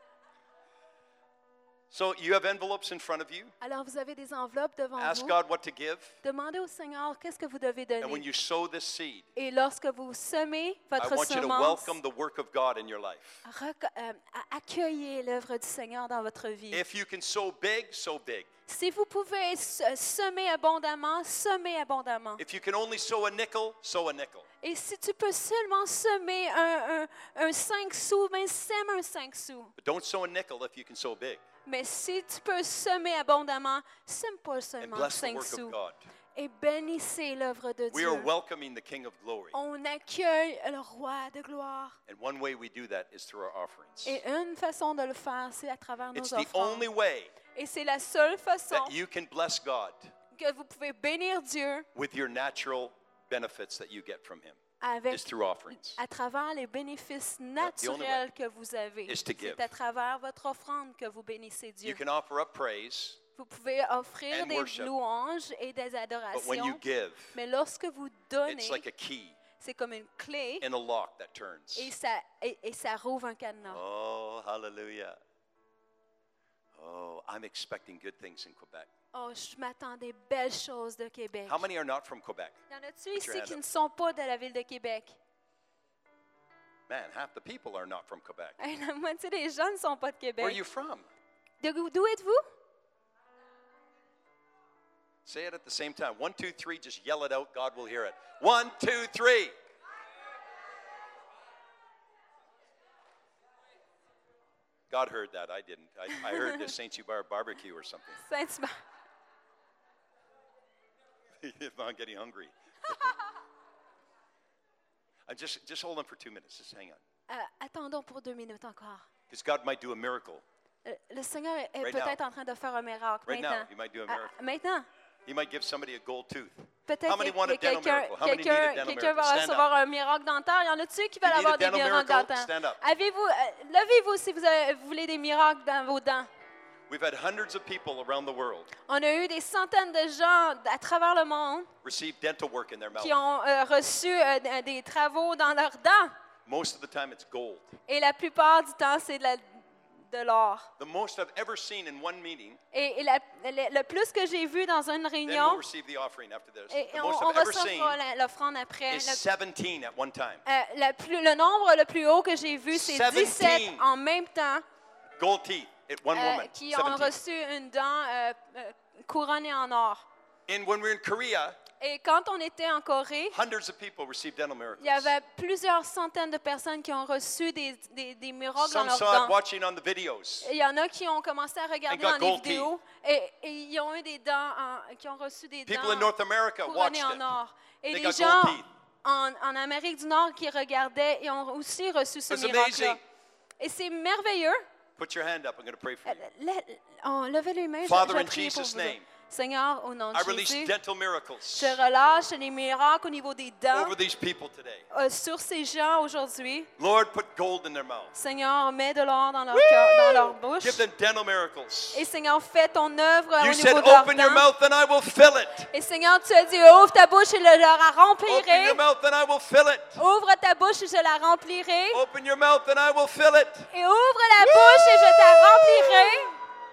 So you have envelopes in front of you. Alors, vous avez des enveloppes devant Ask vous. God what to give. Demandez au Seigneur qu'est-ce que vous devez And when donner. you sow this seed, Et lorsque vous semez I votre want you to semence, welcome the work of God in your life. accueillez l'œuvre du Seigneur dans votre vie. If you can sow big, sow big. Si vous pouvez semer abondamment, semez abondamment. If you can only sow a nickel, sow a nickel. Et si tu peux seulement semer un 5 sous, ben sème un 5 sous. But don't sow a nickel if you can sow big. Mais si tu peux semer abondamment, sème pas And seulement bless the 5 work sous. of God. Et bénissez l'œuvre de We Dieu. are welcoming the King of glory. On accueille le roi de gloire. And one way we do that is through our offerings. Et une façon de le faire, c'est à travers nos It's the offrandes. only way Et c'est la seule façon that you can bless God que vous pouvez bénir Dieu with your natural benefits that you get from Him. avec, is through offerings. à travers les bénéfices only naturels que vous avez. is to give. C'est à travers votre offrande que vous bénissez Dieu. You can offer up praise, Vous pouvez offrir and des worship. louanges et des but when adorations, you give, mais lorsque vous donnez, it's like a key c'est comme une clé in a lock that turns. et ça rouvre un cadenas. Oh, hallelujah. Oh, I'm expecting good things in Quebec. Oh, je m'attends des belles choses de Québec. How many are not from Quebec? Y en a-tu your ici hand qui up. ne sont pas de la ville de Québec? Man, half the people are not from Quebec. Hey, la moitié des gens ne sont pas de Where are Québec. you from? D'où êtes-vous? Say it at the same time. 1, 2, 3. Just yell it out. God will hear it. 1, 2, 3. God heard that. I didn't. I heard the St. Hubert barbecue or something. Saint-Hubert. I'm getting hungry. I'm just hold on for 2 minutes. Just hang on. Attendons pour 2 minutes encore. Because God might do a miracle. Le Seigneur est Right peut-être now. en train de faire un miracle Right now, maintenant. He might do a miracle. Maintenant. He might give somebody a gold tooth. Peut-être How many want a que dental miracle? How many need a dental quelqu'un miracle? va Stand recevoir up. un miracle dentaire. Y en a-tu qui veulent You need avoir a des dental miracles miracle? dentaires? Stand up. Levez-vous si vous voulez des miracles dans vos dents. We've had hundreds of people around the world On a eu des centaines de gens à travers le monde receive dental work in their mouth. qui ont reçu des travaux dans leurs dents. Most of the time it's gold. Et la plupart du temps, c'est de l'or. The most I've ever seen in one meeting, Et le plus que j'ai vu dans une then réunion, we'll receive the offering after this. et The on most I've ever seen recevra l'offrande après. is 17 at one time. Le nombre le plus haut que j'ai vu, c'est 17 17 en même temps Gold teeth at one woman. qui ont 17. reçu une dent couronnée en or. And when we were in Korea, Et quand on était en Corée, hundreds of people received dental miracles. il y avait plusieurs centaines de personnes qui ont reçu des miracles dans Some leurs saw it dents. watching on the videos. Et il y en a qui ont commencé à regarder got dans les gold vidéos et ils ont eu des dents, qui ont reçu des People in dents North America watched couronnées en it. or. Et They les got gens gold teeth. en Amérique du Nord qui regardaient et ont aussi reçu ce It's miracle-là. amazing. Et c'est merveilleux. Put your hand up. I'm going to pray for you. Levez les mains, Father, je in prie pour Jesus' vous. name, Seigneur, au nom I de release Jésus, dental miracles je relâche les miracles au niveau des dents over these people today. sur ces gens aujourd'hui. Lord, put gold in their mouth. Seigneur, mets de l'or dans leur cœur, dans leur bouche. Give them dental miracles. Et Seigneur, fais ton œuvre You au said, niveau de leurs open your dents. mouth and I will fill it. Et Seigneur, tu as dit, ouvre ta bouche et je la Open your remplirai. mouth and I will fill it. Ouvre ta bouche et je la remplirai. Open your mouth and I will fill it. Et ouvre la bouche et je te remplirai.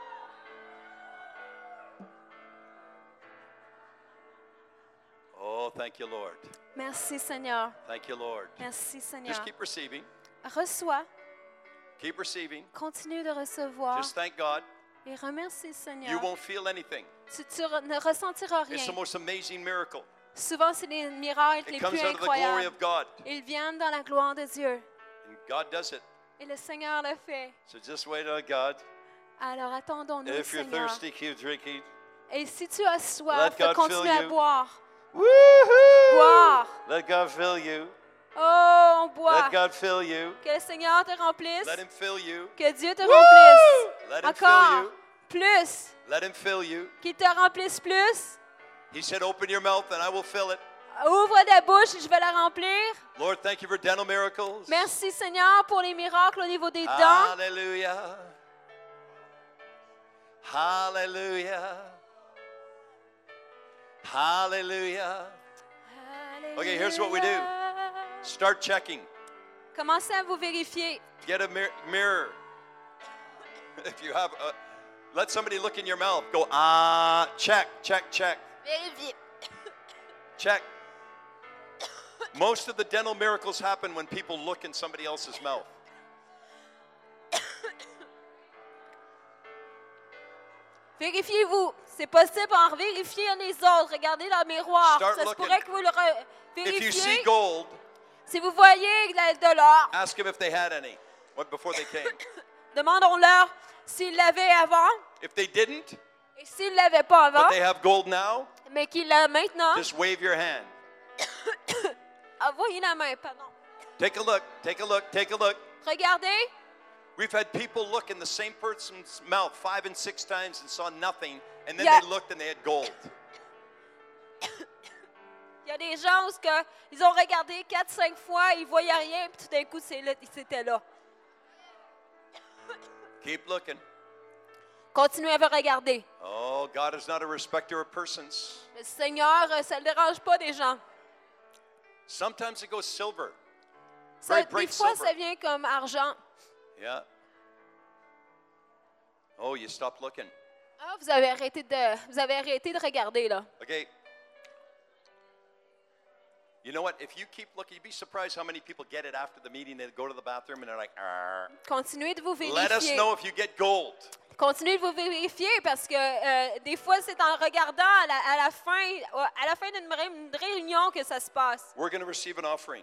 Oh, thank you, Lord. Merci, Seigneur. Thank you, Lord. Merci, Seigneur. Just keep receiving. Reçois. Keep receiving. Continue de recevoir. Just thank God. Et remercie, You Seigneur. won't feel anything. Tu ne ressentiras It's the rien. most amazing miracle. Souvent, c'est les miracles les It comes plus out of the glory incroyables. of God. Ils viennent dans la gloire de Dieu. And God does it. Et le Seigneur le fait. So just wait on God. Alors attendons-nous, If you're Seigneur. thirsty, keep drinking. Et si tu as soif, Let God continue fill à you. boire. Woohoo! Boire. Let God fill you. Oh, on boit. Let God fill you. Que le Seigneur te remplisse. Let Him fill you. Que Dieu te remplisse. Let Him fill Encore. you. Plus. Let Him fill you. Qu'il te remplisse plus. He said, open your mouth and I will fill it. Ouvre ta bouche et je vais la remplir. Lord, thank you for dental miracles. Merci, Seigneur, pour les miracles au niveau des dents. Hallelujah. Hallelujah. Hallelujah. Okay, here's what we do. Start checking. Commencez à vous vérifier. Get a mirror. If you have let somebody look in your mouth. Go, check, check, check. Vérifiez. Check. Most of the dental miracles happen when people look in somebody else's mouth. Vérifiez-vous. C'est possible en vérifier les autres. Regardez dans le miroir. Start Ça se looking. pourrait que vous le If you see vérifiez. gold, Si vous voyez de l'or, ask them if they had any before they came. demandons-leur s'ils l'avaient avant If they didn't, et s'ils ne l'avaient pas avant, but they have gold now, mais qu'ils l'ont maintenant. just wave your hand. Envoyez la main, pardon. Take a look, take a look, take a look. Regardez. We've had people look in the same person's mouth 5 and 6 times and saw nothing, and then Yeah. they looked and they had gold. Il y a des gens où ils ont regardé 4-5 fois, ils ne voyaient rien, puis tout d'un coup, c'était là. Keep looking. Continuez à regarder. Oh, God is not a respecter of persons. Le Seigneur, ça ne le dérange pas des gens. Sometimes it goes silver. Ça, Very des bright fois, silver. ça vient comme argent. Yeah. Oh, you stopped looking. Ah, vous avez arrêté de regarder, là. Okay. You know what? If you keep looking, you'd be surprised how many people get it after the meeting. They go to the bathroom and they're like, "Arr." Continuez de vous Let us vérifier. know if you get gold. Continuez de vous vérifier parce que des fois, c'est en regardant à la fin d'une réunion que ça se passe. We're going to receive an offering.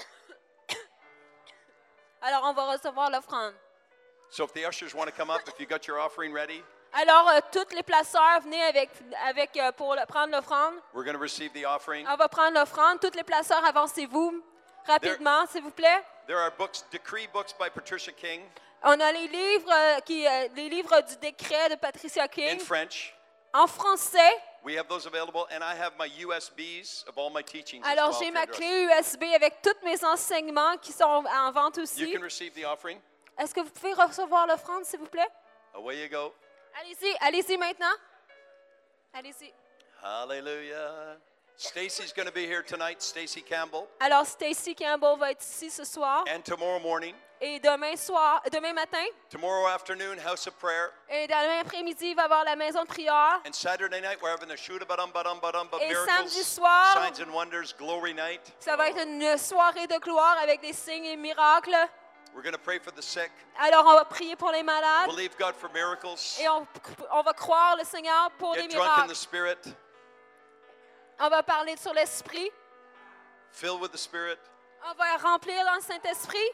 Alors, on va recevoir l'offrande. So if the ushers want to come up, if you got your offering ready, Alors, tous les placeurs, venez pour prendre l'offrande. we're going to receive the offering. On va prendre l'offrande. Tous les placeurs, avancez-vous rapidement, s'il vous plaît. There are books, decree books by Patricia King On a les livres du décret de Patricia in King French. en français. We have those available, and I have my USBs of all my teachings. as Alors, well j'ai for ma your clé USB avec tous mes enseignements qui sont en vente You aussi. can receive the offering. Est-ce que vous pouvez recevoir l'offrande, s'il vous plaît? Away you go. Allez-y maintenant. Allez-y. Hallelujah. Stacy's going to be here tonight, Stacy Campbell. Alors, Stacy Campbell va être ici ce soir. And tomorrow morning, Et demain matin, tomorrow afternoon, House of Prayer. et demain après-midi, il va y avoir la maison de prière. And Saturday night, we're having a Et miracles, samedi soir, signs and wonders, glory night. ça va être une soirée de gloire avec des signes et miracles. We're going to pray for the sick, Alors, on va prier pour les malades believe God for miracles, et on va croire le Seigneur pour les get drunk in the miracles. Spirit, On va parler sur l'Esprit. filled with the Spirit. On va remplir dans le Saint-Esprit.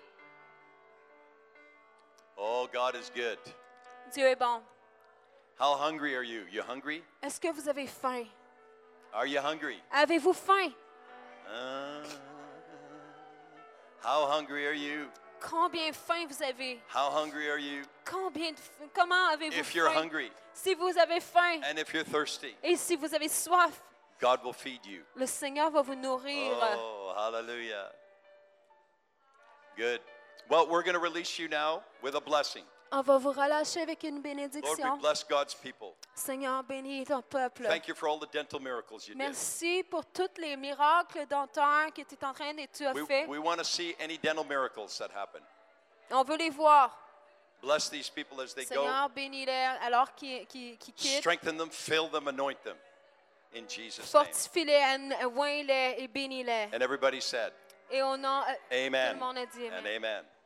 Oh, God is good. Dieu est bon. How hungry are you? You hungry? Est-ce que vous avez faim? Are you hungry? Avez-vous faim? How hungry are you? Combien faim vous avez? How hungry are you? Comment avez-vous If you're faim? hungry Si vous avez faim and if you're thirsty, et si vous avez soif, God will feed you. le Seigneur va vous nourrir. Oh, hallelujah. Good. Well, we're going to release you now with a blessing. On va vous relâcher avec une Lord, we bénédiction. bless God's people. Seigneur, bénis ton peuple. Thank you for all the dental miracles you did. Merci pour tous les miracles dentaires que tu es en train de tu as fait. We want to see any dental miracles that happen. On veut les voir. Bless these people as they go. Seigneur, bénis-les alors qu'ils quittent. Strengthen them, fill them, anoint them. In Jesus' name. Fortifie-les, oins-les et bénis-les. And everybody said, Et au nom, tout Amen le monde a dit and amen. amen.